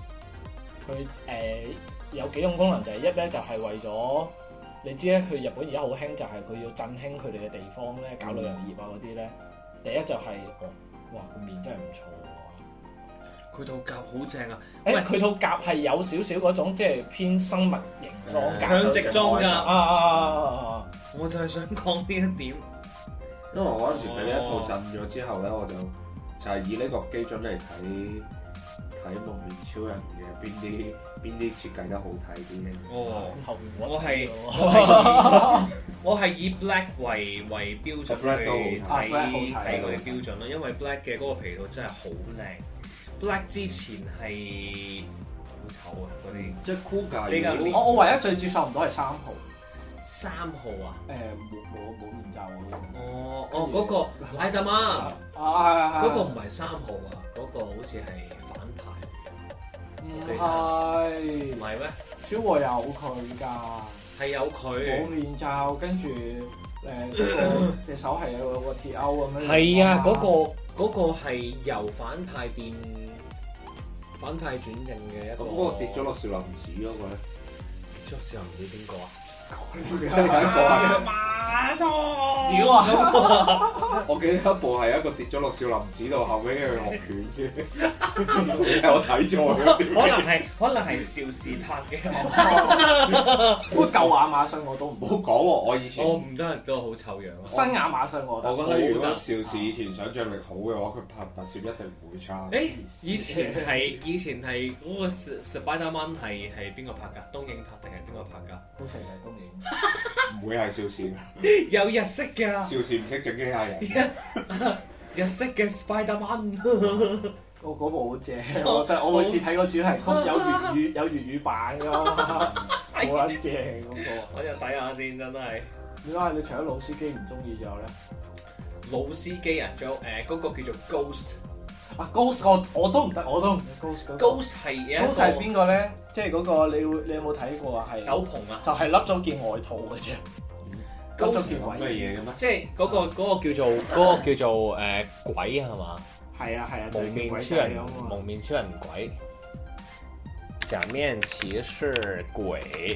佢有幾種功能，就係一咧就係為咗你知咧，佢日本而家好興就係佢要振興佢哋嘅地方咧，搞旅遊業啊嗰啲咧。第一就係哇個面真係唔錯喎。 佢套甲好正啊！ 佢套甲係有少少嗰種即係偏生物型裝甲， 強直裝甲我就係想講呢一點。 因為我嗰陣時俾呢一套震咗之後咧，我就係以呢個基準嚟睇蒙面超人嘅邊啲設計得好睇啲嘅。 我係以 Black 為標準去睇佢嘅標準咯，因為 Black 嘅嗰個皮套真係好靚。Black 之前係好醜啊嗰啲， 即係酷界。 我唯一最接受唔到係3號。 3號啊？ 冇面罩嗰個拉達媽嗰個唔係3號啊，嗰個好似係反派。 唔係咩？ 超和有佢㗎， 係有佢冇面罩，跟住隻手係有個鐵鈎咁樣。 係啊，嗰個係由反派轉正嘅一個。 咁嗰個跌咗落少林寺嗰個咧？ 跌咗少林寺邊個啊？ 馬蘇， 屌啊！ 我記得一部係一個跌咗落少林寺度，後尾佢學拳嘅，我睇咗。 可能係邵氏拍嘅。 不過舊亞馬遜我都唔唔好講喎，我以前我唔得都好醜樣。 新亞馬遜我覺得。 我覺得如果邵氏以前想像力好嘅話，佢拍特攝一定唔會差。 誒，以前係嗰個 Spider-Man 係邊個拍㗎？東映拍定係邊個拍㗎？ 好似係東映。 唔會係邵氏， 有日式㗎。 邵氏唔識整機械人。 日式嘅 Spider-Man。 我嗰部好正，我覺得我每次睇個主題曲有粵語版㗎嘛，好撚正嗰個。 我就睇下先，真係。 點解你除咗老司機唔中意之後咧？ 老司機啊，仲有嗰個叫做 Ghost。 啊 Ghost 我都唔得，我都唔得 Ghost 嗰個。 Ghost 係一個 Ghost 係邊個咧？即係嗰個你有冇睇過啊？係斗篷啊， 就係笠咗件外套嘅啫。 Ghost 咁嘅嘢嘅咩？ 即係嗰個叫做鬼係嘛？ 係啊， 蒙面超人，蒙面超人鬼，假面騎士鬼。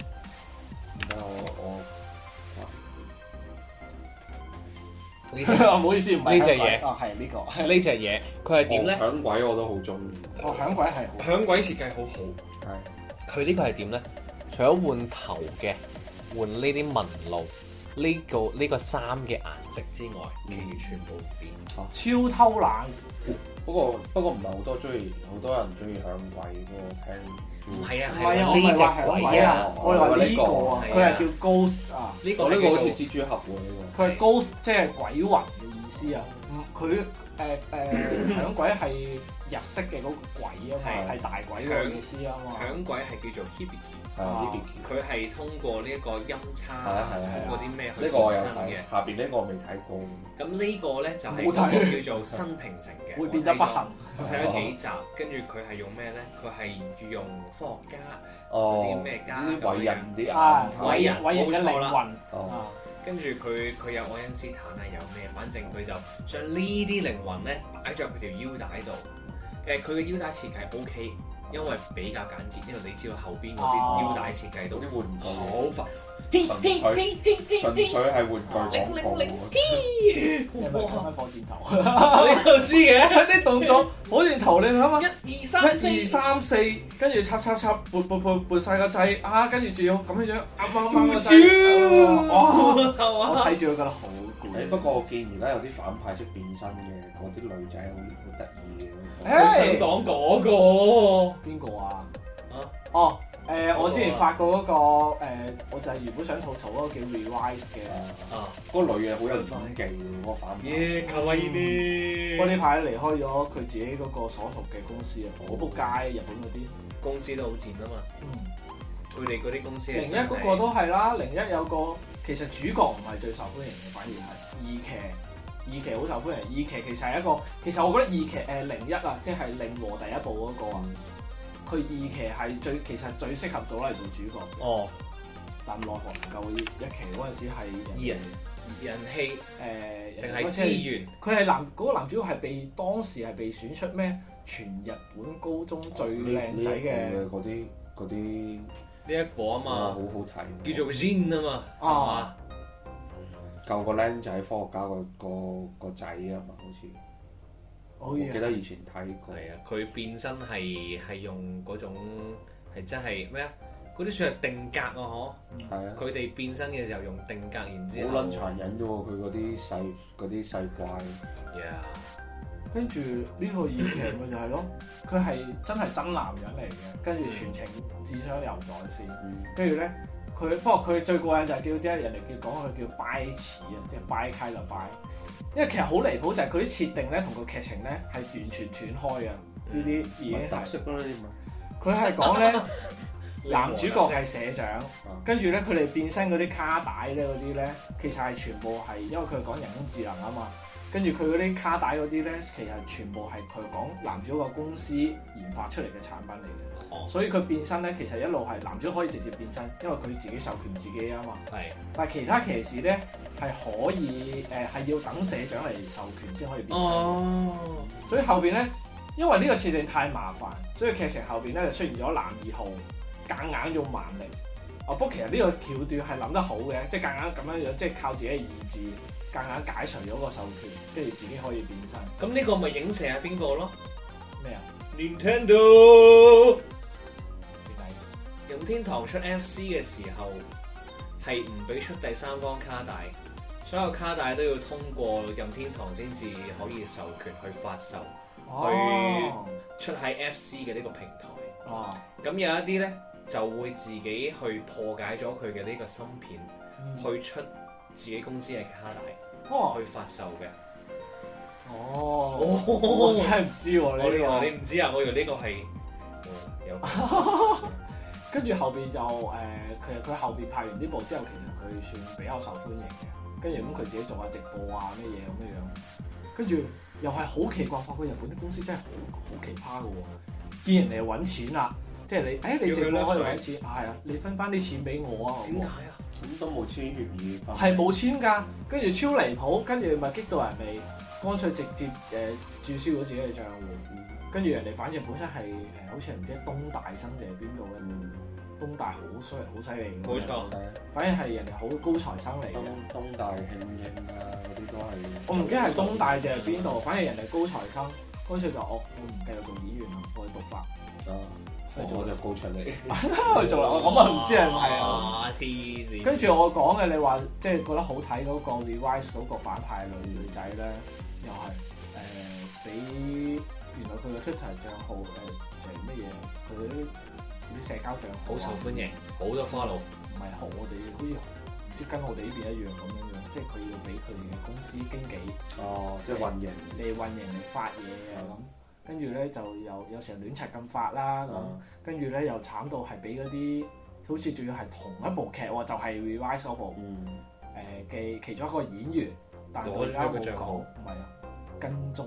呢隻唔好意思，唔係呢隻嘢哦，係呢個呢隻嘢，佢係點咧？ 響鬼我都好中意。 哦，響鬼係好。 響鬼設計好好。 係。 佢呢個係點咧？除咗換頭嘅，換呢啲紋路，呢個衫嘅顏色之外，其餘全部變。 超偷懶。 不過唔係好多人中意響鬼嗰個聽。 唔係啊， 係呢隻鬼啊！ 我哋話呢個啊，佢係叫 Ghost 啊。 呢個好似蜘蛛俠喎呢個。 佢係 Ghost 即係鬼魂嘅意思啊。佢響鬼係日式嘅嗰個鬼啊嘛，係大鬼嘅意思啊嘛。 響鬼係叫做 Hibiki。 佢係通過呢一個音叉，通過啲咩去呢個我有真睇嘅。 下邊呢個我未睇過。 咁呢個咧就係嗰個叫做新平成嘅， 會變得不幸。 我睇咗幾集，跟住佢係用咩咧？佢係用科學家嗰啲咩家啲偉人啲偉人嘅靈魂。 跟住佢有愛因斯坦啊，有咩？反正佢就將呢啲靈魂咧擺咗佢條腰帶度。佢嘅腰帶設計 OK。因為比較簡潔，因為你知道後邊嗰啲腰帶設計到啲玩具好快， 純粹係玩具廣告。 係咪講緊火箭頭？ 你都知嘅， 睇啲動作，火箭頭你諗下， 1、2、3、4， 跟住插，撥晒個掣啊，跟住仲要咁樣啱個掣。 我睇住佢覺得好攰。 不過我見而家有啲反派識變身嘅，嗰啲女仔好得意嘅。 我想講嗰個邊個啊？我之前發過嗰個我就係原本想吐槽嗰個叫 Revice 嘅。 嗰個女嘅好有演技喎，嗰個反派。 卡哇伊啲。 我呢排離開咗佢自己嗰個所屬嘅公司啊，好仆街，日本嗰啲公司都好賤啊嘛。佢哋嗰啲公司。 01嗰個都係啦，01有個其實主角唔係最受歡迎嘅，反而係二期好受歡迎。二期其實係一個，其實我覺得二期01啊，即係令和第一部嗰個啊，佢二期係其實最適合做嚟做主角。 哦， 但奈何唔夠一期嗰陣時係人氣定係資源？ 佢係嗰個男主角係當時係被選出咩全日本高中最靚仔嘅嗰啲呢一個啊嘛， 好好睇， 叫做 Jin 啊嘛，係嘛？ 救個僆仔科學家個仔啊嘛，好似。我記得以前睇過。 係啊，佢變身係用嗰種係真係咩啊？嗰啲算係定格啊，嗬。 係啊。佢哋變身嘅時候用定格，然之後。 好撚殘忍啫喎！佢嗰啲細怪。 跟住呢套二期咪就係咯，佢係真係真男人嚟嘅，跟住全程智商又在線，跟住咧不過佢最過癮就係叫啲人哋講佢叫拜似啊，即係拜開就拜，因為其實好離譜就係佢啲設定咧同個劇情咧係完全斷開嘅，呢啲已經係特色啦呢啲咪。佢係講咧男主角係社長，跟住咧佢哋變身嗰啲卡帶咧嗰啲咧，其實係全部係因為佢係講人工智能啊嘛。跟住佢嗰啲卡帶嗰啲咧，其實全部係佢講男主角公司研發出嚟嘅產品嚟嘅，所以佢變身咧，其實一路係男主可以直接變身，因為佢自己授權自己啊嘛。係。但係其他騎士咧係可以係要等社長嚟授權先可以變身。所以後邊咧，因為呢個設定太麻煩，所以劇情後邊咧就出現咗男二號夾硬用蠻力不過其實呢個橋段係諗得好嘅，即係夾硬咁樣樣，即係靠自己嘅意志，夾硬解除咗個授權，跟住自己可以變身。 咁呢個咪影射係邊個咯？ 咩啊 ？Nintendo 點解？ 任天堂出 FC 嘅時候係唔俾出第三方卡帶，所有卡帶都要通過任天堂先至可以授權去發售，去出喺 FC 嘅呢個平台。 哦， 咁有一啲咧就會自己去破解咗佢嘅呢個芯片，去出自己公司嘅卡帶，去發售嘅。 我真係唔知喎呢個。 你唔知啊？我以為呢個係有。 跟住後邊就其實佢後邊拍完呢部之後，其實佢算比較受歡迎嘅。跟住咁佢自己做下直播啊咩嘢咁樣樣。跟住又係好奇怪，發覺日本啲公司真係好奇葩嘅喎。見人哋揾錢啦，即係你直播可以揾錢，係啊，你分翻啲錢俾我啊。 點解啊？ 咁都冇簽協議。 係冇簽㗎，跟住超離譜，跟住咪激到人哋乾脆直接註銷咗自己嘅賬戶。跟住人哋反正本身係好似唔知東大生定係邊度嘅，東大好犀利嘅。 冇錯， 反正係人哋好高材生嚟嘅。 東大慶應啊嗰啲都係。 我唔記得係東大定係邊度，反正人哋高材生，乾脆就我唔繼續做演員啦，我去讀法。 我就高出嚟去做啦，我咁啊唔知係唔係啊？黐線！ 跟住我講嘅，你話即係覺得好睇嗰個 Revice 嗰個反派女仔咧，又係俾原來佢嘅 Twitter 帳號就係乜嘢？佢啲社交帳號好受歡迎，好多 follow。 唔係學我哋，好似唔知跟我哋呢邊一樣咁樣樣，即係佢要俾佢哋嘅公司經紀即係運營嚟發嘢啊咁。跟住咧就有時候亂柒咁發啦咁，跟住咧又慘到係俾嗰啲好似仲要係同一部劇喎，就係 Revice 嗰部嘅其中一個演員，但係佢而家冇講，唔係啊跟蹤。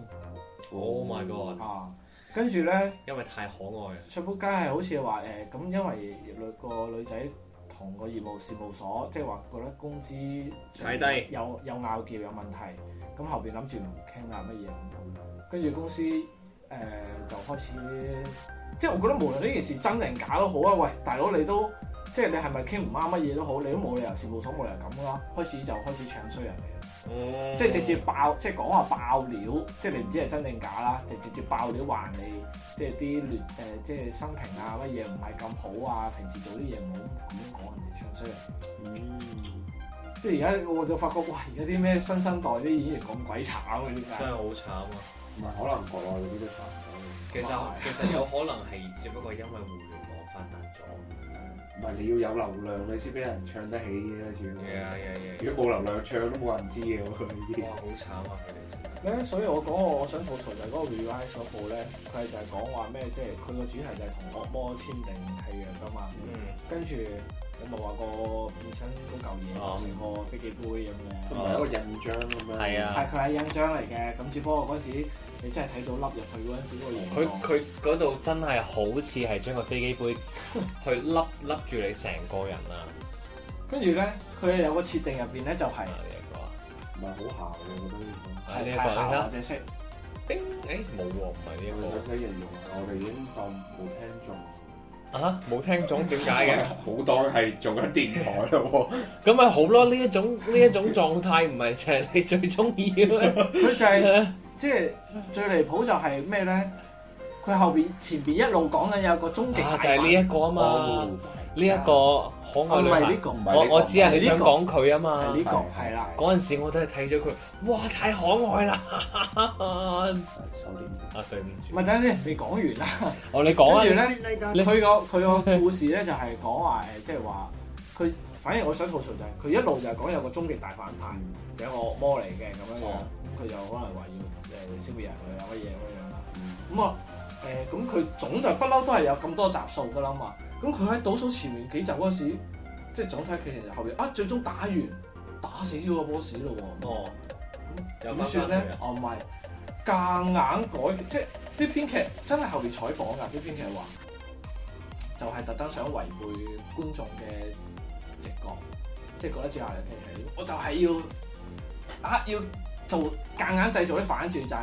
Oh my god！ 跟住咧， 因為太可愛。 出仆街係好似話咁，因為個女仔同個業務事務所，即係話覺得工資太低， 有拗撬有問題，咁後邊諗住唔傾啊乜嘢，跟住公司。就開始，即係我覺得無論呢件事真定假都好啊！喂，大佬你都即係你係咪傾唔啱乜嘢都好，你都冇理由事務所冇理由咁啦。開始唱衰人哋啦，即係直接爆，即係講話爆料，即係你唔知係真定假啦，就直接爆料話你即係啲即係生平啊乜嘢唔係咁好啊，平時做啲嘢唔好咁樣講人哋唱衰人。即係而家我就發覺，哇！而家啲咩新生代啲演員咁鬼慘啊！點解？ 真係好慘啊！ 唔係可能國內嗰啲都差唔多。 其實有可能係只不過因為互聯網發達咗， 唔係你要有流量你先俾人唱得起嘅主要。如果冇流量唱都冇人知嘅喎已經。 哇！好慘啊佢哋真係。 所以我想吐槽就係嗰個 Revice 嗰部咧，佢就係講話咩？即係佢個主題就係同惡魔簽訂契約㗎嘛。跟住你咪話個變身嗰嚿嘢成個飛機杯咁嘅。 佢唔係一個印章咁樣。 係啊。係佢係印章嚟嘅，咁只不過嗰時。你真係睇到凹入去嗰陣時嗰個形狀， 佢嗰度真係好似係將個飛機杯去凹住你成個人啊！ 跟住咧，佢有個設定入邊咧就係唔係好姣嘅，我覺得呢個係呢一個姣或者色。 冰冇喎，唔係呢一個。 佢形容我哋已經當冇聽中。 冇聽中點解嘅？ 好當係做緊電台咯喎。 咁咪好咯，呢一種狀態唔係就係你最中意嘅咩？ 佢就係。即係最離譜就係咩咧？佢後邊前邊一路講緊有個終極大就係呢一個啊嘛，呢一個可愛女孩。我知啊，你想講佢啊嘛。 係呢個係啦。 嗰陣時我都係睇咗佢，哇！太可愛啦。 收斂。 對唔住。 咪等陣先，未講完啦。 你講啊。 跟住咧，佢個故事咧就係講話即係話佢，反正我想吐槽就係佢一路就係講有個終極大反派，就係個惡魔嚟嘅咁樣樣。佢就可能話要消滅人佢啊乜嘢咁樣啦，咁啊咁佢總就不嬲都係有咁多集數噶啦嘛，咁佢喺倒數前面幾集嗰時，即係總體劇情後邊最終打死咗個 boss 咯喎，咁點算咧？唔係夾硬改，即係啲編劇真係後邊採訪㗎，啲編劇話就係特登想違背觀眾嘅直覺，即係覺得接下嚟劇情，我就係要做夾硬製造啲反轉，就係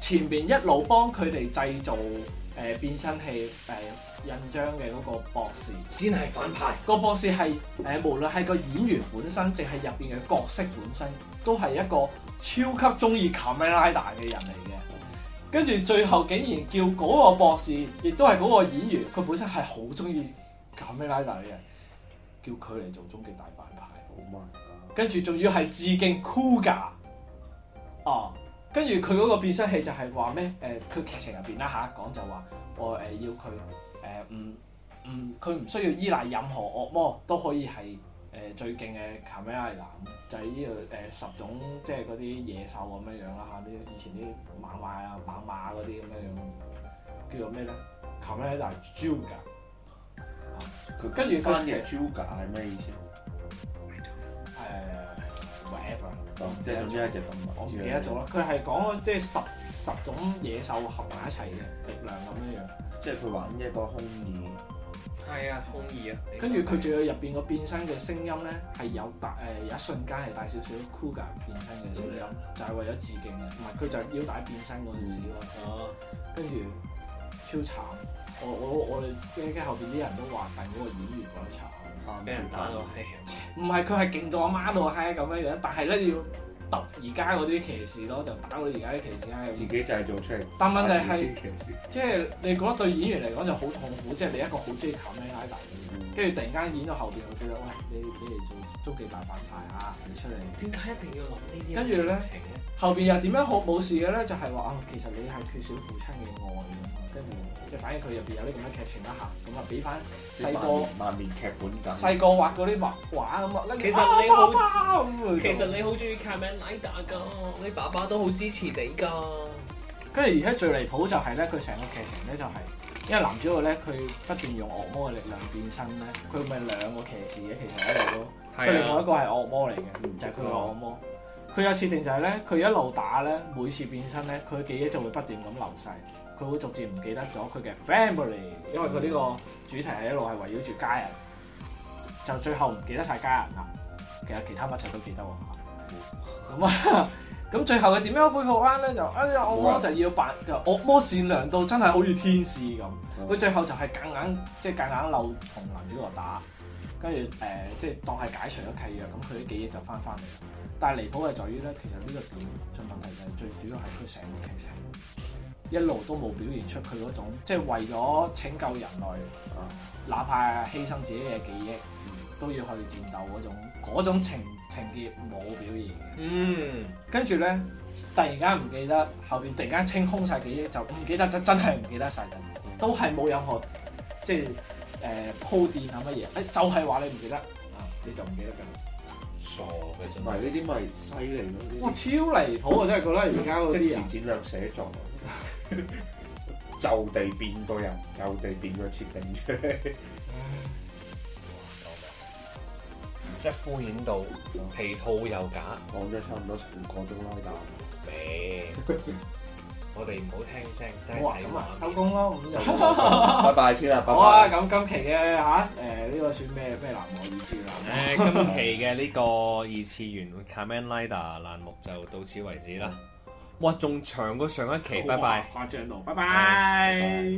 前邊一路幫佢哋製造變身器印章嘅嗰個博士， 先係反派。 個博士係無論係個演員本身，定係入邊嘅角色本身，都係一個超級中意卡梅拉達嘅人嚟嘅。跟住最後竟然叫嗰個博士，亦都係嗰個演員，佢本身係好中意卡梅拉達嘅人，叫佢嚟做終極大反派。跟住仲要係致敬 Kuga 哦。跟住佢嗰個變身器就係話咩？佢劇情入邊啦嚇講就話我要佢佢唔需要依賴任何惡魔都可以係最勁嘅卡梅拉達，就係呢個10種即係嗰啲野獸咁樣樣啦嚇，啲以前啲猛獁啊、猛獁嗰啲咁樣樣，叫做咩咧？卡梅拉達 Juga。 佢跟住翻嘅 Juga 係咩意思 ？whatever。 即係總之一隻動物， 我唔記得咗啦。佢係講即係十種野獸合埋一齊嘅力量咁樣樣。 即係佢玩一個空耳。 係啊，空耳啊。 跟住佢仲有入邊個變身嘅聲音咧，係有一瞬間係帶少少 Kuga 變身嘅聲音，就係為咗致敬嘅。唔係佢就係腰帶變身嗰陣時嗰聲。跟住超慘。我哋驚後邊啲人都話，但嗰個演員覺得慘。 俾人打到閪， 唔係佢係勁到阿媽到閪咁樣樣，但係咧要揼而家嗰啲騎士咯，就打到而家啲騎士閪。 自己製造出嚟。 但問題係，即係你覺得對演員嚟講就好痛苦，即係你一個好中意卡梅拉達，跟住突然間演到後邊，我覺得喂，你嚟做終極大反派啊！你出嚟點解一定要諗呢啲？ 跟住咧，後邊又點樣好冇事嘅咧？就係話其實你係缺少父親嘅愛咁啊，跟住。即係反正佢入邊有啲咁嘅劇情啦嚇，咁啊俾翻細個萬年劇本咁， 細個畫嗰啲畫咁啊， 其實你好，其實你好中意卡梅拉達㗎，你爸爸都好支持你㗎。 跟住而家最離譜就係咧，佢成個劇情咧就係，因為男主角咧佢不斷用惡魔嘅力量變身咧，佢咪兩個騎士嘅，其實喺度都，佢另外一個係惡魔嚟嘅，就係佢個惡魔。佢有設定就係咧，佢一路打咧，每次變身咧，佢記憶就會不斷咁流逝。佢會逐漸唔記得咗佢嘅 family， 因為佢呢個主題係一路係圍繞住家人，就最後唔記得晒家人啦。其實其他乜柒都記得喎。咁最後佢點樣恢復翻咧？就惡魔就要扮惡魔善良到真係好似天使咁。佢最後就係夾硬漏同男主角打，跟住即係當係解除咗契約，咁佢啲記憶就翻嚟。但係離譜係在於咧，其實呢個點嘅問題就係最主要係佢成個劇情。一路都冇表現出佢嗰種，即係為咗拯救人類，哪怕犧牲自己嘅記憶，都要去戰鬥嗰種情節冇表現。跟住咧，突然間唔記得，後邊突然間清空晒記憶，就唔記得真係唔記得晒，都係冇任何即係鋪墊啊乜嘢，就係話你唔記得你就唔記得㗎。 傻嘅真係， 唔係呢啲咪犀利咯！ 哇，超離譜啊！真係覺得而家嗰啲人即時戰略寫作。就地變個人，就地變個設定出嚟， 即係敷衍到皮套又假， 講咗差唔多成個鐘啦，但未，我哋唔好聽聲，真係咁啊，收工咯，咁就拜拜先啦，拜拜。 好啊，咁今期嘅呢個算咩欄目二次元？ 今期嘅呢個二次元卡梅拉達欄目就到此為止啦。哇，仲長過上一期，拜拜。 誇張到，拜拜。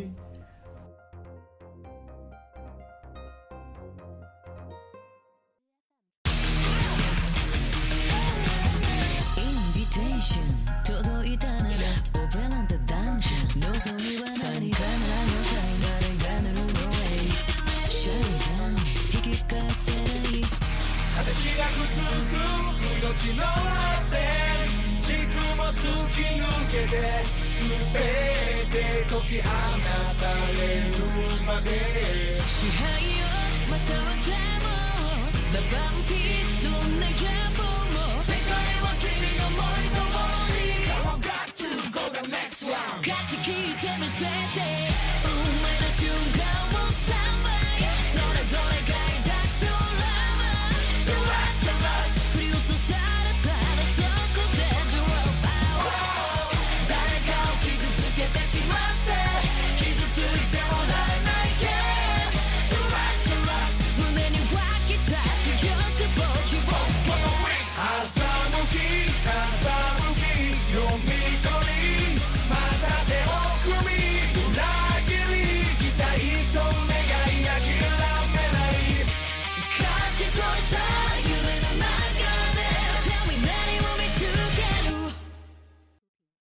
突き抜けて全て解き放たれるまで支配